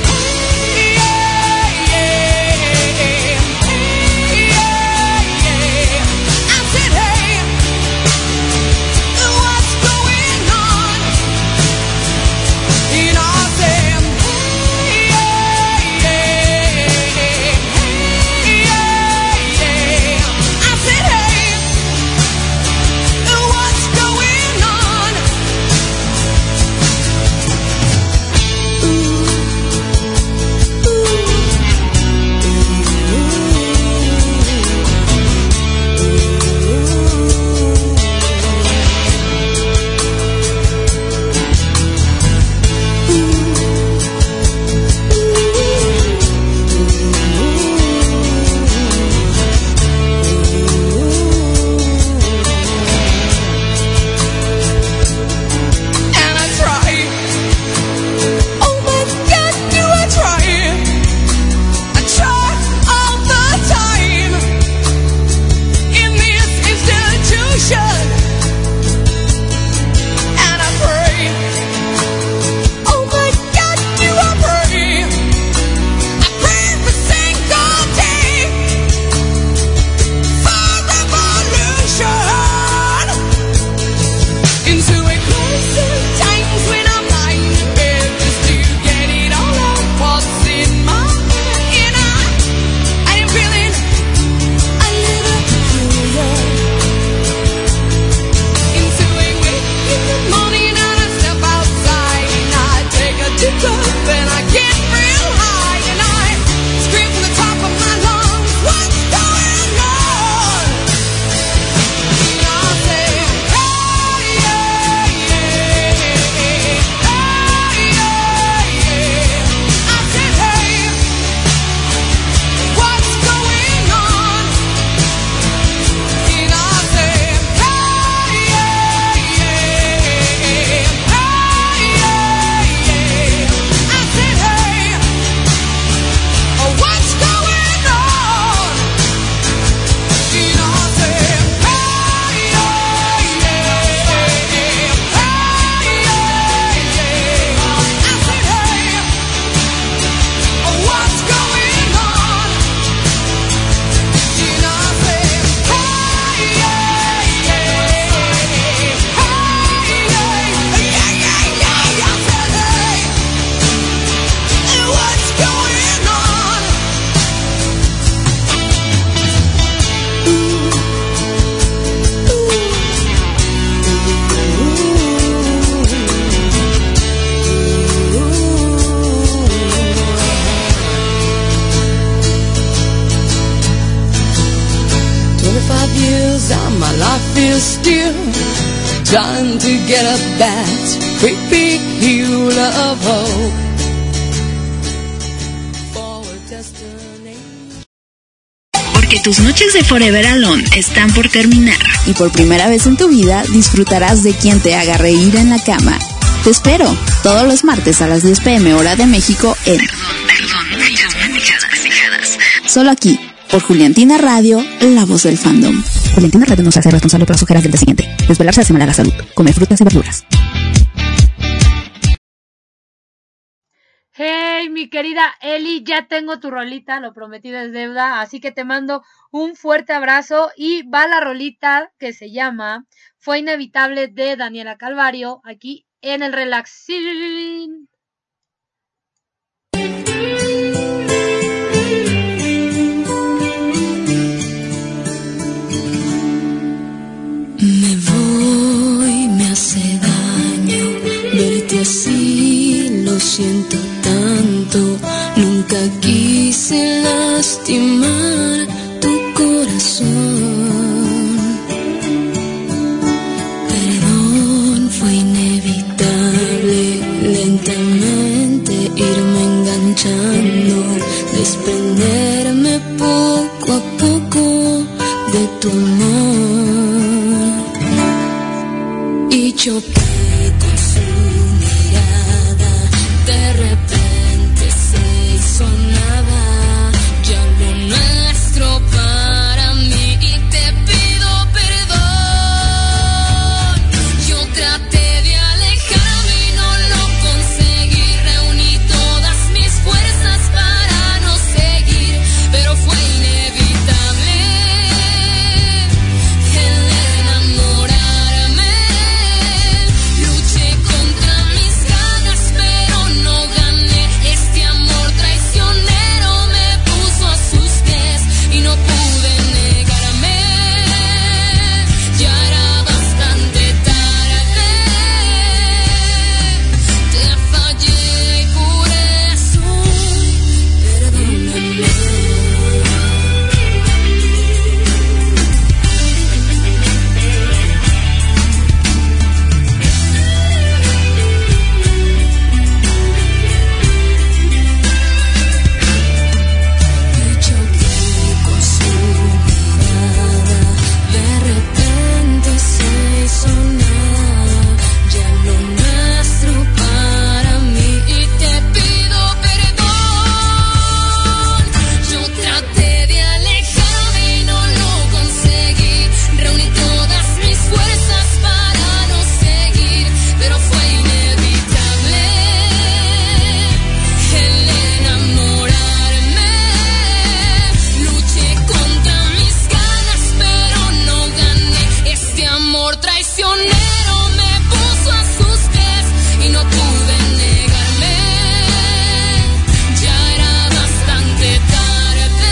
trying to get up that great big hill of hope for a destination. Porque tus noches de Forever Alone están por terminar. Y por primera vez en tu vida disfrutarás de quien te haga reír en la cama. Te espero todos los martes a las 10 p.m. hora de México en... Solo aquí, por Juliantina Radio, la voz del fandom. Juliantina Radio no se hace responsable por las ojeras del día siguiente. Desvelarse hace mal a la salud. Come frutas y verduras. Hey, mi querida Eli, ya tengo tu rolita, lo prometido es deuda, así que te mando un fuerte abrazo y va la rolita que se llama Fue Inevitable de Daniela Calvario, aquí en el Relaxing. hace daño verte así, lo siento tanto. Nunca quise lastimar tu corazón. Perdón, fue inevitable lentamente irme enganchando, desprenderme poco a poco de tu amor. Y choqué con su mirada, de repente se hizo nada, ya lo nuestro para mí, y te pido perdón. Yo traté de alejarme y no lo conseguí, reuní todas mis fuerzas para no seguir, pero fue inevitable el enamorarme. Luché contra mis ganas, pero no gané. Este amor traicionero me puso a sus pies y no pude negarme. Ya era bastante tarde. Te fallé y por eso perdóname. Choqué con su mirada, de repente se hizo nada, ya lo nuestro para mí, y te pido perdón. Yo traté de alejarme y no lo conseguí, reuní todas mis fuerzas para no seguir, pero fue inevitable el enamorarme. Luché contra mis ganas, pero no gané. Este amor traicionero me puso a sus pies y no pude negarme. Ya era bastante tarde.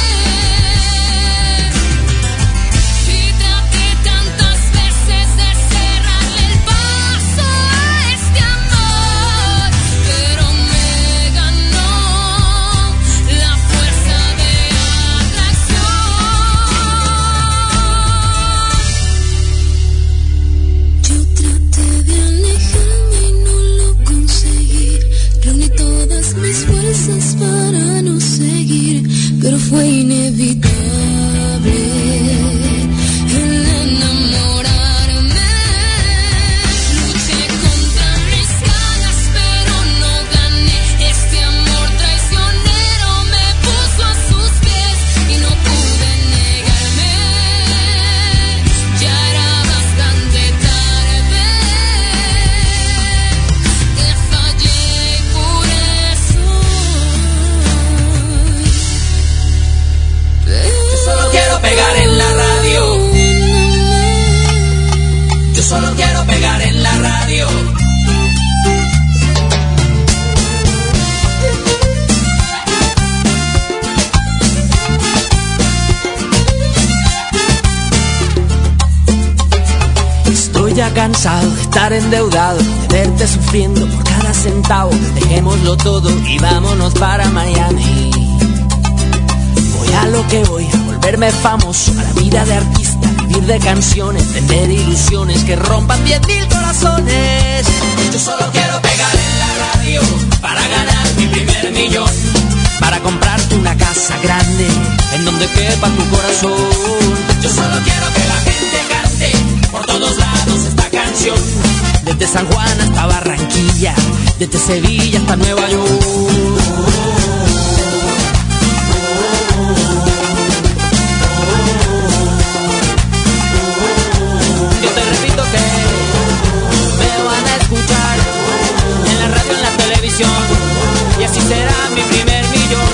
Y traté tantas veces de cerrarle el paso a este amor, pero me ganó la fuerza de atracción. Yo traté de alejarme y no lo conseguí, reuní todas mis fuerzas para no seguir, pero fue inevitable el enamorarme. Luché contra mis ganas, pero no gané. Este amor traicionero me puso a sus pies y no pude negarme. Ya era bastante tarde. Te fallé y por eso. Yo solo quiero pegar en la radio. Yo solo quiero pegar en la radio. Estoy ya cansado de estar endeudado, de verte sufriendo por cada centavo. Dejémoslo todo y vámonos para Miami. Voy a lo que voy, a volverme famoso, a la vida de artista, vivir de canciones, tener ilusiones que rompan 10.000 corazones. Yo solo quiero pegar en la radio para ganar mi primer millón, Para comprarte una casa grande en donde quepa tu corazón. Yo solo quiero que la gente cante por todos lados esta canción. Desde San Juan hasta Barranquilla, desde Sevilla hasta Nueva York. Yo te repito que me van a escuchar en la radio, en la televisión, y así será mi primer millón.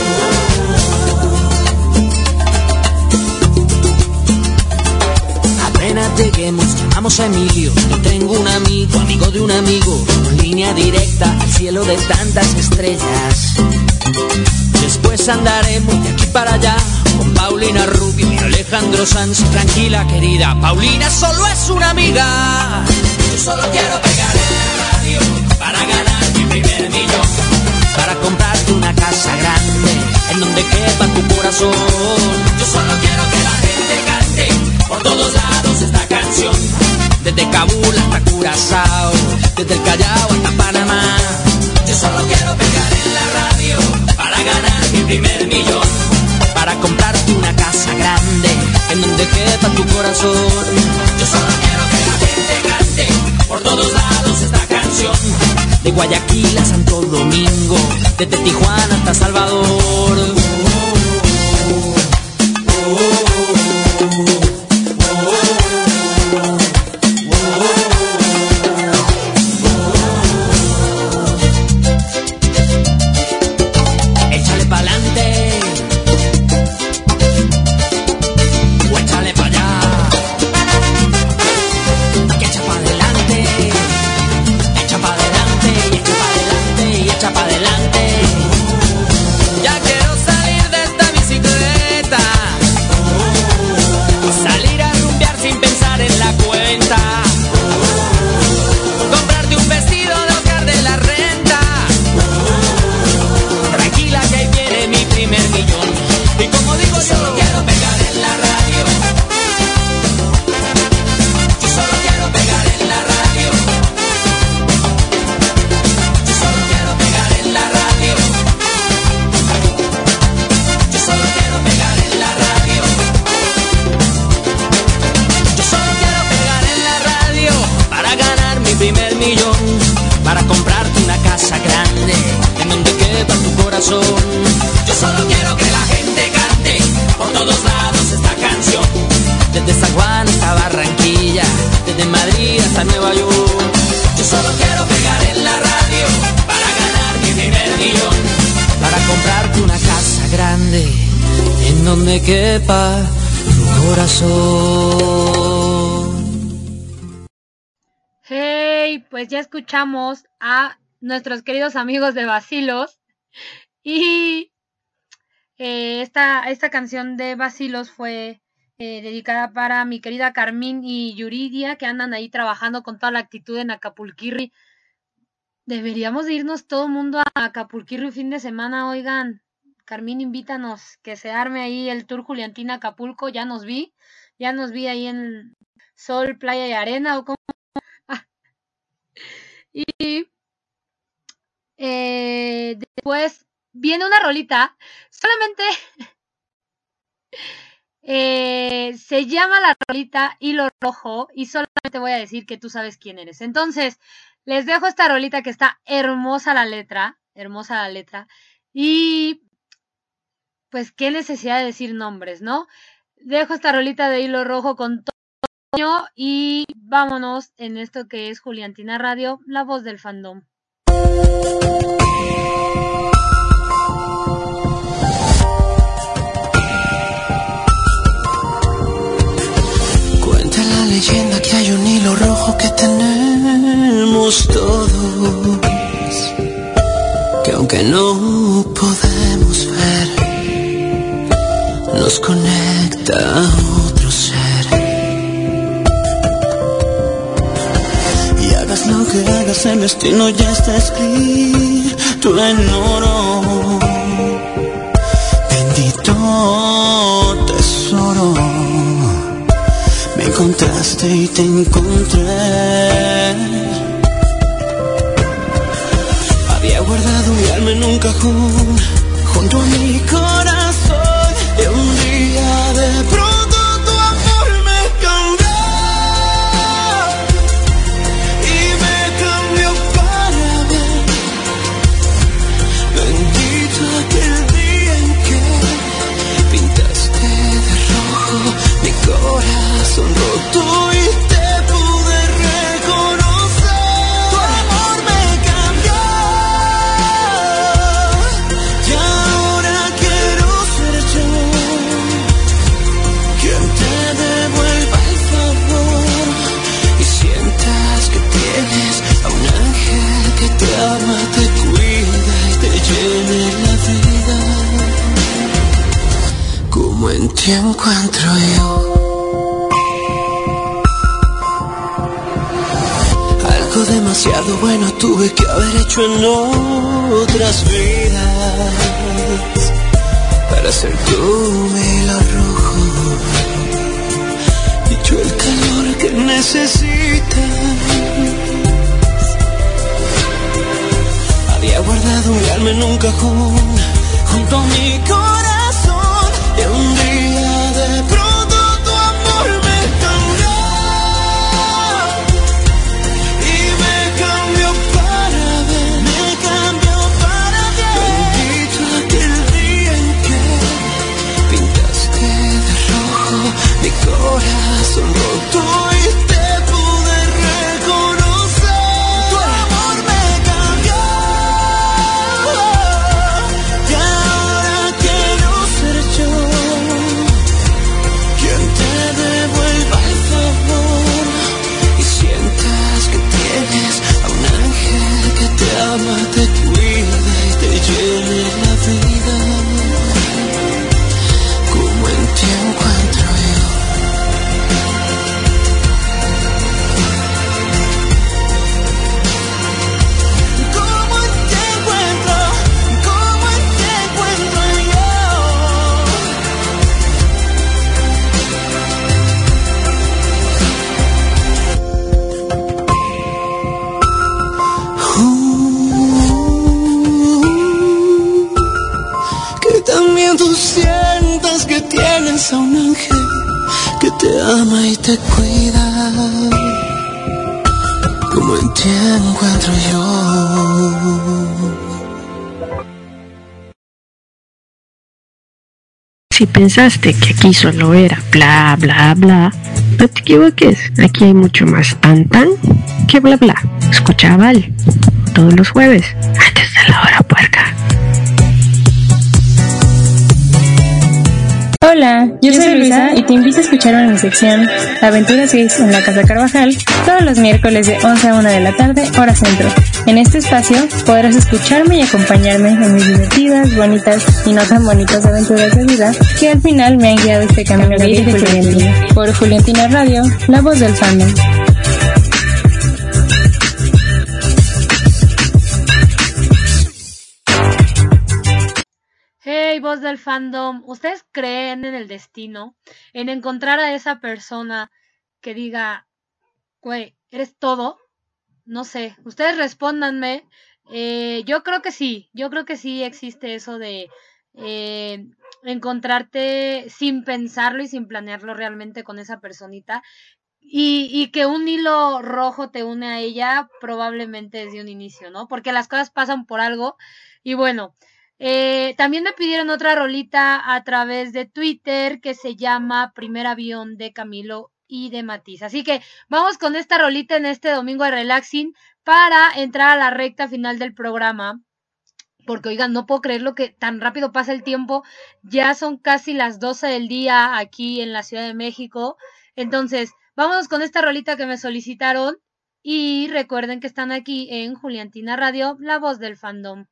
Apenas lleguemos, llamamos a Emilio. Yo tengo un amigo, amigo de un amigo, línea directa al cielo de tantas estrellas. Después andaremos de aquí para allá con Paulina Rubio y Alejandro Sanz. Tranquila, querida, Paulina solo es una amiga. Yo solo quiero pegar en la radio para ganar mi primer millón, para comprarte una casa grande en donde quepa tu corazón. Yo solo quiero que la gente cante por todos lados esta canción, desde Kabul hasta Curazao, desde el Callao hasta Panamá. Yo solo quiero pegar en la radio para ganar mi primer millón, para comprarte una casa grande en donde quepa tu corazón. Yo solo quiero que la gente cante por todos lados esta canción, de Guayaquil a Santo Domingo, desde Tijuana hasta Salvador. Échale pa'lante, o échale pa' allá, que echa pa' adelante, echa pa' adelante, y echa pa' adelante, y echa pa' adelante. Ya quiero salir de esta bicicleta, salir a rumbear sin pensar en la cuenta, comprarte un vestido de Oscar de la Renta. Tranquila que ahí viene mi primer millón, y como digo yo, solo quiero pegar en la radio. Yo solo quiero pegar en la radio. Yo solo quiero pegar en la radio. Yo solo quiero pegar en la radio. Yo solo quiero pegar en la radio para ganar mi primer millón, para comprarte una casa grande en donde quepa tu corazón. Yo solo quiero que la gente cante por todos lados esta canción, desde San Juan hasta Barranquilla, desde Madrid hasta Nueva York. Yo solo quiero pegar en la radio para ganar mi primer millón, para comprarte una casa grande en donde quepa tu corazón. Hey, pues ya escuchamos a nuestros queridos amigos de Bacilos y esta canción de Bacilos fue dedicada para mi querida Carmín y Yuridia, que andan ahí trabajando con toda la actitud en Acapulquirri. Deberíamos de irnos todo el mundo a Acapulquirri fin de semana, oigan. Carmín, invítanos, que se arme ahí el tour Juliantina Acapulco. Ya nos vi ahí en Sol, Playa y Arena, o como. Y después viene una rolita, solamente se llama la rolita Hilo Rojo, y solamente voy a decir que tú sabes quién eres. Entonces, les dejo esta rolita que está hermosa la letra, y pues qué necesidad de decir nombres, ¿no? Dejo esta rolita de Hilo Rojo con Toño y vámonos en esto que es Juliantina Radio, la voz del fandom. Cuenta la leyenda que hay un hilo rojo que tenemos todos, que aunque no podemos ver, nos conecta a otro ser. Y hagas lo que hagas, el destino ya está escrito en oro. Bendito tesoro, me encontraste y te encontré. Había guardado mi alma en un cajón junto a mi corazón, y un día de pronto tu amor me cambió, y me cambió para bien. Bendito aquel día en que pintaste de rojo mi corazón roto y te pude reconocer. Tu amor me cambió, y ahora quiero ser yo quien te devuelva el favor y sientas que tienes a un ángel que te ama, te cuida y te llene la vida, como en ti encuentro yo. Demasiado bueno tuve que haber hecho en otras vidas para ser tu hilo rojo y yo el calor que necesitas. Había guardado mi alma en un cajón junto a mi corazón y un día de pronto tu amor me cambió y me cambió para bien, me cambió para bien. Bendito aquel día en que pintaste de rojo mi corazón roto y te pude reconocer. Tu amor me cambió y ahora quiero ser yo quien te devuelva el favor y sientas que tienes a un ángel que te ama, te cuida y te llene la vida. Como en ti encuentro yo. Como en ti encuentro, como en ti encuentro yo. Que también tú sientas que tienes a un ángel que te ama y te cuida, como en ti encuentro yo. Si pensaste que aquí solo era bla bla bla, no te equivoques, aquí hay mucho más tan tan que bla bla. Escucha a Val todos los jueves antes de la hora puerca. Hola, yo soy Luisa y te invito a escucharme en mi sección Aventuras Gays en la Casa Carvajal todos los miércoles de 11 a 1 de la tarde, hora centro. En este espacio podrás escucharme y acompañarme en mis divertidas, bonitas y no tan bonitas aventuras de vida que al final me han guiado este camino gay de Juliantina. Por Juliantina Radio, la voz del fandom. Hey, voz del fandom, ¿ustedes creen en el destino? En encontrar a esa persona que diga, güey, ¿eres todo? No sé, ustedes respóndanme. Yo creo que sí existe eso de encontrarte sin pensarlo y sin planearlo realmente con esa personita. Y que un hilo rojo te une a ella probablemente desde un inicio, ¿no? Porque las cosas pasan por algo. Y bueno, también me pidieron otra rolita a través de Twitter que se llama Primer Avión de Camilo y de Matiz. Así que vamos con esta rolita en este domingo de relaxing para entrar a la recta final del programa. Porque oigan, no puedo creer lo que tan rápido pasa el tiempo. Ya son casi las 12 del día aquí en la Ciudad de México. Entonces, vámonos con esta rolita que me solicitaron. Y recuerden que están aquí en Juliantina Radio, la voz del fandom.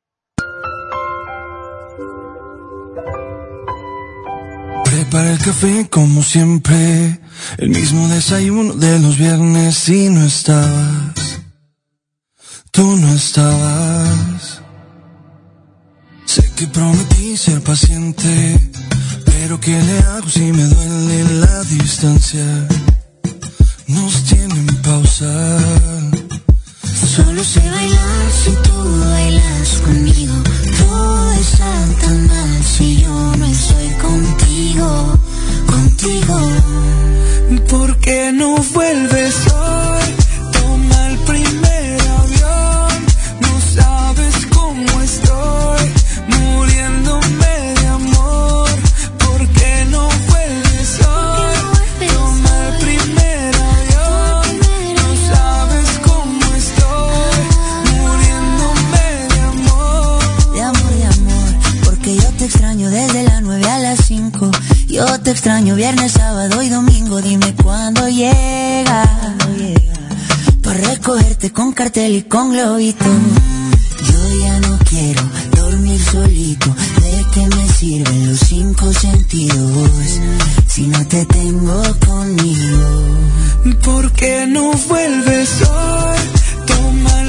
Prepara el café como siempre, el mismo desayuno de los viernes y no estabas, tú no estabas. Sé que prometí ser paciente, pero ¿qué le hago si me duele la distancia? Nos tienen pausa. Solo sé bailar si tú bailas conmigo. Todo está tan mal si yo no estoy contigo, contigo. ¿Por qué no vuelves hoy? Toma el primer avión. No sabes cómo estoy, muriéndome de amor. ¿Por qué no vuelves hoy? Toma el primer avión. No sabes cómo estoy, muriéndome de amor. De amor, porque yo te extraño desde las 9 a las 5. Yo te extraño viernes, sábado y domingo. Dime cuándo llega para recogerte con cartel y con globito. Yo ya no quiero dormir solito. ¿De qué me sirven los 5 sentidos si no te tengo conmigo? ¿Por qué no vuelves hoy? Toma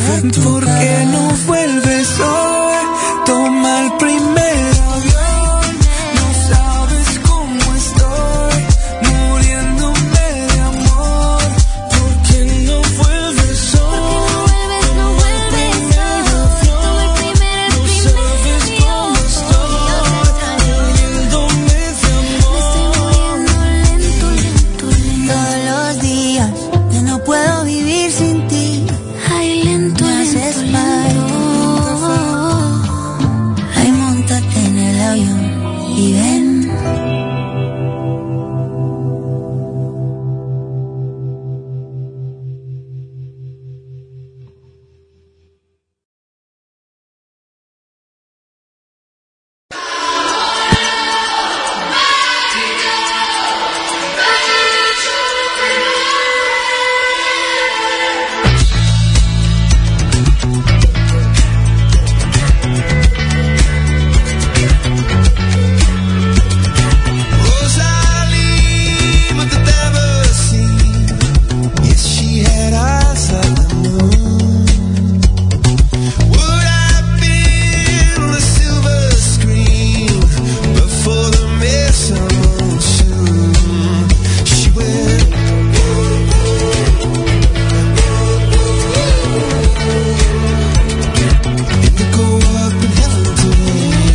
¿Por qué no vuelves hoy? Toma el primer avión. No sabes cómo estoy, muriéndome de amor. ¿Por qué no vuelves hoy? No vuelves, toma el primer avión. No sabes cómo estoy, muriéndome de amor. Me estoy muriendo lento, lento, lento. Todos los días ya no puedo vivir sin ti. Ay, lento, me haces mal. Ay, móntate en el avión y ven. Rosalie, what the devil seen? Yes, she had eyes like the moon. Would have been on a silver screen before the misunderstood. She went. Indigo up in heaven today.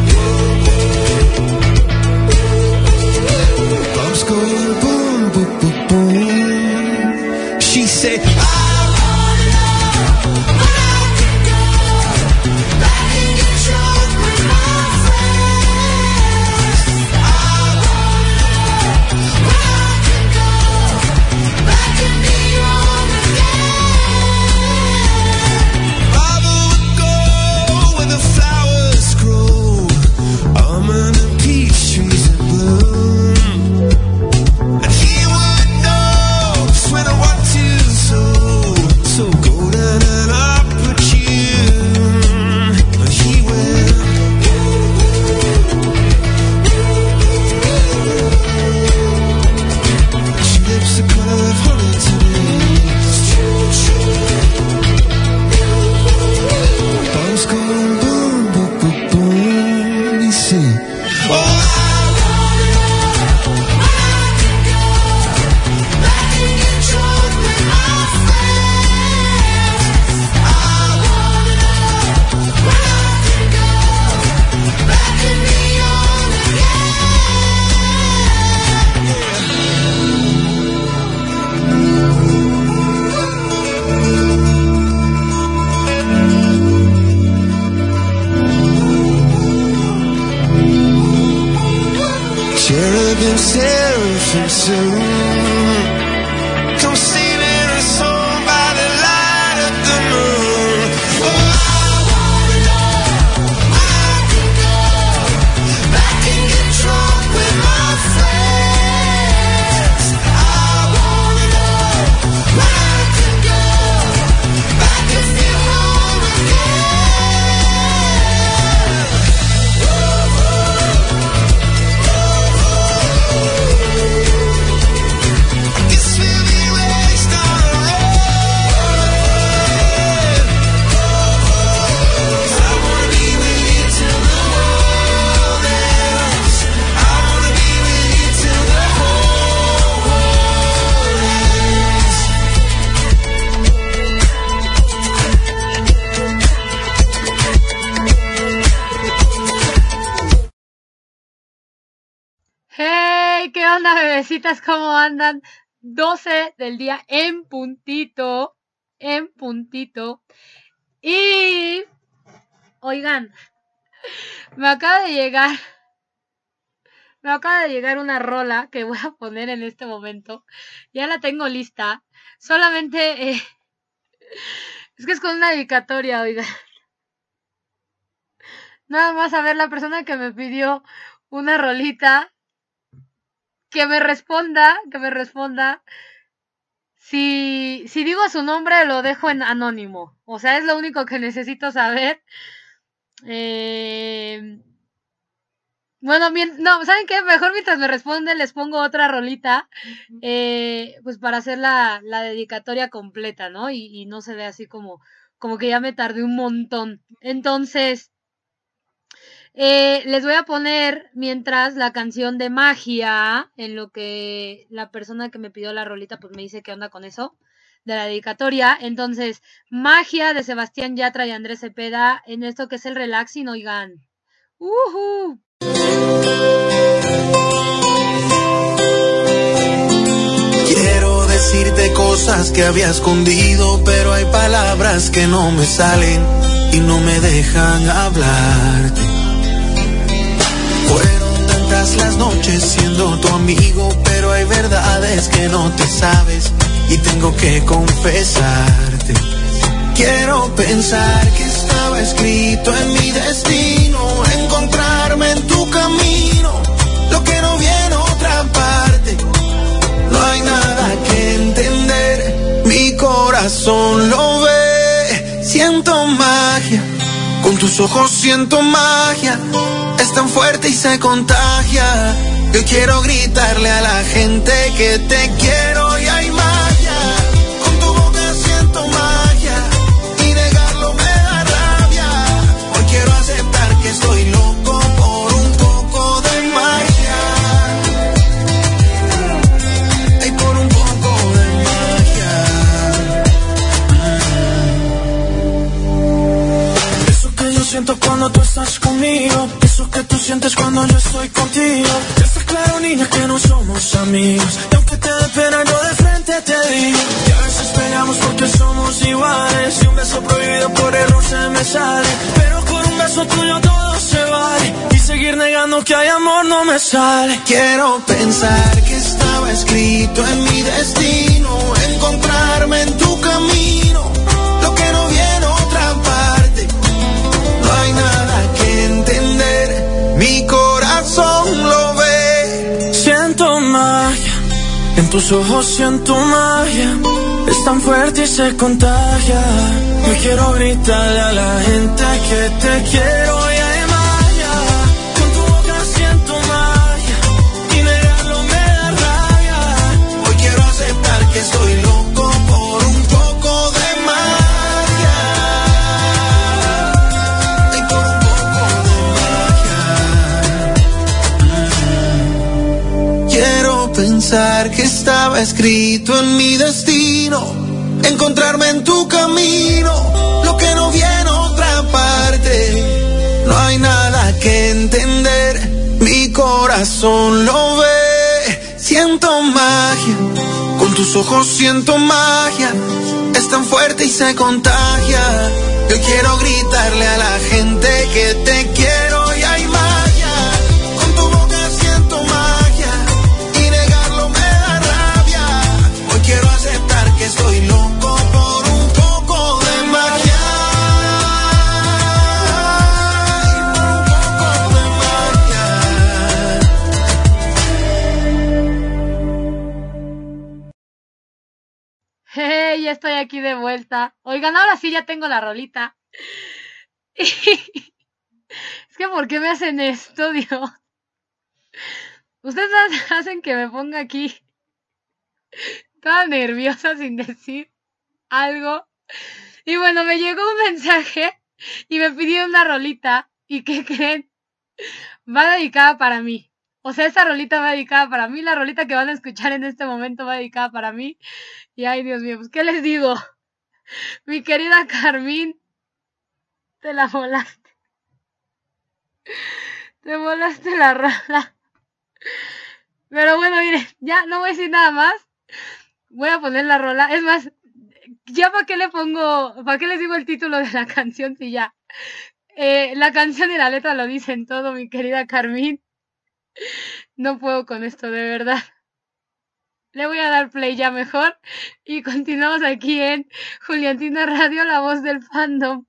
Bombs going boom, boom, boom, boom. She said, I wanna know when I can go back and get drunk with my friends. I wanna know when I can go back and be young again. Father would go where the flowers grow, almond and peach trees in bloom. And he would know just when I want to so golden and opportune. But he went. She lips the color of honey today. Bombs going boom, boom, boom, boom. He said, oh, I wanna know when I can go back and get drunk with my friends. I wanna know when I can go back and be young again. Cherubim, seraphim soon. Come singing a song by the light of the moon. Oh, I wanna know when I can go back and get drunk with my friends. I wanna know when I can go back and feel home again. I guess we'll be raised on a road. 'Cause I wanna be with you till the world ends. I wanna be with you till the whole world ends. Hey, ¿qué onda, bebecitas? ¿Cómo andan? 12 del día en puntito. Y, oigan, me acaba de llegar una rola que voy a poner en este momento. Ya la tengo lista. Solamente, es que es con una dedicatoria, oigan. Nada más a ver la persona que me pidió una rolita. Que me responda. Si digo su nombre, lo dejo en anónimo. O sea, es lo único que necesito saber. Bueno, no, ¿saben qué? Mejor mientras me responden les pongo otra rolita, pues para hacer la dedicatoria completa, ¿no? Y no se ve así como como que ya me tardé un montón. Entonces, les voy a poner mientras la canción de Magia, en lo que la persona que me pidió la rolita pues me dice qué onda con eso, de la dedicatoria. Entonces, Magia de Sebastián Yatra y Andrés Cepeda, en esto que es el relaxing, oigan. Quiero decirte cosas que había escondido, pero hay palabras que no me salen y no me dejan hablarte. Fueron tantas las noches siendo tu amigo, pero hay verdades que no te sabes y tengo que confesarte. Quiero pensar que estaba escrito en mi destino, encontrarme en tu camino, lo que no viene en otra parte. No hay nada que entender, mi corazón lo ve. Siento magia, con tus ojos siento magia, es tan fuerte y se contagia. Yo quiero gritarle a la gente que te quiero y hay magia. Con tu boca siento magia y negarlo me da rabia. Hoy quiero aceptar que estoy loco por un poco de magia. Y por un poco de magia. Eso que yo siento cuando tú estás conmigo, eso que tú sientes cuando yo estoy contigo. Ya está claro, niña, que no somos amigos, y aunque te dé pena yo de frente te digo que a veces peleamos porque somos iguales, y un beso prohibido por error se me sale, pero con un beso tuyo todo se vale, y seguir negando que hay amor no me sale. Quiero pensar que estaba escrito en mi destino, encontrarme en tu camino, lo que no viene otra parte. No hay nada que entender, mi corazón lo ve. Siento magia, en tus ojos siento magia, es tan fuerte y se contagia. Yo quiero gritarle a la gente que te quiero y hay magia. Con tu boca siento magia y negarlo me da rabia. Hoy quiero aceptar que estoy loco por un poco de magia. Y por un poco de magia. Quiero pensar que estaba escrito en mi destino, encontrarme en tu camino, lo que no viene otra parte. No hay nada que entender, mi corazón lo ve. Siento magia, con tus ojos siento magia, es tan fuerte y se contagia. Yo quiero gritarle a la gente que te quiero y hay magia. Con tu boca siento magia y negarlo me da rabia. Hoy quiero aceptar que estoy loco por un poco de magia. Hey, ya estoy aquí de vuelta. Oigan, ahora sí ya tengo la rolita. Es que ¿por qué me hacen esto, Dios? Ustedes hacen que me ponga aquí toda nerviosa sin decir algo. Y bueno, me llegó un mensaje y me pidió una rolita. ¿Y qué creen? Va dedicada para mí. O sea, esta rolita va dedicada para mí. La rolita que van a escuchar en este momento va dedicada para mí. Y ay, Dios mío, pues ¿qué les digo? Mi querida Carmín, te la volaste. Te volaste la rola. Pero bueno, miren, ya no voy a decir nada más. Voy a poner la rola. Es más, ya para qué le pongo, para qué les digo el título de la canción si ya. La canción y la letra lo dicen todo, mi querida Carmín. No puedo con esto, de verdad. Le voy a dar play ya mejor. Y continuamos aquí en Juliantina Radio, la voz del fandom.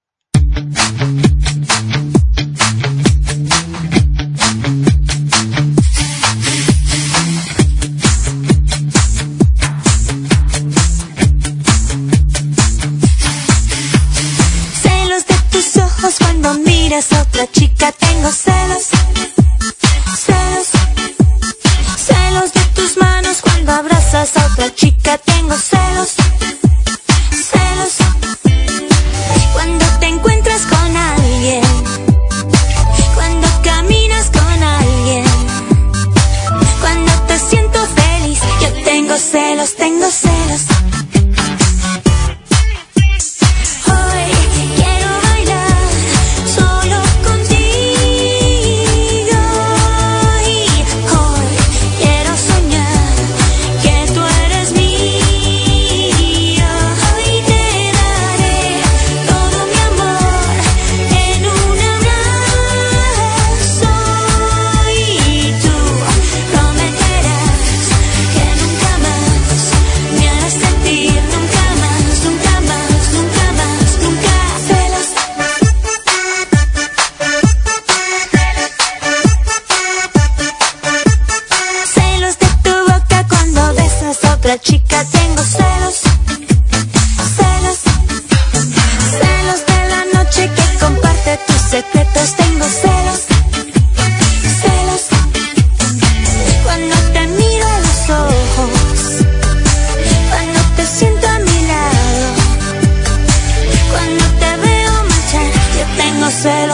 Celos de tus ojos cuando miras a otra chica, tengo celos. Celos. Celos de tus manos cuando abrazas a otra chica, tengo celos. Celos.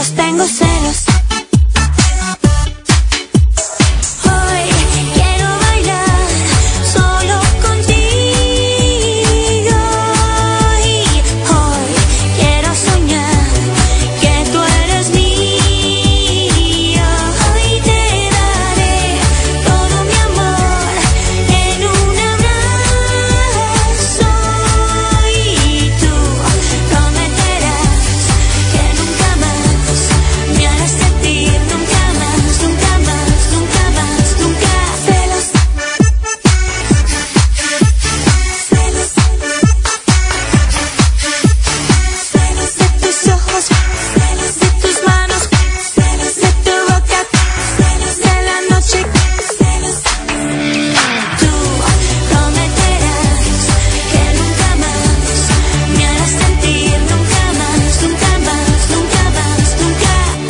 celos, tengo celos. Hoy quiero bailar solo contigo. Y hoy quiero soñar que tú eres mío. Hoy te daré todo mi amor en un abrazo. Y tú prometerás que nunca más me harás sentir, nunca más, nunca más, nunca más, nunca. Celos, celos, celos de tus ojos, celos de tus manos, celos de tu boca, celos de la noche, celos. Tú prometerás que nunca más me harás sentir, nunca más, nunca más, nunca más, nunca.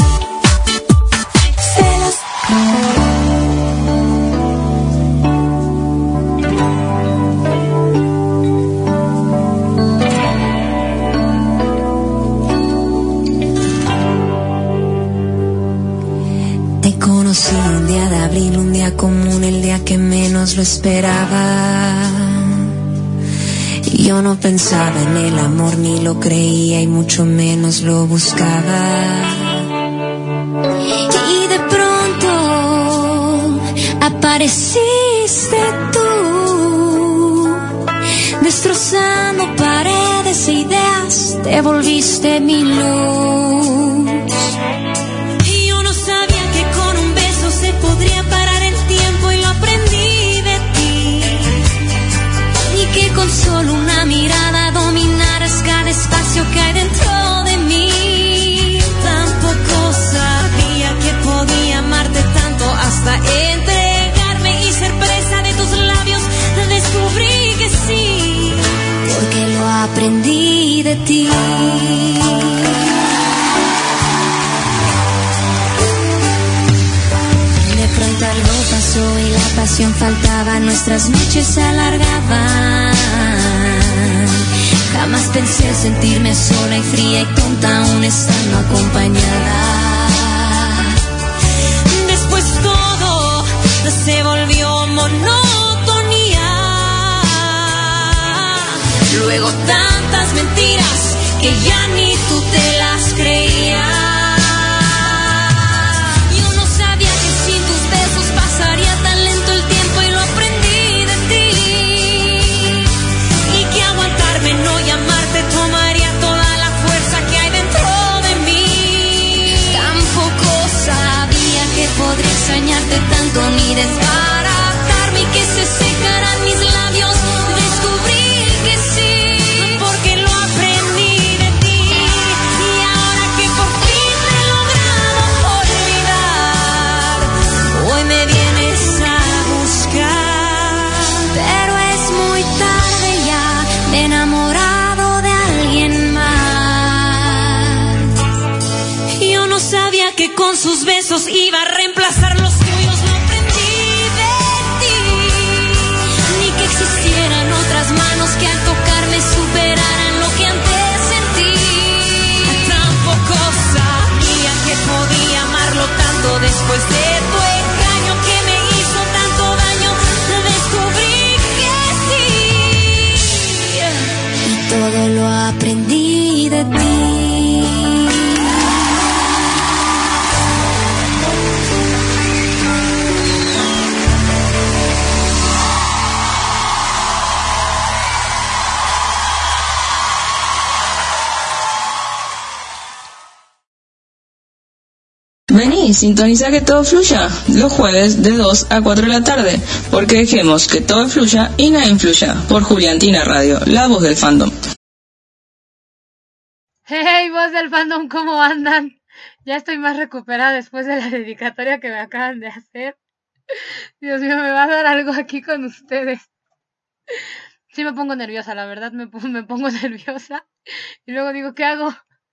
Celos. Te conocí un día de abril, un día común, el día que menos lo esperaba. Y yo no pensaba en el amor, ni lo creía y mucho menos lo buscaba. Y de pronto apareciste tú, destrozando paredes e ideas, te volviste mi luz. Y yo no sabía que con un beso se podría parar el tiempo y lo aprendí de ti. Y que con solo una mirada dominaras cada espacio que hay dentro de mí. Tampoco sabía que podía amarte tanto hasta entregarme y ser presa de tus labios. Descubrí que sí, porque lo aprendí de ti. De pronto algo pasó y la pasión faltaba, nuestras noches se alargaban. Jamás pensé sentirme sola y fría y tonta aún estando acompañada. Después todo se volvió monotonía. Luego tantas mentiras que ya ni tú te las creías. Yo no sabía que sin tus besos pasaría tan lento el tiempo y lo aprendí de ti. Y que aguantarme, no llamarte, tomaría toda la fuerza que hay dentro de mí. Tampoco sabía que podría extrañarte tanto ni desbaratarme y que se secaran mis labios. Descubrí que sí, porque lo aprendí de ti. Y ahora que por fin te he logrado olvidar, hoy me vienes a buscar. Pero es muy tarde ya, me he enamorado de alguien más. Yo no sabía que con sus besos iba a reemplazar los tuyos, lo aprendí de ti. Ni que existieran otras manos que al tocarme superaran lo que antes sentí. Tampoco sabía que podía amarlo tanto después de tu engaño que me hizo tanto daño. Descubrí que sí, y todo lo aprendí de ti. Vení, sintoniza Que Todo Fluya, los jueves de 2 a 4 de la tarde, porque dejemos que todo fluya y nada influya, por Juliantina Radio, la voz del fandom. Hey, voz del fandom, ¿cómo andan? Ya estoy más recuperada después de la dedicatoria que me acaban de hacer. Dios mío, me va a dar algo aquí con ustedes. Sí me pongo nerviosa, la verdad, me pongo nerviosa. Y luego digo, ¿qué hago?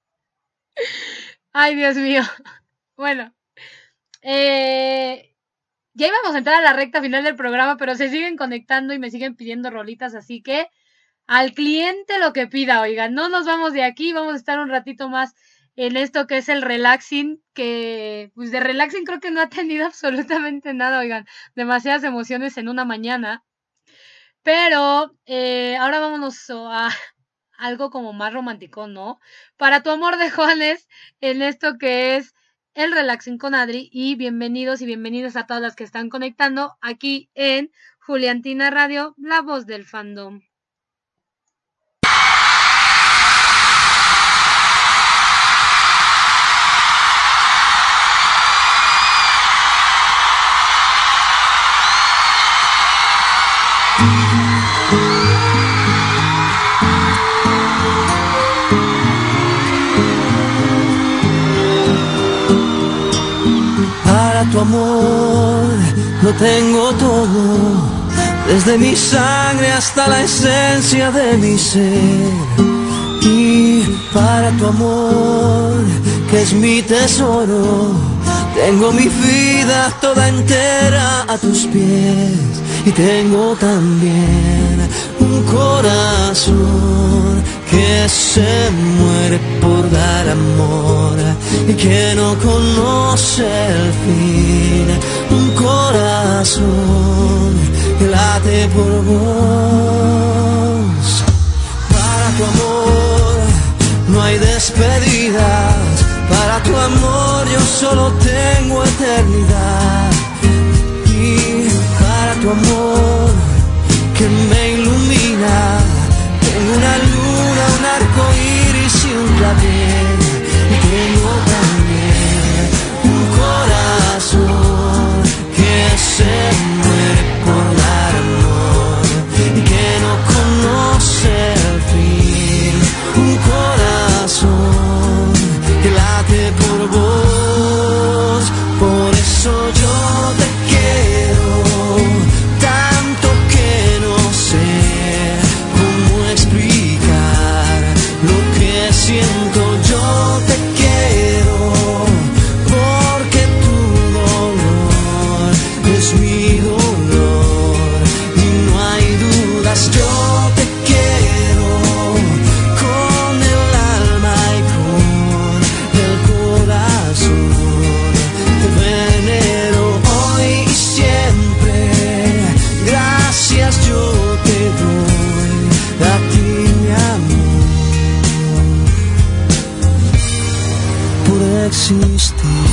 Ay, Dios mío. Bueno, ya íbamos a entrar a la recta final del programa, pero se siguen conectando y me siguen pidiendo rolitas, así que al cliente lo que pida, oigan, no nos vamos de aquí, vamos a estar un ratito más en esto que es el relaxing, que pues de relaxing creo que no ha tenido absolutamente nada, oigan, demasiadas emociones en una mañana. Pero ahora vámonos a algo como más romántico, ¿no? Para tu amor de Juanes, en esto que es el relaxing con Adri, y bienvenidos y bienvenidas a todas las que están conectando aquí en Juliantina Radio, la voz del fandom. Para tu amor lo tengo todo, desde mi sangre hasta la esencia de mi ser. Y para tu amor, que es mi tesoro, tengo mi vida toda entera a tus pies. Y tengo también un corazón que se muere por dar amor y que no conoce el fin. Un corazón que late por vos. Para tu amor no hay despedidas, para tu amor yo solo tengo eternidad. Y para tu amor que me ilumina, tengo una luna, un arco iris y un clavel. Y tengo también un corazón que se muere por dar amor y que no conoce el fin. Un corazón que late por vos, por eso yo te quiero tanto que no sé cómo explicar lo que siento. Yo te quiero porque tu dolor es mi dolor y no hay dudas. Yo te quiero con el alma y con el corazón. Te venero hoy y siempre. Gracias yo te doy a ti, mi amor, por existir.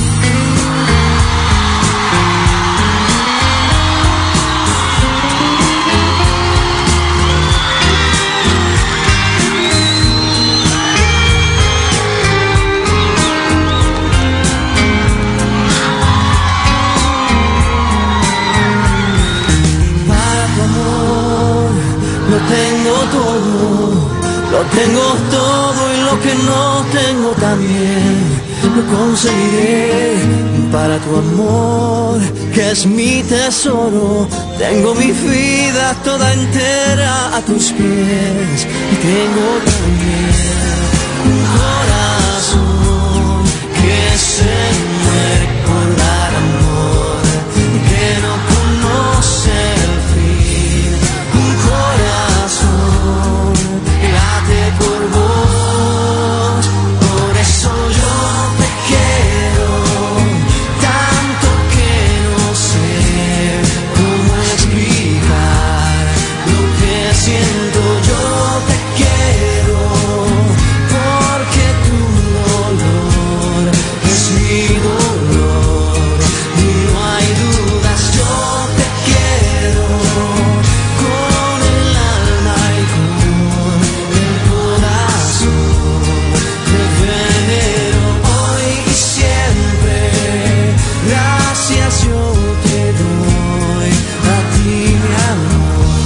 Para tu amor lo tengo todo, lo tengo todo y lo que no tengo también lo conseguiré. Para tu amor que es mi tesoro, tengo mi vida toda entera a tus pies. Y tengo también un corazón que se muere por dar amor y que no conoce el fin. Un corazón que late por vos, por eso yo te quiero tanto que no sé cómo explicar lo que siento. Yo te quiero porque tu dolor es mi dolor y no hay dudas. Yo te quiero con el alma y con el corazón. Te venero hoy y siempre. Gracias yo te doy a ti, mi amor.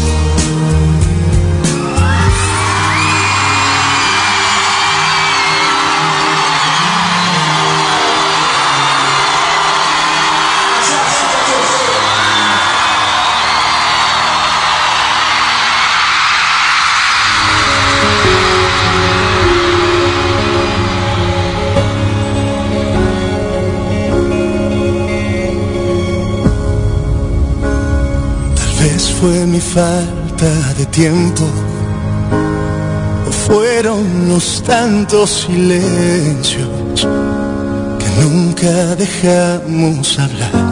Tal vez fue mi falta de tiempo, o fueron los tantos silencios que nunca dejamos hablar.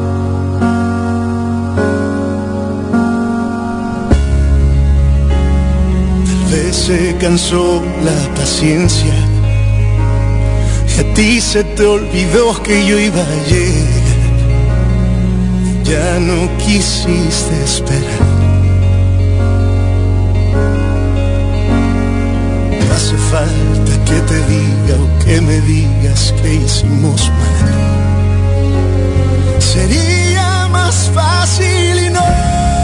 Tal vez se cansó la paciencia y a ti se te olvidó que yo iba a llegar. Ya no quisiste esperar. No hace falta que te diga o que me digas que hicimos mal. Sería más fácil y no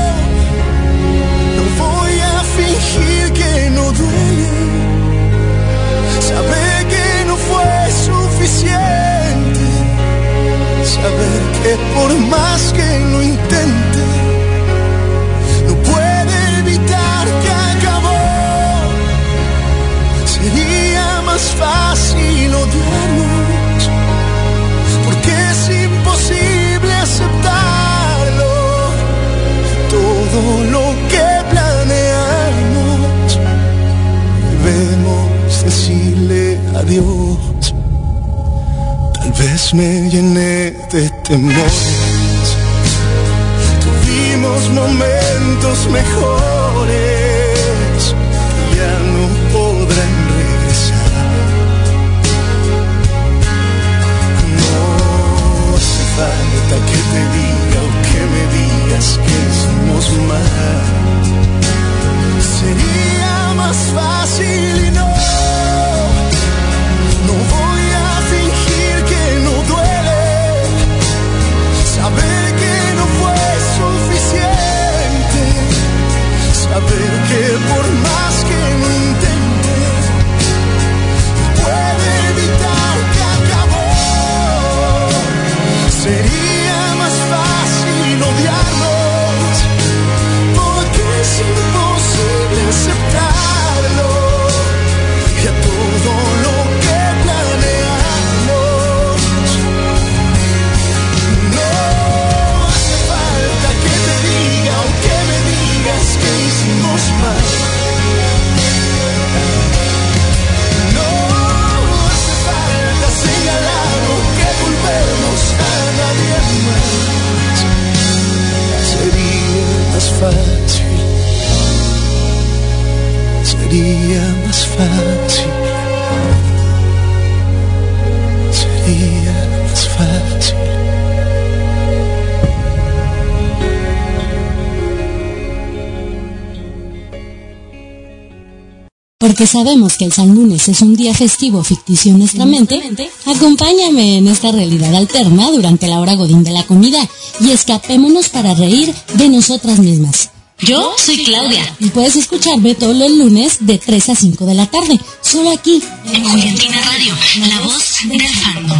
voy a fingir que no duele. Saber que no fue suficiente. Saber que por más que lo intente, no puede evitar que acabó. Sería más fácil odiarnos, porque es imposible aceptarlo. Todo lo que planeamos, debemos decirle adiós. Tal vez me llené de temores, tuvimos momentos mejores que ya no podrán regresar. No hace falta que te diga o que me digas que hicimos mal. Sería más fácil y no voy a fingir que no duele. Saber que no fue suficiente. Saber que por más que lo intente, no puede evitar que acabó. Sería más fácil odiarnos, porque es imposible aceptarlo. Y a todo lo que planeamos, no hace falta que te diga o que me digas que hicimos mal. No hace falta señalar o que volvemos a nadie más. Sería más fácil. Sería más fácil. Sería más fácil. Porque sabemos que el San Lunes es un día festivo ficticio en nuestra mente, acompáñame en esta realidad alterna durante la hora godín de la comida y escapémonos para reír de nosotras mismas. Yo soy Claudia y puedes escucharme todos los lunes de 3 a 5 de la tarde, solo aquí en Juliantina Radio, la voz del fandom.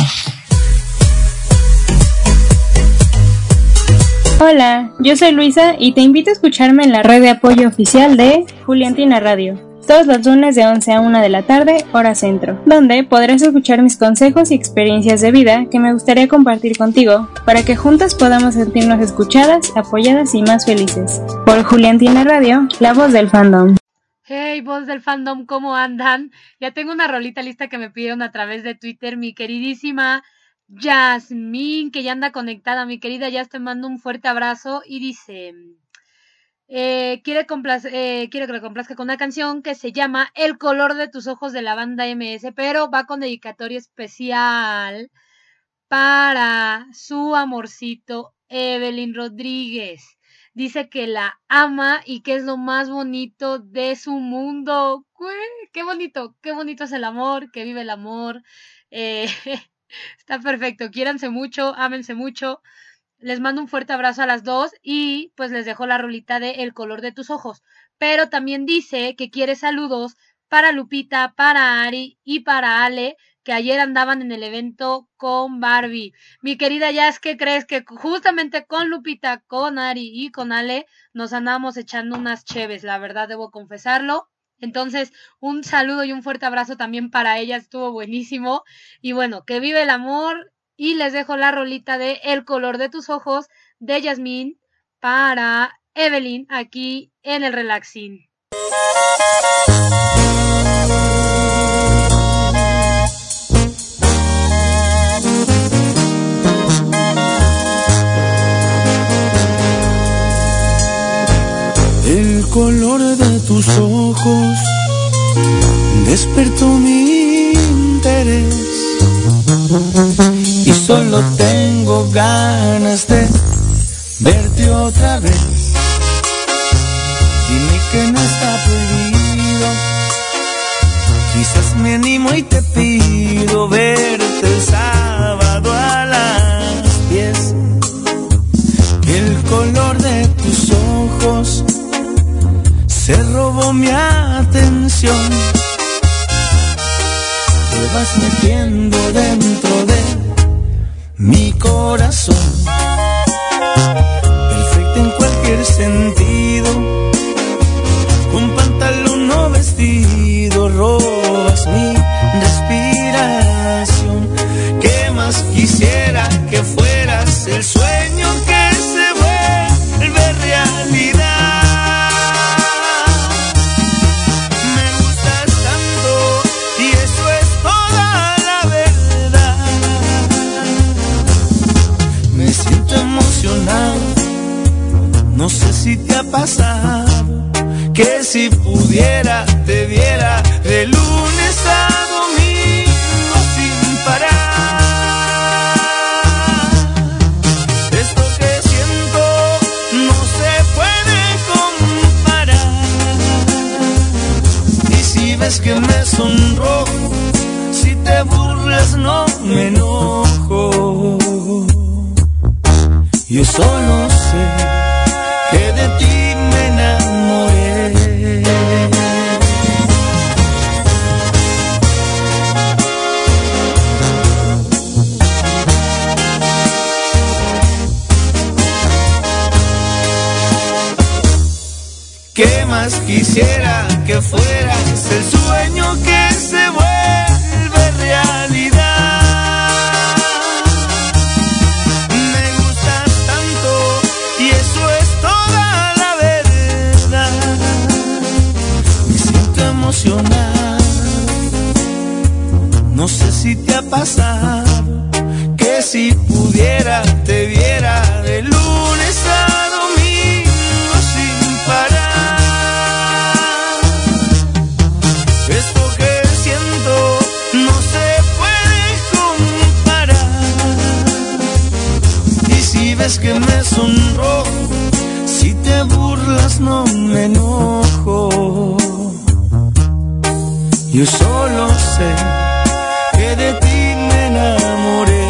Hola, yo soy Luisa y te invito a escucharme en la red de apoyo oficial de Juliantina Radio, todos los lunes de 11 a 1 de la tarde, hora centro, donde podrás escuchar mis consejos y experiencias de vida que me gustaría compartir contigo, para que juntas podamos sentirnos escuchadas, apoyadas y más felices. Por Juliantina Radio, la voz del fandom. Hey, voz del fandom, ¿cómo andan? Ya tengo una rolita lista que me pidieron a través de Twitter, mi queridísima Yasmín, que ya anda conectada. Mi querida Yas, te mando un fuerte abrazo y dice... quiere que le complazca con una canción que se llama El color de tus ojos de la banda MS, pero va con dedicatoria especial para su amorcito Evelyn Rodríguez. Dice que la ama y que es lo más bonito de su mundo. Qué bonito es el amor, que vive el amor. Está perfecto, quiéranse mucho, ámense mucho. Les mando un fuerte abrazo a las dos y pues les dejo la rolita de El color de tus ojos. Pero también dice que quiere saludos para Lupita, para Ari y para Ale, que ayer andaban en el evento con Barbie. Mi querida Jazz, ¿qué crees? Que justamente con Lupita, con Ari y con Ale nos andábamos echando unas cheves, la verdad debo confesarlo. Entonces, un saludo y un fuerte abrazo también para ellas, estuvo buenísimo. Y bueno, que vive el amor. Y les dejo la rolita de El color de tus ojos de Yasmín para Evelyn aquí en el Relaxing. despertó mi interés y solo tengo ganas de verte otra vez. Dime que no está prohibido, quizás me animo y te pido verte el sábado a las 10. El color de tus ojos se robó mi atención. Te vas metiendo dentro de mi corazón, perfecta en cualquier sentido, con pantalón o vestido, robas mi respiración. ¿Qué más quisiera que fueras el sueño que se vuelve realidad? No sé si te ha pasado que si pudiera te viera de lunes a domingo sin parar. Esto que siento no se puede comparar. Y si ves que me sonrojo, si te burlas no me enojo. Yo solo sé que de ti me enamoré. ¿Qué más quisiera que fueras el sueño que se vuelve realidad? No sé si te ha pasado que si pudiera te viera de lunes a domingo sin parar. Esto que siento no se puede comparar. Y si ves que me sonrojo, si te burlas no me enojo. Yo solo sé que de ti me enamoré.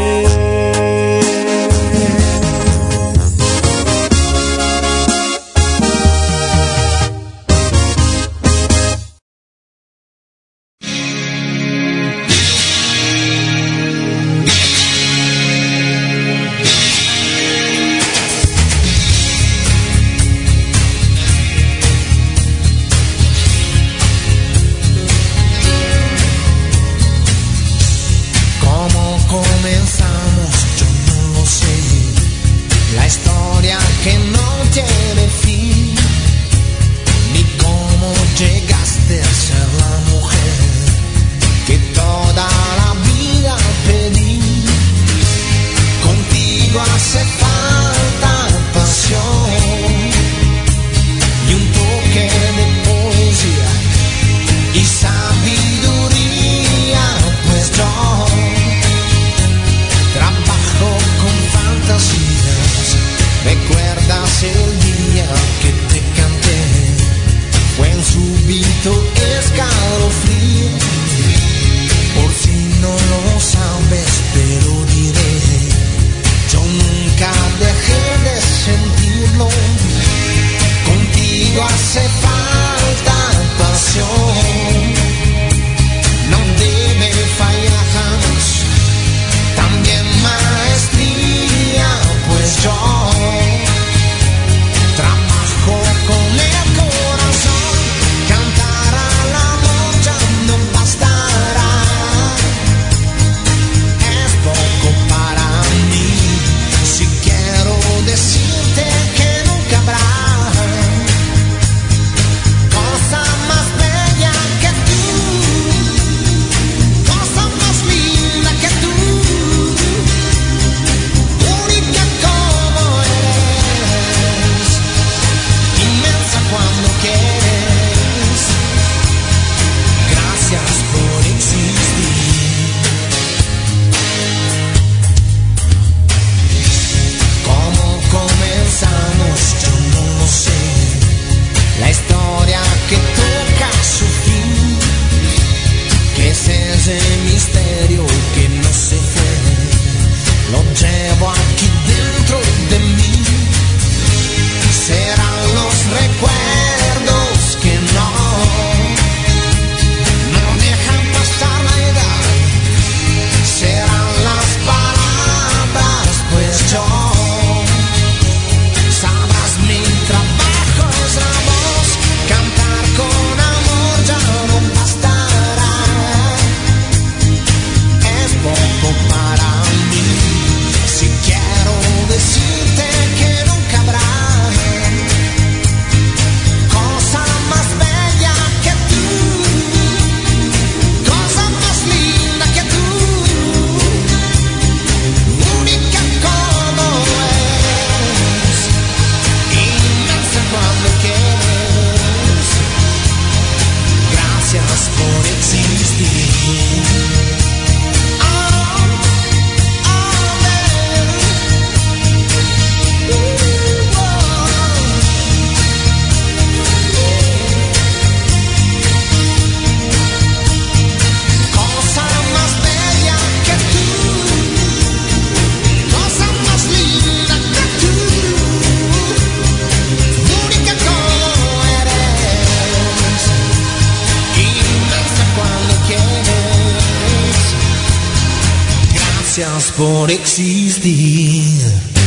Gracias por existir.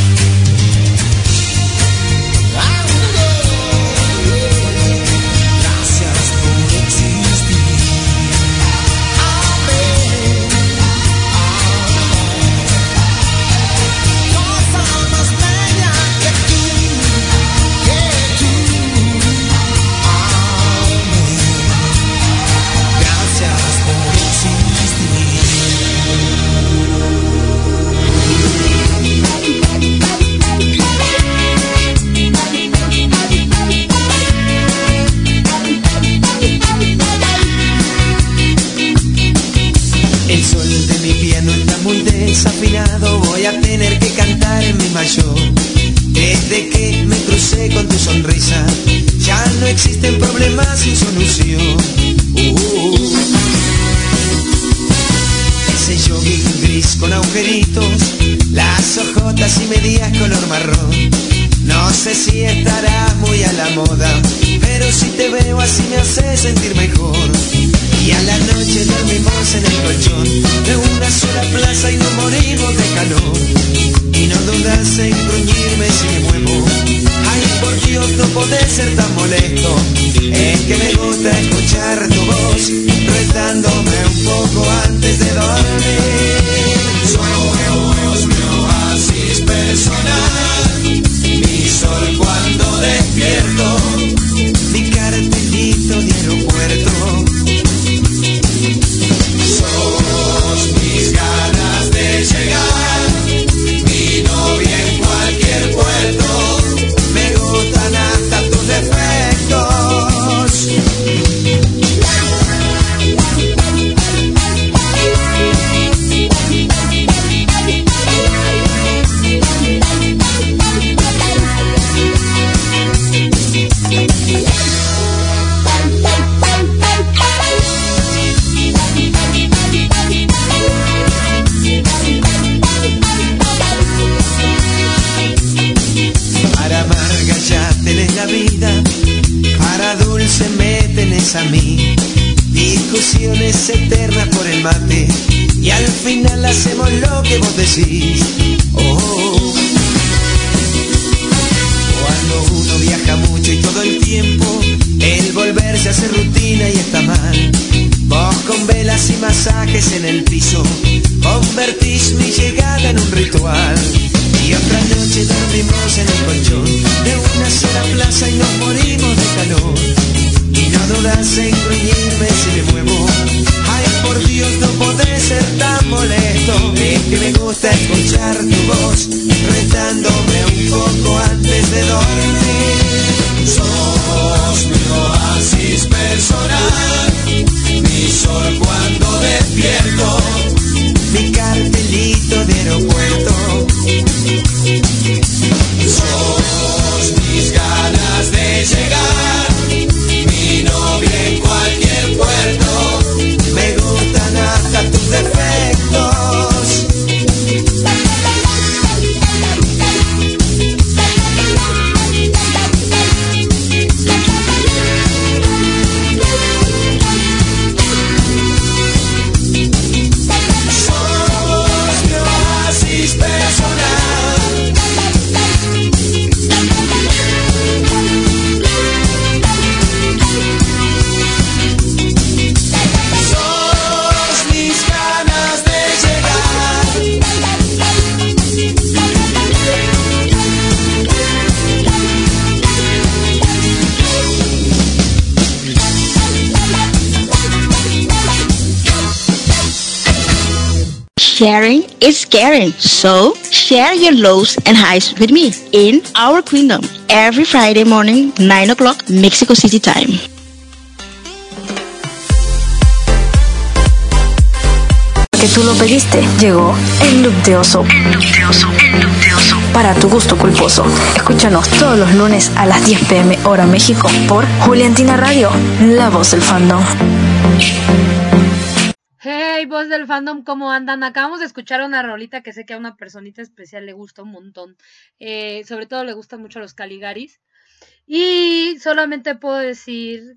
Gracias por existir. Amén. Cosa más bella que tú. Amén. Gracias por existir. El sol de mi piano está muy desafinado, voy a tener que cantar en mi mayor. Desde que me crucé con tu sonrisa, ya no existen problemas sin solución. Ese jogging gris con agujeritos, las ojotas y medias color marrón. No sé si estará muy a la moda, pero si te veo así me hace sentir mejor. Y a la noche dormimos en el colchón de una sola plaza y nos morimos de calor. Y no dudas en gruñirme si me muevo. Ay, por Dios, no podés ser tan molesto. Es que me gusta escuchar tu voz retándome un poco antes de dormir. Sos mi oasis personal, mi sol cuando despierto, mi cartelito de aeropuerto. Sos mis ganas de llegar, mi novia en cualquier puerto, me gustan hasta tus defectos. Para amarga ya tenés la vida, para dulce me tenés a mí. Discusiones eternas por el mate y al final hacemos lo que vos decís. Cuando uno viaja mucho y todo el tiempo, el volver se hace rutina y está mal. Vos con velas y masajes en el piso convertís mi llegada en un ritual. Y otra noche dormimos en el colchón de una sola plaza y nos morimos de calor. Y no dudas en gruñirme si me muevo. Ay, por Dios, no podés ser tan molesto. Es que me gusta escuchar tu voz retándome un poco antes de dormir. Sos mi oasis personal, mi sol cuando despierto, mi cartelito de aeropuerto. Sos mis ganas de llegar, mi novia en cualquier puerto, me gustan hasta tus defectos. Sos mi oasis personal. Sharing is caring, so share your lows and highs with me in Our Kingdom every Friday morning, 9 o'clock, Mexico City time. Que tú lo pediste, llegó el look de oso. Para tu gusto culposo. Escúchanos todos los lunes a las 10 p.m. hora México por Juliantina Radio, la voz del fandom. Hey, voz del fandom, ¿cómo andan? Acabamos de escuchar una rolita que sé que a una personita especial le gusta un montón. Sobre todo le gustan mucho los Caligaris. Y solamente puedo decir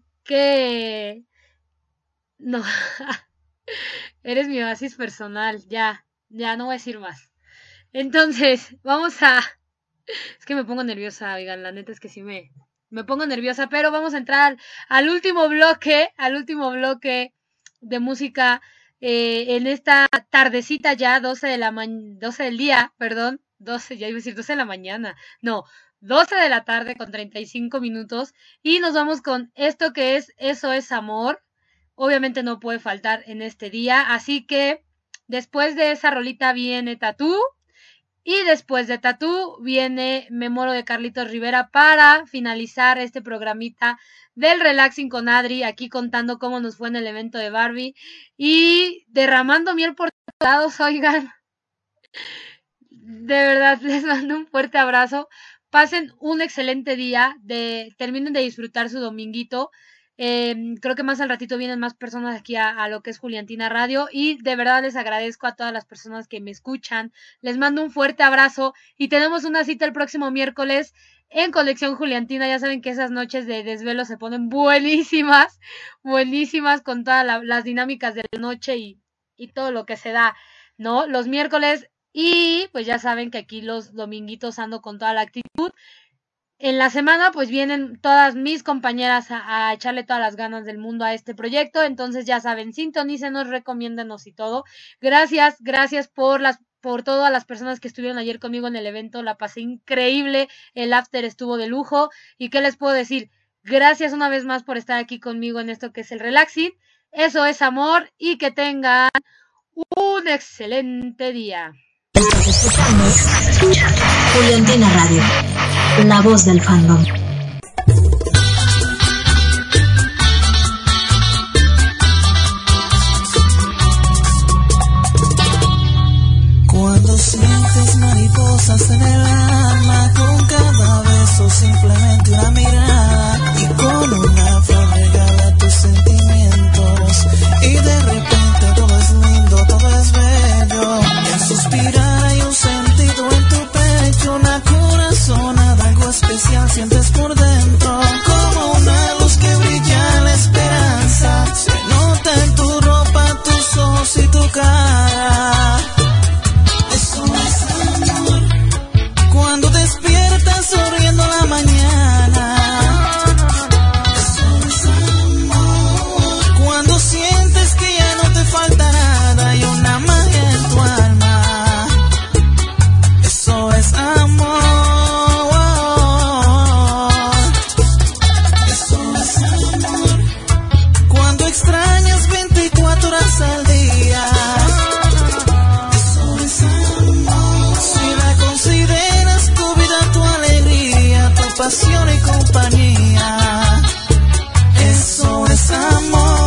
que... No, eres mi oasis personal, ya. Ya no voy a decir más. Entonces, vamos a... Es que me pongo nerviosa, oigan, la neta es que sí me pongo nerviosa, pero vamos a entrar al último bloque de música en esta tardecita ya, 12 del día, perdón, 12, ya iba a decir 12 de la mañana, no, 12 de la tarde con 35 minutos, y nos vamos con esto que es Eso es Amor. Obviamente no puede faltar en este día, así que después de esa rolita viene Tatú, y después de Tatú viene Me Muero de Carlitos Rivera para finalizar este programita del Relaxing con Adri, aquí contando cómo nos fue en el evento de Barbie y derramando miel por todos lados, oigan. De verdad, les mando un fuerte abrazo. Pasen un excelente día, terminen de disfrutar su dominguito. Creo que más al ratito vienen más personas aquí a lo que es Juliantina Radio y de verdad les agradezco a todas las personas que me escuchan, les mando un fuerte abrazo y tenemos una cita el próximo miércoles en Colección Juliantina. Ya saben que esas noches de desvelo se ponen buenísimas con todas las dinámicas de la noche y todo lo que se da, ¿no? Los miércoles, y pues ya saben que aquí los dominguitos ando con toda la actitud. En la semana pues vienen todas mis compañeras a echarle todas las ganas del mundo a este proyecto, entonces ya saben, sintonícenos, recomiéndenos y todo. Gracias por todas las personas que estuvieron ayer conmigo en el evento, la pasé increíble, el after estuvo de lujo, y qué les puedo decir, gracias una vez más por estar aquí conmigo en esto que es el Relaxing. Eso es amor, y que tengan un excelente día. Estás escuchando Juliantina Radio, la voz del fandom. Cuando sientes mariposas en el alma, con cada beso simplemente una mirada, y con una flor regala tus sentimientos, y de repente todo es lindo, todo es bello, y al suspirar hay un sentido en tu pecho, una corazonada, algo especial sientes por dentro, como una luz que brilla en la esperanza, se nota en tu ropa, tus ojos y tu cara. Eso es amor. Cuando despiertas sonriendo a la mañana. Eso es amor. Cuando sientes que ya no te falta nada y una magia en tu alma. Eso es amor. Eso es amor. Cuando extrañas 24 horas al día. Pasión y compañía, eso es amor.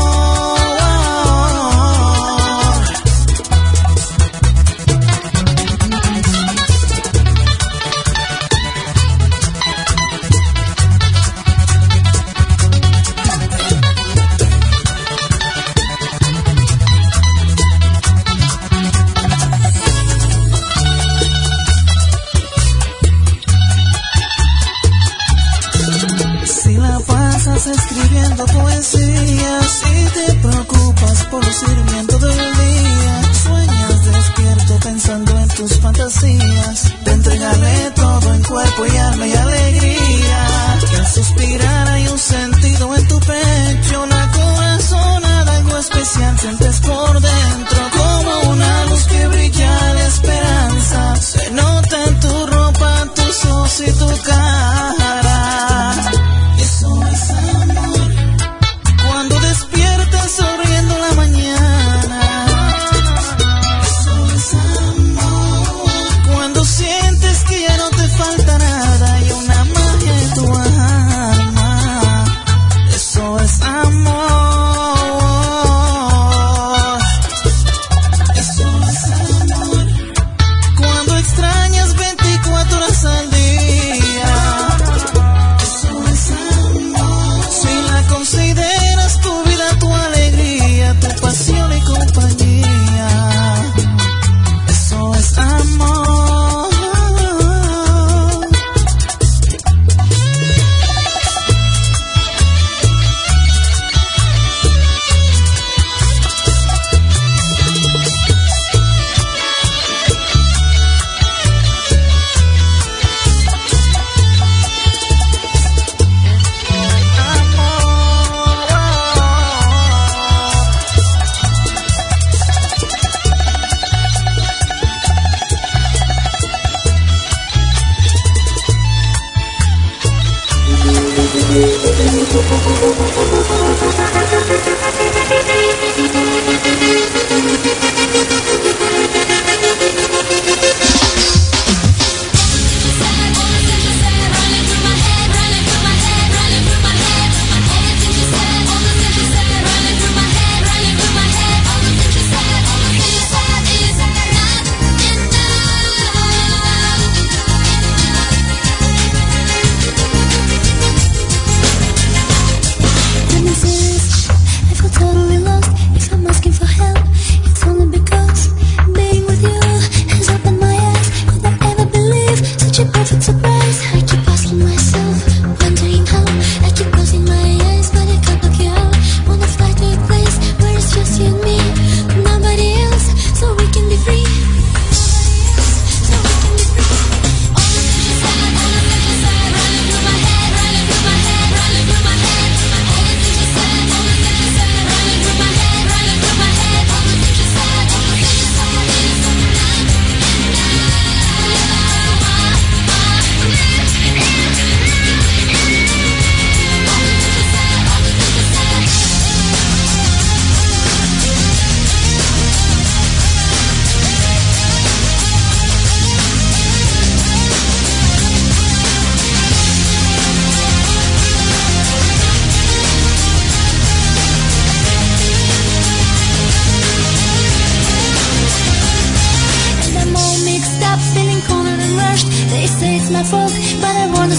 Escribiendo poesías y te preocupas por el sirviendo del día, sueñas despierto pensando en tus fantasías, de entregarle todo en cuerpo y alma y alegría, y al suspirar hay un sentido en tu pecho, una corazonada, algo especial sientes por dentro, como una luz que brilla la esperanza, se nota en tu ropa, tus ojos y tu cara. Eso es amor. Cuando despiertas sonriendo la mañana. Eso es amor. Cuando sientes que ya no te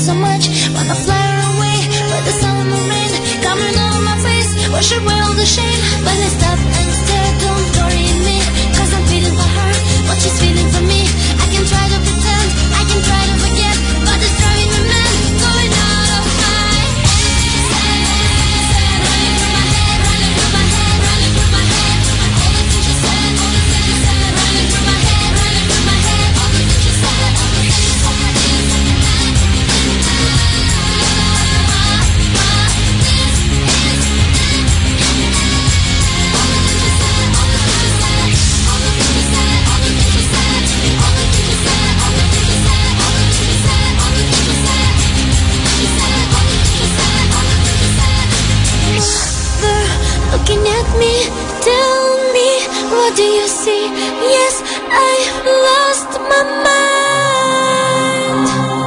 so much, wanna fly away, but the sun and the rain coming on my face, wash away all the shame. But I stop and stare, don't worry me, cause I'm feeling for her, what she's feeling for me. I can try to pretend, I can try to forget, but it's driving me mad, going out of my head. Running through my head, running through my head, running through my head. All the things you said, all the things you said, running through my head, running through my head. All the things you said, all the things you said. Looking at me, tell me, what do you see? Yes, I've lost my mind.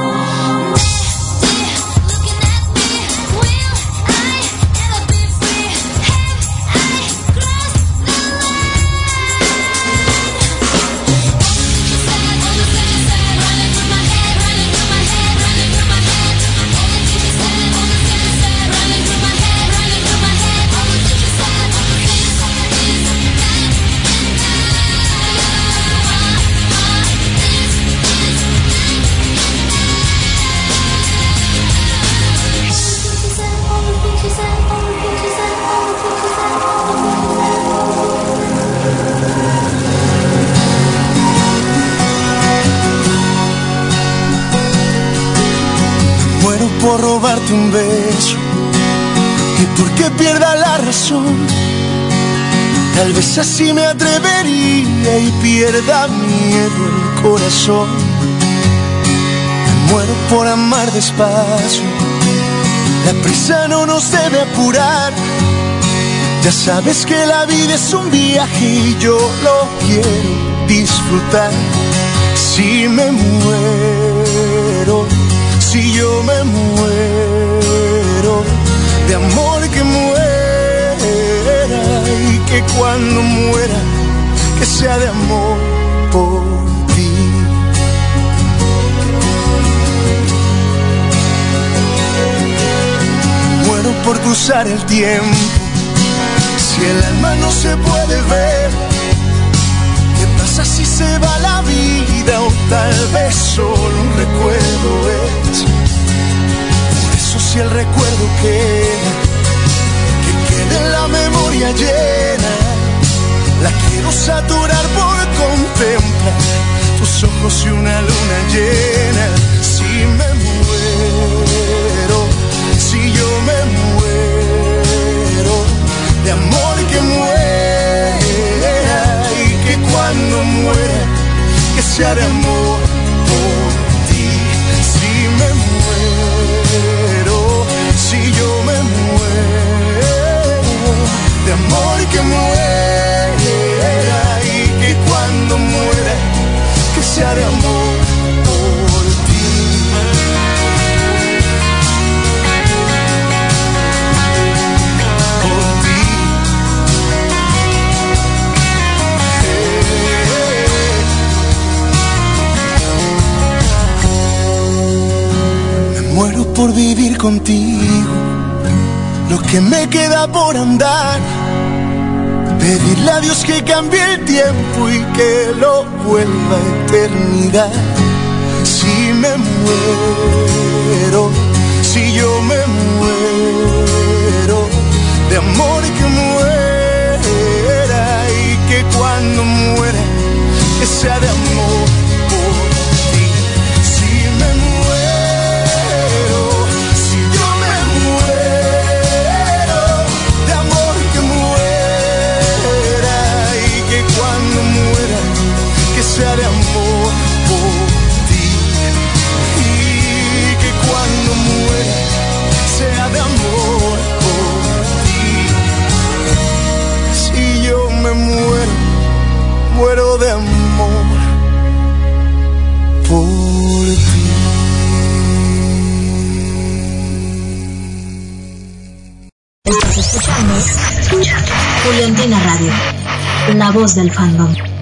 Looking at me, will I ever be free? Have I crossed the line? All the things you said, running through my head, running through my head, running through my head. All the things you said, all the things you said, running through my head, running through my head. All the things you said, all the things you said. Muero por robarte un beso y porque pierda la razón. Tal vez así me atrevería y pierda miedo el corazón. Me muero por amar despacio, la prisa no nos debe apurar. Ya sabes que la vida es un viaje y yo lo quiero disfrutar. Si me muero, si yo me muero, de amor que muera, y que cuando muera, que sea de amor por ti. Muero por cruzar el tiempo, si el alma no se puede ver. ¿Qué pasa si se va la vida o tal vez solo un recuerdo es? Por eso si el recuerdo queda, que quede en la memoria llena. La quiero saturar por contemplar tus ojos y una luna llena. Si me muero, si yo me muero, de amor que muera, y que cuando muera, que sea de amor por ti. Si me muero, si yo me muero, de amor que muera, y que cuando muera, que sea de amor por ti. Muero por vivir contigo, lo que me queda por andar. Pedirle a Dios que cambie el tiempo y que lo vuelva a eternidad. Si me muero, si yo me muero, de amor que muera, y que cuando muera, que sea de amor por ti. Si me muero, si yo me muero, de amor que muera, y que cuando muera, que sea de amor por ti. Y que cuando muera, sea de amor por ti. Si yo me muero, muero de amor por ti. Estás escuchando Juliantina Radio, la voz del fandom.